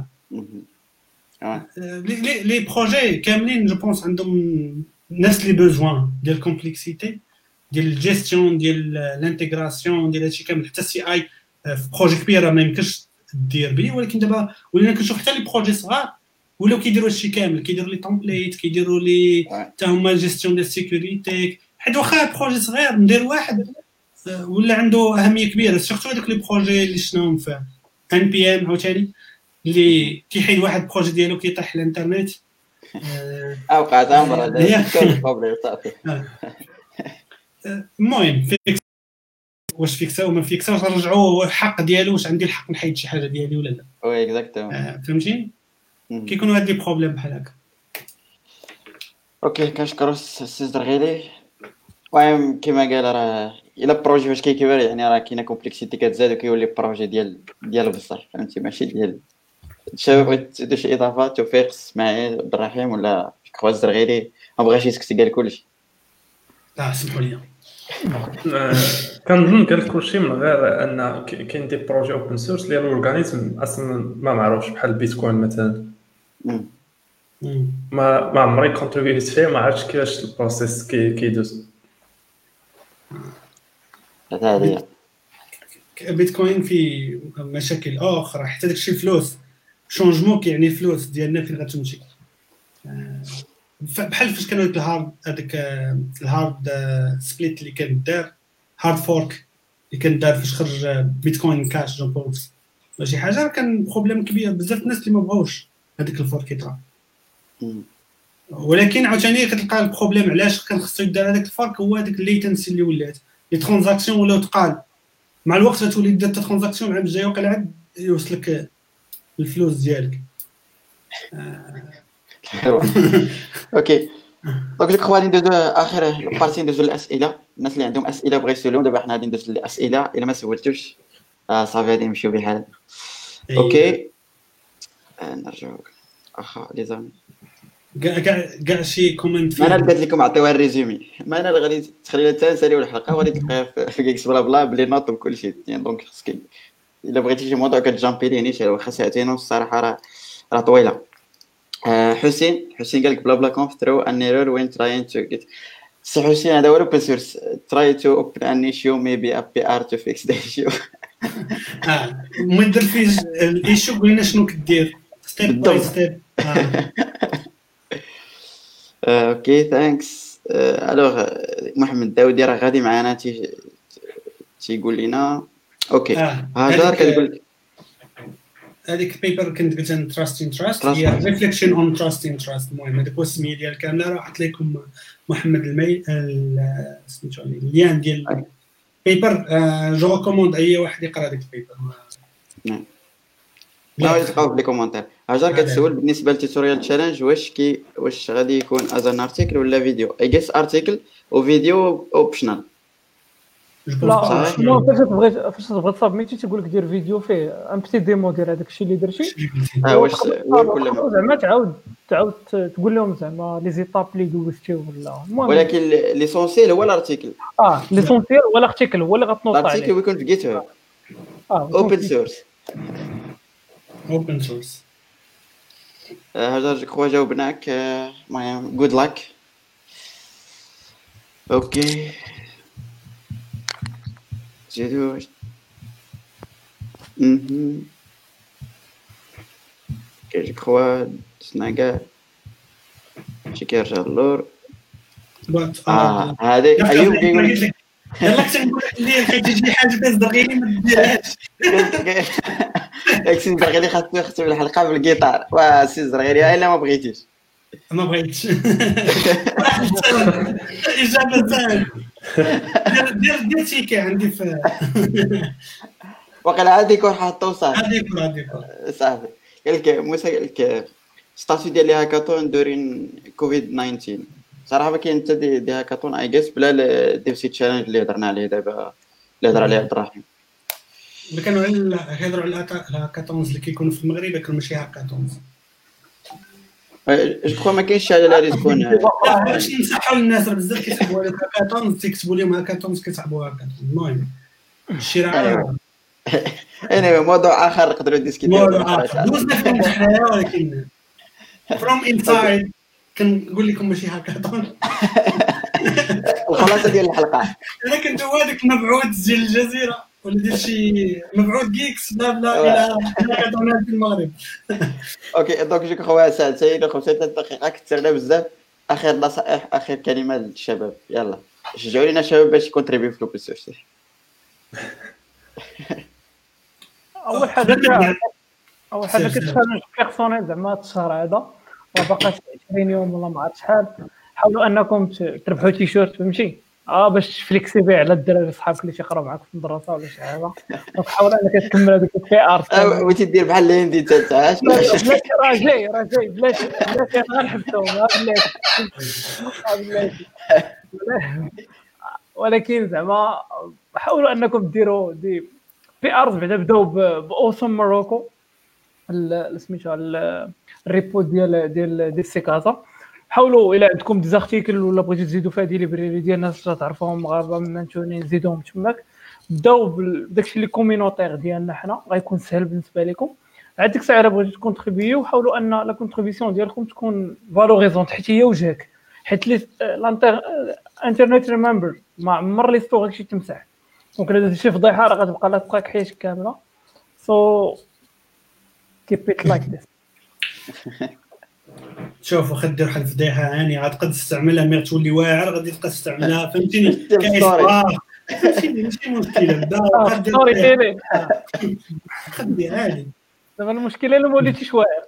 لي بروجي كاملين جو بونس عندهم نفس لي بوزوان ديال الكومبلكسيتي ديال الجيستيون ديال الانتيغراسيون ديال هادشي كامل. حتى السي اي في بروجي كبيره ما يمكنش دير به، ولكن دابا ولينا كنشوف حتى لي بروجي صغار ولاو كيديروا هادشي كامل، كيديروا لي تمبليت، كيديروا لي حتى هما جيستيون ديال السيكوريتي. حيت واخا بروجي صغير ندير واحد ولا عنده اهميه كبيره، سورتو هذوك لي بروجي اللي شناهم في ان بي ام عاوتاني اللي كيحيد واحد بروجي ديالو كيطيح الانترنت وقعت عمرها بروبليم صافي. المهم واش فيكسا وما فيكسا، واش نرجعوا الحق ديالو، واش عندي الحق نحيد شي حاجه ديالي ولا لا. وي اكزاكتومون فهمتي كيكونوا هاد لي بروبليم بحال هكا. اوكي كنشكروا السي زرغيلي. المهم كما قال راه الا بروجي فاش كيكبر يعني راه كاينه كومبلكسيتي كتزاد وكيولي بروجي ديال بصح فهمتي ماشي ديال الشباب. بغيت تزيدوا شي اضافات؟ توفيق، اسماعيل، عبد الرحيم ولا كوا الزرغيلي ما بغاش يسكت قال كلشي؟ سمحوا لي. كنظن قال كلشي من غير ان كاين دي بروجي اوبن سورس اللي الاورغانيزم اصلا ما معروفش بحال البيتكوين مثلا. ما عمري كونتريبيوت فيه، ما عرفتش كيفاش البروسيس كيدوز. هذه بيتكوين في مشاكل اخرى، حتى داكشي الفلوس شونجمون كيعني الفلوس ديالنا فين غتمشي. بحال فاش كانوا هذاك الهارد سبليت اللي كان دار، هارد فورك اللي كان دار فاش خرج بيتكوين كاش جو بونس شي حاجه، كان بروبليم كبير بزاف الناس اللي ما بغاوش هذيك الفورك يطرا. ولكن عاوتاني كتلقى البروبليم علاش كان خصو يدار هذاك الفورك، هو هذاك الليتنسي اللي ولات لي ترانزاكسيون ولاو تقال مع الوقت، غتولي دير ترانزاكسيون العام الجاي وقيلا عاد يوصلك الفلوس ديالك. اوكي دونك جو كخوا ندوزو اخر بارتي، ندوزو الاسئله. الناس اللي عندهم اسئله بغا يسولهم دابا حنا غادي ندوزو للاسئله. الا ما سولتوش صافي غادي نمشيو بحال. اوكي نرجعوا اخا لي زامي كاع شي كومنت. انا قلت لكم عطيوها الريزومي، ما انا اللي غادي تخلي حتى نساليو الحلقه وغادي تلقاها في كيكس بلا بلا بلي نوط بكل شيء يعني. دونك خصك الا بغيتي شي موضوع كتجامبي ليه نيشان، واخا ساعتين الصراحه راه طويله. حسين قال لك بلا بلا كونف through an error when trying to get. سي حسين هذا هو open source. try to open an issue maybe a PR to fix the issue. ما دير فيه الايشو قلنا شنو كدير ستيب باي ستيب. اوكي ثانكس. الوغ محمد داودي راه غادي معنا تيقول لنا. اوكي هاجر كتقول هذيك البيبر كنت قلت انا تراست ان تراست هي ريفليكشن اون تراست ان تراست. المهم هذاك هو السميه ديال كامله. راه حط لكم محمد سميتو اللين ديال البيبر. جو ريكوموند اي واحد يقرا هذيك البيبر. نعم لا تلقاو في لي كومونتير. هاجر كتسول بالنسبه للتوتوريال تشالنج واش غادي يكون ازان ارتيكل ولا فيديو. اي جيس ارتيكل وفيديو اوبشنال. لا فاش تبغي تصابميتي تيقول لك دير فيديو فيه ان بتي ديمو ديال هذاك الشيء اللي درتي. واش هو كل ما زعما تعاود تقول لهم زعما لي زيتاب اللي دوزتي ولا المهم. ولكن ليسونسيال هو الارتيكل. ليسونسيال هو الارتيكل هو اللي غتنوط عليه. الارتيكل يكون في جيت هاب اوبن سورس. اوبن سورس. هاجر كوا جاوبناك. المهم جود لاك. اوكي زيدو. كي كخوا سناكا شي كيرجع اللور. هذيك ايوب كيقول لك يلا كنت نقول لك اللي حيت شي حاجه كتزرغيني ما ديرهاش. داك السي زرغيري خاصو يختم الحلقه بالجيتار. واسي زرغيري الا ما بغيتيش. ما بغيتش. اجابه سهله. دير تيكي عندي في وقيلا هذيك حاطو صافي. هذيك صافي. قال لك موسى قال لك ستاتيو ديال هاكاطون دورين كوفيد 19. صراحه ما كاين حتى دي هاكاطون اي جيس بلا ديف سي تشالنج اللي هضرنا عليه دابا اللي هضر عليه عبد الرحيم. اللي كانوا يهضروا على الهاكاطونز اللي كيكونوا في المغرب كانوا ماشي هاكاطونز. جو كخوا ما كاينش شي حاجه اللي تكون باش نصحوا للناس راه بزاف كيسحبوا على هاكاطونز تيكتبوا لهم هاكاطونز كيسحبوا هاكاطونز. المهم الشراء انا موضوع اخر نقدروا نديسكوتيو. دوزنا فيهم حنايا ولكن فروم انسايد كنقول لكم ماشي هاكاطون. الخلاصه ديال الحلقه انا كنت هو هذاك المبعوث ديال الجزيره ولا ديال شي مبعوث جيكس بلا الى هاكاطونات في المغرب. اوكي دونك جو كخوا ساعتين و 5 دقائق كثرنا بزاف. اخر نصائح اخر كلمه للشباب. يلا شجعوا لينا الشباب باش يكونتريبيو في لوبن سورس. اول حاجه كتشالنج بيرسونيل زعما هاد الشهر هذا وباقاش 20 يوم ولا ما عرفت شحال. حاولوا انكم تربحوا تيشيرت فهمتي باش تفليكسي بيه على الدراري صحابك اللي تيقراو معاك في المدرسه ولا شي حاجه. دونك حاول انك تكمل هذيك البي ار وتدير بحال اللي عندي تاعش. بلاتي راه جاي بلاتي غنحبسهم بلاتي. ولكن زعما حاولوا انكم ديروا دي بي ارز بعدا بداو باوسم موروكو سميتها الريبو ديال سيكازا. حاولوا الى عندكم دي زارتيكل ولا بغيتو تزيدوا فيها دي ليبراري ديال الناس تعرفوهم مغاربه ممنتونين زيدوهم تماك. بداو بداكشي اللي كومينوتير ديالنا حنا غيكون سهل بالنسبه لكم. عاد ديك الساعه بغيتو تكونتريبيو حاولوا ان لا كونتريبيسيون ديالكم تكون فالوريزونت حيت هي وجهك. حيت لي الانترنت ريمبر ما عمر لي ستور شي تمسح. دونك الا درتي شي فضيحه راه غتبقى لا تبقاك حياتك كامله. سو keep it like this. شوف واخا دير واحد الفضيحه هاني عاد قد تستعملها مي تولي واعر غادي تبقى تستعملها فهمتيني كاين ماشي مشكله ستوري خدي عادي. دابا المشكله الا ما وليتيش واعر.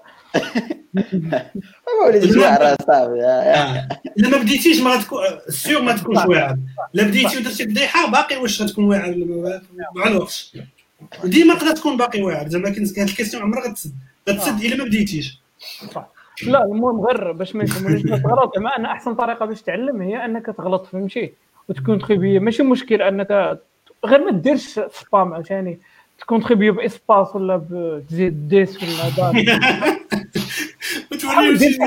ما وليتيش واعر صافي. الا ما بديتيش ما غتكون سيغ ما تكونش واعر. لا بديتي ودرتي فضيحه باقي واش غتكون واعر مع الوقت ديما تقدر تكون باقي واعر. زعما كاين هاد الكيسيون عمرها غتسد الا ما بديتيش. لا المهم غير باش ما يفهمونيش غلط. زعما انا احسن طريقه باش تعلم هي انك تغلط فهمتي وتكونتريبي. ماشي مشكل انك غير ما ديرش سبام عشان تكونتريبي باسباس ولا بتزيد ديس ولا دار وتولي شي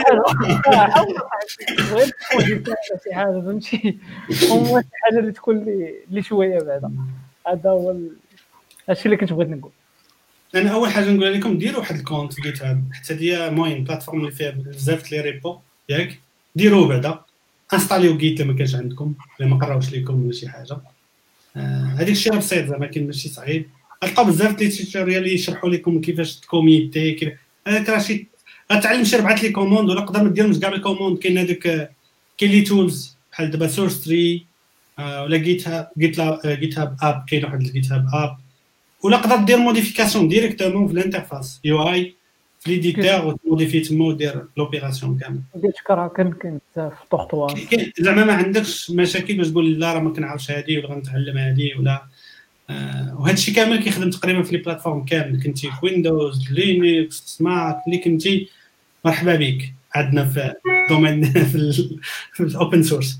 حاجه فهمتي. هو شي حاجه اللي تكون لي شويه بعدا. هذا هو الشيء اللي كنت بغيت نقول. انا اول حاجه نقول لكم ديروا واحد الكونت في جيت هاب حتى هي المهم بلاتفورم اللي فيها بزاف لي ريبو ياك. ديروه بعدا انستاليو جيت لما كانش عندكم ولا ما قراوش لكم ولا شي حاجه. هذيك الشيء بسيط زعما كاين ماشي صعيب. غتلقاو بزاف لي توتوريال اللي يشرحوا لكم كيفاش تكوميتي هذاك راه شي غتعلم شي 4 لي كوموند ولا تقدر ما ديرهمش كاع الكوموند. كاين هذوك كاين لي تولز بحال دابا سورس 3 ولا جيت هاب اب. كاين واحد الجيت هاب اب ولا تقدر دير موديفيكاسيون ديريكتومون في الانترفاس يو اي في ليديتور وتموديفي تما ودير لوبيراسيون كامل. ديت كرا كاين بزاف طوطوا زعما ما عندكش مشاكل باش تقول لا راه ما كنعرفش هذه ولا غنتعلم هذه ولا وهذا الشيء كامل كيخدم تقريبا في لي بلاتفورم كامل. كنتي في ويندوز لينكس سمارت اللي كنتي مرحبا بك عندنا في دومين في الاوبن سورس.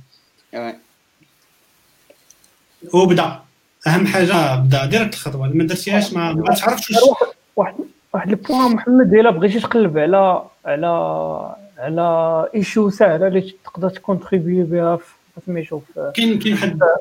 وبدا اهم حاجه بدا ديريكت الخطوه ما درتيهاش ما تعرفش واحد البوان محمد الا بغيتي تقلب على ايشو سهله اللي تقدر تكونتريبي بها سميتو كاين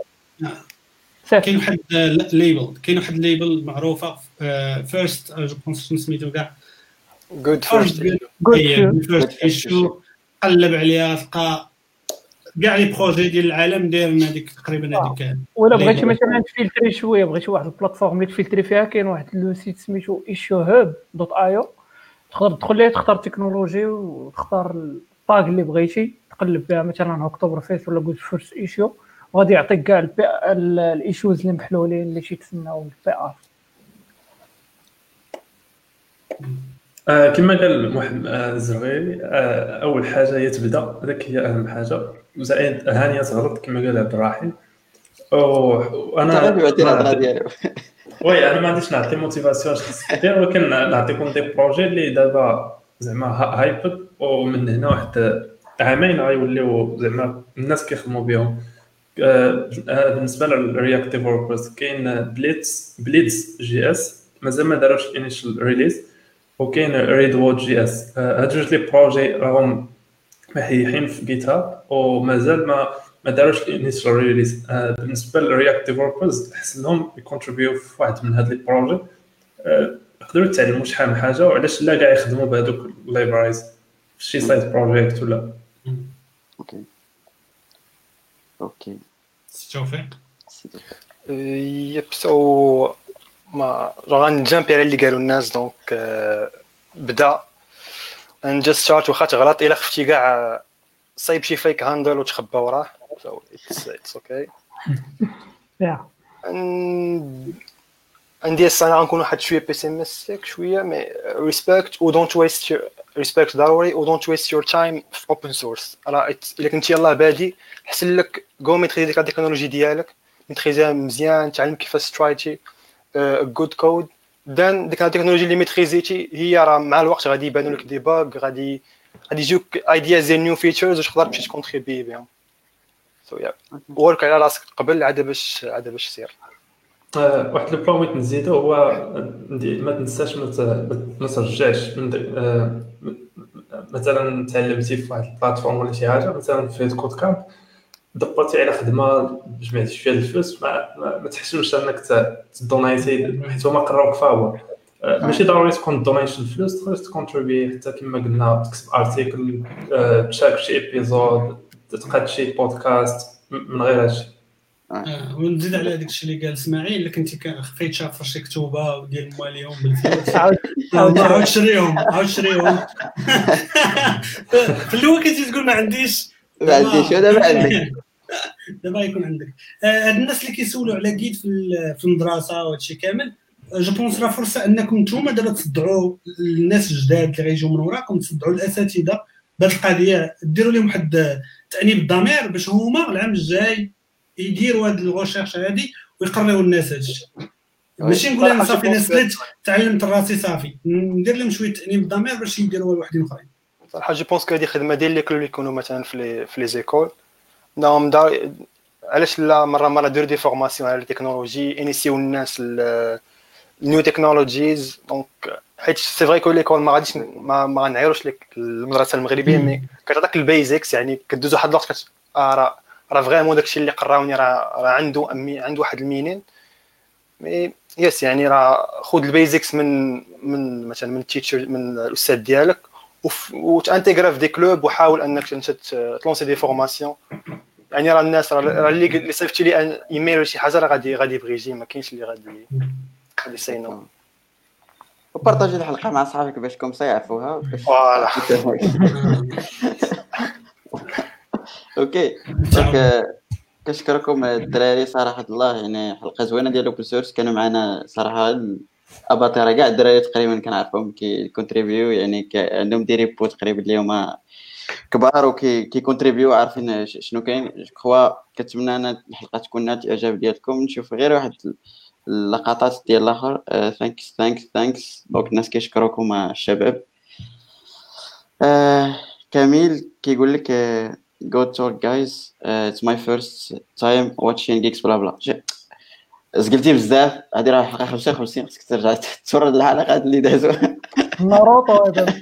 واحد ليبل كاين واحد ليبل معروفه فيرست جو بونس سميتو كاع جود فيرست ايشو. قلب عليها تلقى كاع لي بروجي ديال العالم دايرين هذيك تقريبا هذيك. ولا بغيتي مثلا تفلتري شويه، بغيتي واحد البلاتفورم اللي تفلتري فيها، كاين واحد لو سيت سميتو issuehub.io، تقدر تدخل ليه تختار التكنولوجي وتختار الطاق اللي بغيتي تقلب بها، مثلا اكتوبر فيست ولا جود فيرست ايشيو، وغادي يعطيك كاع الايشوز اللي محلولين اللي تيتسناو البي ار. كما قال محمد الزرغيري، اول حاجه هي تبدا، هذاك هي اهم حاجه. وزائد هانيه تغلط كما قال عبد الرحيم. وانا وي انا ما عنديش نعطي موتيفاسيون اش دير، ولكن نعطيكم دي بروجي اللي دابا زعما هايب، ومن هنا واحد عامين غيوليو زعما الناس كيخدموا بهم. بالنسبه للرياكت ديفلوبرز كاين بليدز جي اس، مازال ما داروش انيشال ريليز، وكاين ريد وود جي اس. هاد جوج لي بروجي راهم محيحين في جيت هاب ومازال ما داروش الانيشال ريليز. بالنسبه للرياكت ديفلوبرز حسنهم يكونتريبيو في واحد من هاد لي بروجي، يقدروا يتعلموا شحال من حاجه، وعلاش لا كاع يخدموا بهذوك اللايبرايز في شي سايت بروجيكت ولا. اوكي توفيق. يب سو ما غنجامبي على اللي قالوا الناس. دونك بدا انجست شارت واخا تغلط الا خفتي كاع صايب شي فيك هاندل وتخبى وراه. سو اتس اوكي. عندي السنه غنكون واحد شويه بيسيمستيك شويه، مي ريسبكت و دونت ويست ريسبكت ضروري، و دونت ويست يور تايم في اوبن سورس. راه الا كنتي يلاه بادي حسن لك جو ميتريزي ديك التكنولوجي ديالك، ميتريزيها مزيان، تعلم كيفاش ترايتي جود كود، دان ديك التكنولوجي اللي ميتريزيتي هي راه مع الوقت غادي يبانوا لك دي باغ، غادي يجيوك ايدياز ديال نيو فيتشرز وتقدر تمشي تكونتريبي بهم. سو يا ورك على راسك قبل عاد باش سير. واحد لو بروميت نزيدو هو ما تنساش ما ترجعش من مثلا تعلمتي في واحد البلاتفورم ولا شي حاجه، مثلا في كود كامب دبرتي على خدمه جمعتي فيها الفلوس، ما تحشمش انك تدونايتي حيت هما قراوك فاهو. ماشي ضروري تكون دونيشن الفلوس، تقدر تكونتريبي حتى كما قلنا تكتب ارتيكل، تشارك شي ايبيزود، تقاد شي بودكاست من غير هادشي. ونزيد على داك الشيء اللي قال اسماعيل، الا كنتي خفيت شافر شي كتوبه ديال مواليهم بالفلوس عاود شريهم في الاول كنتي تقول ما عنديش ودابا عندك. دابا يكون عندك. هاد الناس اللي كيسولوا على جيت في المدرسه وهادشي كامل، جو بونس راه فرصه انكم نتوما دابا تصدعوا الناس الجداد اللي غيجيو من وراكم، تصدعوا الاساتذه بهاد القضيه، ديروا لهم واحد تانيب الضمير باش هما العام الجاي يديروا هاد الغوشيرش هادي ويقريو الناس هادشي. ماشي نقول انا صافي نسيت تعلمت راسي صافي، ندير لهم شويه تانيب الضمير باش يديروها لواحدين اخرين. صراحه جو بونس كو هذه خدمه ديال اللي كانوا يكونوا مثلا في لي زيكول نعم دار. علاش لا مره ديروا دي فورماسيون على التكنولوجي، انيسيو الناس النيو تكنولوجيز. دونك حيت سي فري كو ليكول ما غاديش ما غنعيروش لك المدرسه المغربيه، مي كتعطيك البيزكس، يعني كدوز واحد الوقت راه فريمون داكشي اللي قراوني راه عنده واحد المينين. مي يس يعني راه خذ البيزكس من مثلا من التيتشر، من الاستاذ ديالك، وتانتيغرا في دي كلوب، وحاول انك انت تلونسي دي فورماسيون. يعني راه الناس راه اللي صيفطتي لي ايميل ولا شي حاجه راه غادي يبغي يجي، ما كاينش اللي غادي سينو. وبارطاجي الحلقه مع صحابك باش كومسا يعرفوها. فوالا اوكي دونك كنشكركم الدراري صراحه الله، يعني حلقه زوينه ديال اوبن سورس. كانوا معنا صراحه اباطره كاع الدراري تقريبا كنعرفهم كونتريبيو، يعني عندهم دي ريبو تقريبا اليوم كبار وكي كونتريبيو عارفين شنو كاين. كوا كنتمنى ان الحلقه تكون نالت الاعجاب ديالكم. نشوف غير واحد اللقطات ديال الاخر. ثانكس دونك الناس كيشكروكم الشباب. كميل كيقول لك go talk guys, it's my first time watching geeks blah blah. زقلتي بزاف، هذه راه الحلقه 55 خصك ترجع تفرج الحلقات اللي دازوا. ناروتو هذا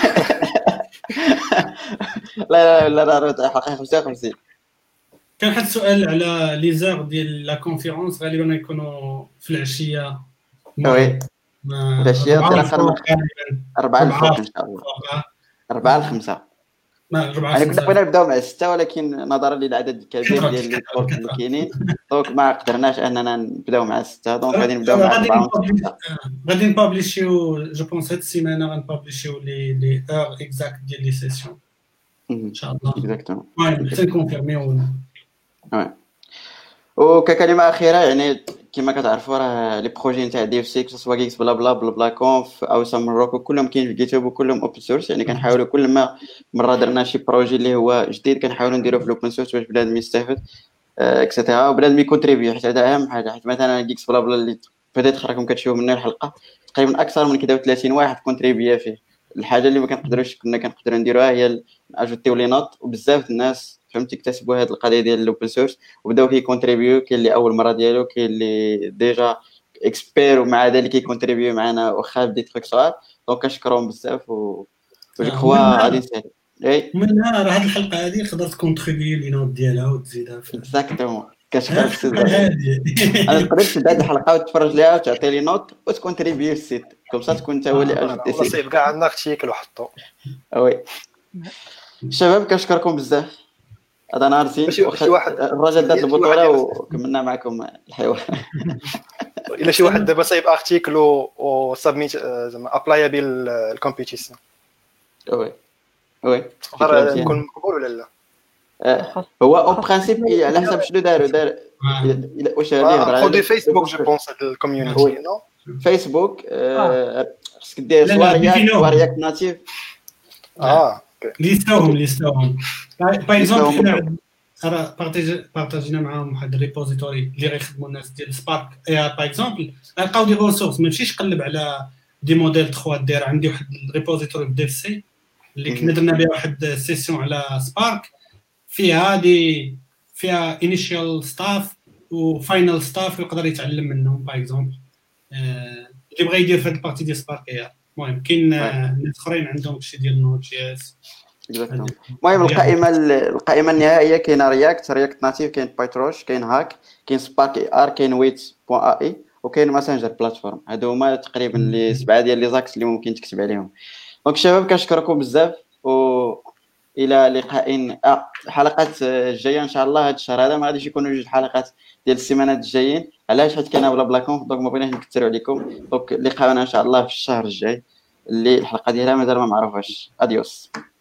لا ناروتو حلقه 55. كان واحد السؤال على لي زار ديال لا كونفيرونس، غالبا يكونوا في العشيه. وي العشيه تقريبا 4 الفوق ان شاء الله، 4 ل 5. ما 4 يعني كنا 5 بغينا نبداو مع 6 ولكن نظرا للعدد الكبير ديال لي كورس اللي كاينين دونك ما قدرناش اننا نبداو مع 6 دونك غادي نبداو مع 4 غادي نبابليشيو جو بونس هاد السيمانه غنبابليشيو لي اور اكزاكت ديال لي سيسيون ان شاء الله. اكزاكتومون المهم حتى نكونفيرميو. وككلمه اخيره يعني كما كتعرفوا راه لي بروجي نتاع دي اف سي سواء جيكس بلا بلا بلا بلا كونف او سام روكو كلهم كاين في جيت هاب وكلهم اوبن سورس. يعني كنحاولوا كل ما مره درنا شي بروجي اللي هو جديد كنحاولوا نديروه في الاوبن سورس باش بنادم يستافد اكسيتيرا وبنادم يكونتريبيو. حيت هذا اهم حاجه. حيت مثلا جيكس بلا بلا اللي بديت راكم كتشوفوا منه الحلقه تقريبا اكثر من كده 30 واحد كونتريبيا فيه. الحاجه اللي ما كنقدروش كنا كنقدروا نديروها هي اجوتيو لي نوت وبزاف الناس فهمتي اكتسبوا هذه القضيه ديال الاوبن سورس وبداو كيكونتريبيو. كاين اللي اول مره ديالو كاين اللي ديجا اكسبير ومع ذلك كيكونتريبيو معنا واخا دي تريك صغار. دونك كنشكرهم بزاف و جو كخوا غادي نسهل. اي ومنها راه هاد الحلقه هذه تقدر تكونتريبيي لي نوت ديالها وتزيدها في اكزاكتومون. كنشكرك السيد هذه. انا تقدر تبدا هذه الحلقه وتفرج ليها وتعطي لي نوت وتكونتريبيو السيت كومسا تكون انت هو اللي اجوتي والله سي. صعيب كاع عندنا ارتيكل وحطو. وي شباب كنشكركم بزاف. هذا نهار زين. شي واحد الرجل دات البطوله وكملنا معكم الحوار. الا شي واحد دابا صايب ارتيكل وسبميت زعما ابلايابل الكومبيتيشن وي يكون مقبول ولا لا؟ هو او برينسيپ على حسب شنو دار واش هذه هضره خذي فيسبوك جو بونس الكوميونيتي نو فيسبوك خصك دير سوارياك ناتيف ليستوهم باغ اكزومبل حنا بارطاجينا معاهم واحد الريبوزيتوري اللي غيخدموا الناس ديال سبارك باغ اكزومبل غنلقاو دي ريسورس. ما نمشيش نقلب على دي موديل 3 دير عندي واحد الريبوزيتوري في ديف سي اللي كنا درنا بها واحد سيسيون على سبارك فيها انيشيال ستاف وفاينل ستاف يقدر يتعلم منهم. باغ اكزومبل اللي بغى يدير في هاد البارتي ديال سبارك المهم كاين ناس اخرين عندهم شي ديال نوت جي اس. المهم القائمه النهائيه كاين رياكت ناتيف كاين بايتروش كاين هاك كاين سبارك ار كاين ويت بوان اي وكاين ماسنجر بلاتفورم. هادو هما تقريبا لي 7 ديال لي زاكس اللي ممكن تكتب عليهم. دونك شباب كنشكركم بزاف و الى لقاء حلقات الجايه ان شاء الله. هذا الشهر هذا ما غاديش يكونوا جوج حلقات ديال السيمانات الجايين. علاش؟ حيت كاينه بلا كونف دونك ما بغيناش نكثروا عليكم. دونك لقاءنا ان شاء الله في الشهر الجاي اللي الحلقه ديالها مازال ما معروفاش. اديوس.